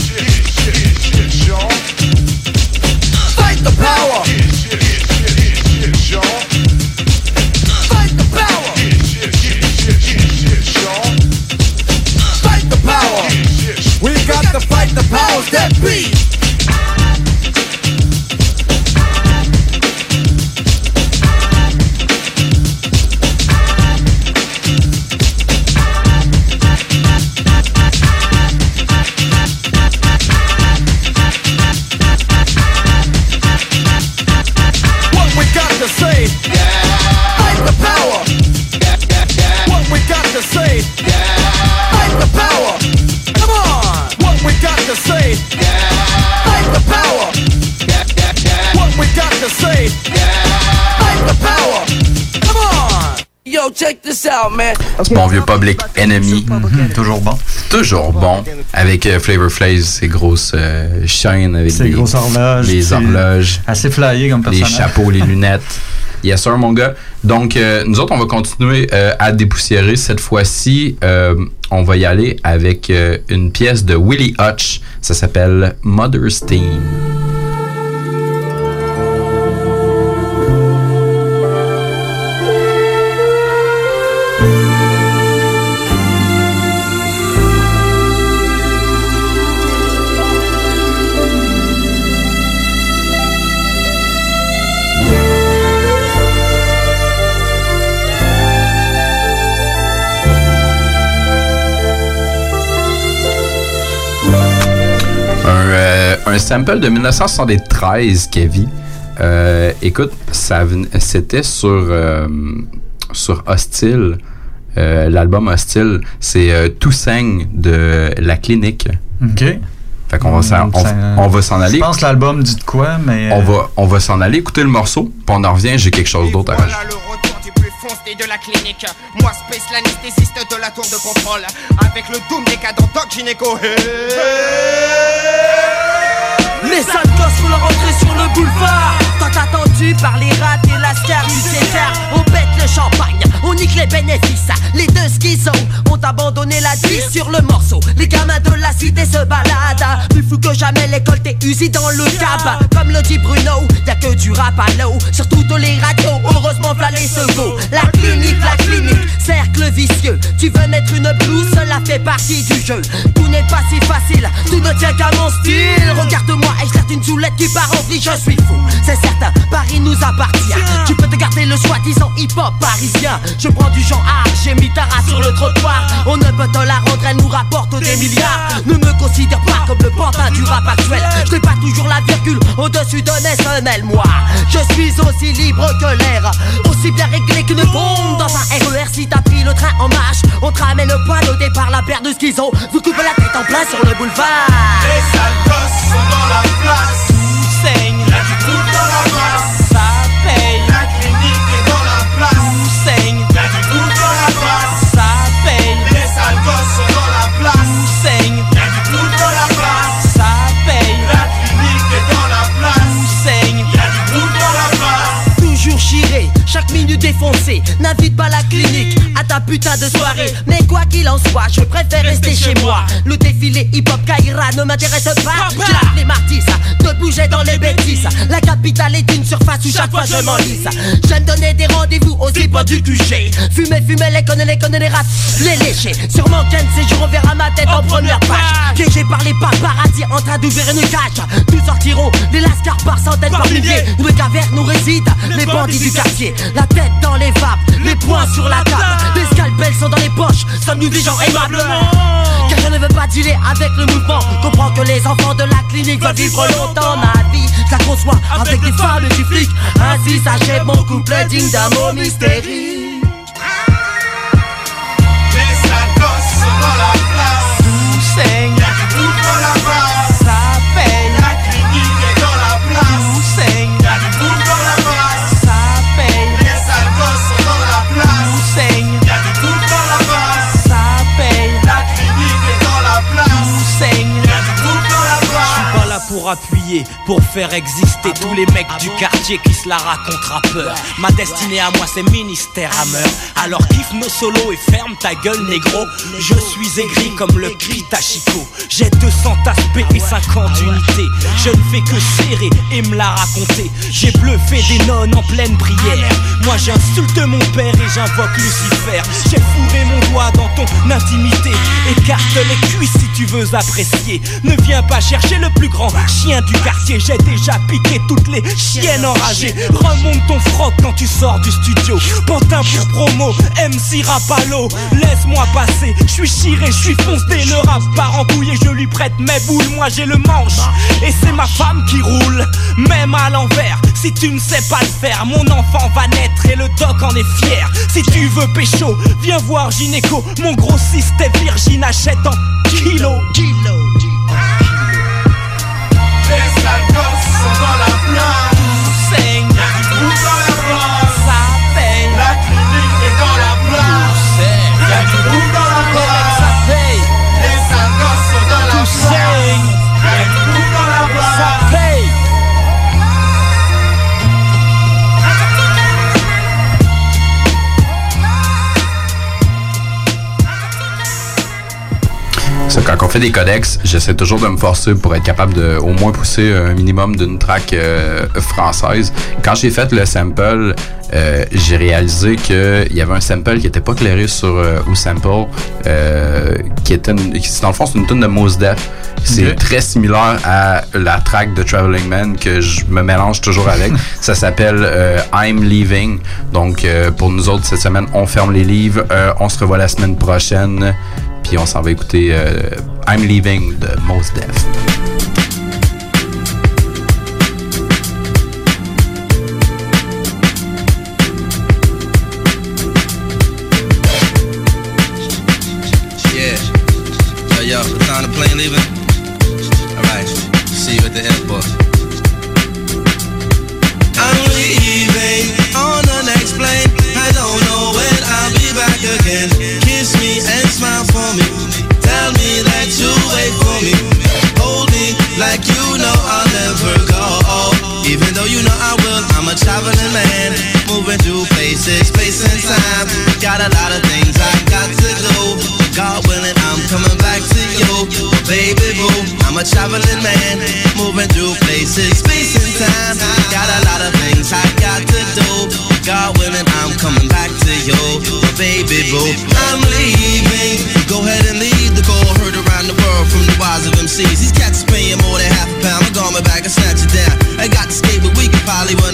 The power. Fight the power. Fight the power. We got to fight the powers that be. Check this out, man. Bon vieux Public Enemy. Mm-hmm, toujours bon. Toujours bon. Avec euh, Flavor Flav, ses grosses euh, chaînes avec ses les grosses horloges. Les horloges. Assez flyé comme personnage. Les chapeaux, les lunettes. Yes sir, mon gars. Donc, euh, nous autres, on va continuer euh, à dépoussiérer. Cette fois-ci, euh, on va y aller avec euh, une pièce de Willie Hutch. Ça s'appelle Mother's Theme. Un sample de dix-neuf cent soixante-treize, Kevin. Euh, écoute, ça c'était sur, euh, sur Hostile. Euh, l'album Hostile, c'est euh, Tout saigne de La Clinique. OK. Fait qu'on va s'en, on, on va s'en aller. Je pense que l'album dit de quoi, mais... On va, on va s'en aller écouter le morceau, puis on en revient, j'ai quelque chose d'autre à rajouter. De la clinique, moi Space l'anesthésiste de la tour de contrôle, avec le doom des cadres Doc Gynéco. Hey. Les sales gosses font leur entrée sur le boulevard. Tant attendu par les rats et la star du César. On pète le champagne, on nique les bénéfices. Les deux schizos ont abandonné la vie sur le morceau. Les gamins de la cité se baladent. Plus fou que jamais, l'école t'es usée dans le cab. Comme le dit Bruno, y'a que du rap à l'eau. Sur toutes les radios, heureusement v'là les secours. La clinique, la clinique, cercle vicieux. Tu veux mettre une blouse, cela fait partie du jeu. Tout n'est pas si facile, tout ne tient qu'à mon style. Regarde-moi et je une soulette qui part en vie, je suis fou. C'est certains, Paris nous appartient. Tu peux te garder le soi-disant hip-hop parisien. Je prends du genre art, j'ai mis ta race sur le trottoir. On ne peut te la rendre, elle nous rapporte des milliards. Ne me considère pas comme le pantin du rap actuel. Je n'ai pas toujours la virgule au-dessus de Nessenel. Moi, je suis aussi libre que l'air, aussi bien réglé qu'une bombe dans un R E R. Si t'as pris le train en marche, on te ramène le point au départ. La paire de schizo vous coupe la tête en plein sur le boulevard. Les sales gosses sont dans la place. Tout saigne, y'a du tout dans la place. Ça paye, la clinique est dans la place. Tout saigne, y'a du tout dans la place. Ça paye, les sales gosses sont dans la place. Tout saigne, y'a du tout dans la place. Ça paye, la clinique est dans la place. Tout saigne, y'a du tout dans la place. Toujours chiré, chaque minute défoncée. N'invite pas la clinique à ta putain de soirée. Mais quoi qu'il en soit, je préfère rester chez moi. Le défilé hip-hop Kaira ne m'intéresse pas. J'ai appelé Martis de bouger dans les bêtises. La capitale est une surface où chaque fois je m'enlise. J'aime donner des rendez-vous aux hip du Q G. Fumer, fumer, les connaît, les connaît, les rats, les lécher. Sûrement qu'un de ces jours on verra ma tête en première page. Piégé par les paparazzi en train d'ouvrir une cage. Nous sortirons les lascars par centaines, par milliers. Nous les cavernes où résident les bandits du quartier. La tête dans les vapes, les poings sur la table. Les scalpels sont dans les poches, sommes-nous des gens aimablement. Car je ne veux pas dealer avec le mouvement. Comprends que les enfants de la clinique veulent vivre longtemps. Ma vie, je la conçois avec des femmes et du flic. Ainsi s'achève mon couple digne d'un mot mystérieux. Les sales gosses sont dans la place. Tout saigne, y'a du tout dans la place. Ça paye, la clinique est dans la place. Tout saigne, y'a du tout dans la place. Ça paye, les sales gosses sont dans la place. Tout saigne, y'a du tout dans la place. Ça paye, la clinique est dans la place. Tout saigne, y'a du tout dans la place. Je suis pas là pour appuyer, pour faire exister tous les mecs du quartier qui se la racontent rappeurs. Ma destinée à moi c'est ministère à meurtre. Alors kiffe nos solos et ferme ta gueule négro. Je suis aigri comme le Kitachiko. J'ai deux cents aspects et cinquante unités. Je ne fais que serrer et me la raconter. J'ai bluffé des nonnes en pleine prière. Moi j'insulte mon père et j'invoque Lucifer. J'ai fourré mon doigt dans ton intimité. Écarte les cuisses si tu veux apprécier. Ne viens pas chercher le plus grand chien du quartier. J'ai déjà piqué toutes les chiennes enragées. Remonte ton froc quand tu sors du studio. Pantin pour promo, M C Rapalo. Laisse-moi passer, je suis chiré, je suis foncé. Ne rappe pas en couille et je lui prête mes boules. Moi j'ai le manche et c'est ma femme qui roule. Même à l'envers, si tu ne sais pas le faire, mon enfant va naître et le doc en est fier. Si tu veux pécho, viens voir Gynéco. Mon grossiste est virgin, achète en kilo. Les sales gosses sont dans la place. Tout saigne, y'a du tout dans la place. Ça paye, la clinique est dans la place. Y'a du tout dans la place. Ça paye, les sales gosses sont dans la tout place. saigne, Y'a du tout dans la place. ça paye. Ça, quand on fait des codex, j'essaie toujours de me forcer pour être capable de au moins pousser un minimum d'une track euh, française. Quand j'ai fait le sample, euh, j'ai réalisé qu'il y avait un sample qui était pas clairé sur euh, ou sample, euh, qui était une, dans le fond c'est une tune de Mos Def. C'est okay. Très similaire à la track de Traveling Man que je me mélange toujours avec. Ça s'appelle euh, I'm Leaving. Donc euh, pour nous autres cette semaine, on ferme les livres. Euh, on se revoit la semaine prochaine. Puis on s'en va écouter euh, I'm Leaving de Mos Def. Yeah. Yo, yo, what time the plane leaving? Alright, see you at the airport. I'm leaving on the next plane. I don't know when I'll be back again. Kiss me and smile for me. Tell me that you wait for me. Hold me like you know I'll never go. Even though you know I will, I'm a traveling man. Moving through places, space and time. Got a lot of things I got to do. God willing, I'm coming back to you. Baby boo, I'm a traveling man. Moving through places, space and time. Got a lot of things I got to do. God willing, I'm coming back to you. Baby boo, I'm leaving. Go ahead and leave the call. Heard around the world from the wise of M Cs. These cats paying more than half a pound. I'm going back and snatch it down. I got to skate, but we can probably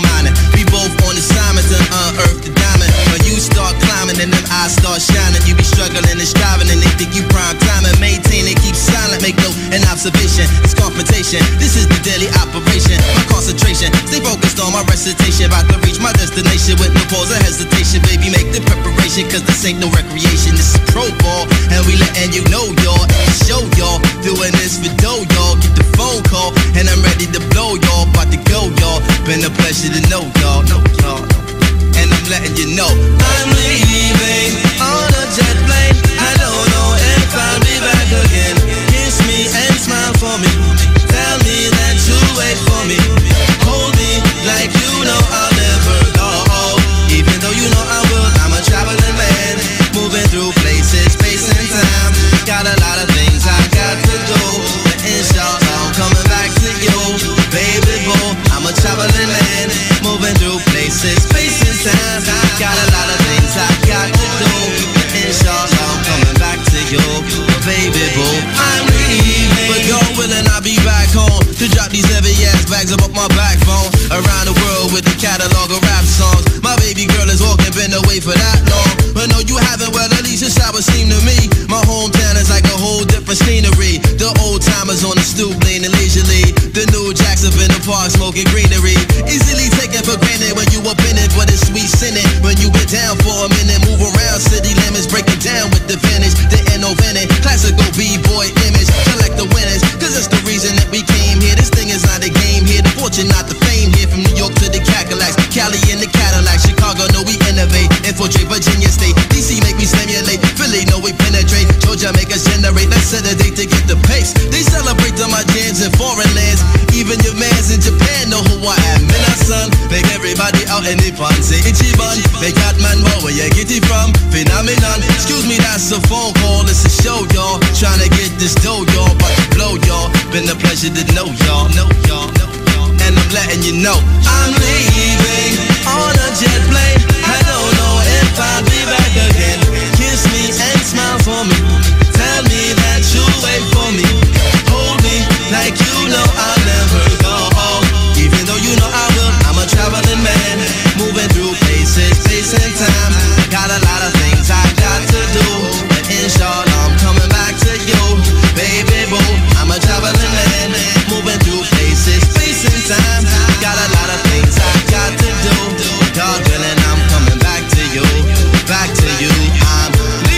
mining. We both on assignment to unearth the diamond. When you start climbing and them eyes start shining, you be struggling and striving and they think you prime time and maintain it, keep silent, make no an observation. It's confrontation. This is the daily operation. My concentration, stay focused on my recitation. About to reach my destination with no pause or hesitation. Baby, make the preparation, cause this ain't no recreation. This is pro ball, and we letting you know, y'all. And show y'all, doing this for dough, y'all. Get the phone call, and I'm ready to blow, y'all. About to go, y'all. Been a pleasure to know, y'all. Know y'all. And I'm letting you know I'm leaving on a jet plane. I don't know if I'll be back again. Kiss me and smile for me. Tell me that you'll wait for me. Hold me like you know I'll never go. Even though you know I will, I'm a traveling man. Moving through places, space and time. Got a lot of things I got to do. But inshallah, I'm coming back to you. Baby boo, I'm a traveling man. Moving through places, space and time. Got a lot of things I got to do. But inshallah, I'm coming back to you. Baby boo, I'm leaving. But God willing, I'll be back home to drop these heavy ass bags up my backbone. Around the world with the catalog of rap songs. My baby girl is walking, been away for that long. But no, you haven't, well, at least it's how it seemed to me. My hometown is like a whole different scenery. The old timers on the stoop leaning leisurely. The new jacks up in the park smoking greenery. Easily taken for granted when you up in it, but it's sweet sinning. When you been down for a minute, move around city limits, breaking down with the finish. The N O N classical B-boy image. Collect the winners, cause it's the reason that we came here. This thing is not a game here. The fortune, not the fame here. From New York to the Cadillacs, Cali in the Cadillac, Chicago, no we innovate. Infiltrate Virginia State, D C make me stimulate. Philly, no we penetrate. Georgia make us generate. Let's set a date to get the pace. They celebrate to my jams in foreign lands. Even your mans in Japan know who I am. And our son, make everybody out in the fun. Say Ichiban, make that man know where you get it from. Phenomenon, excuse me, that's a phone call. It's a show, y'all. Trying to get this dough, y'all. About to blow, y'all. Been a pleasure to know y'all. Know y'all. Know y'all. And I'm letting you know I'm leaving on a jet plane. I don't know if I'll be back again. Kiss me and smile for me. Tell me that you'll wait for me. Hold me like you know I'll never go. Even though you know I will, I'm a traveling man. Moving through places, space and time. Got a lot of things I got to do. But inshallah, I'm coming back to you. Baby boo, I'm a traveling man. Moving through places, space and time. Got a lot of things I got to do. God willing, I'm coming back to you. Back to you, I'm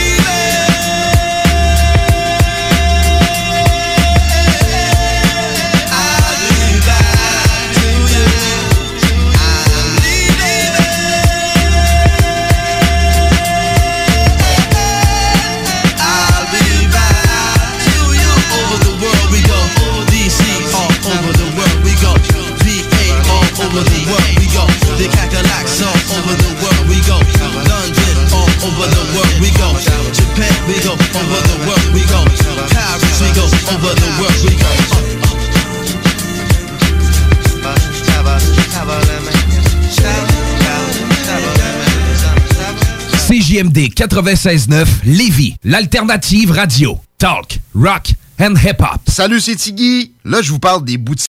over the world we go. The Cadillacs all over the world we go. London all over the world we go. Japan we go. Over the world we go. Paris we go. Over the world we go. C J M D quatre-vingt-seize neuf Lévis, l'alternative radio. Talk, rock and hip-hop. Salut, c'est Tiggy. Là, je vous parle des boutiques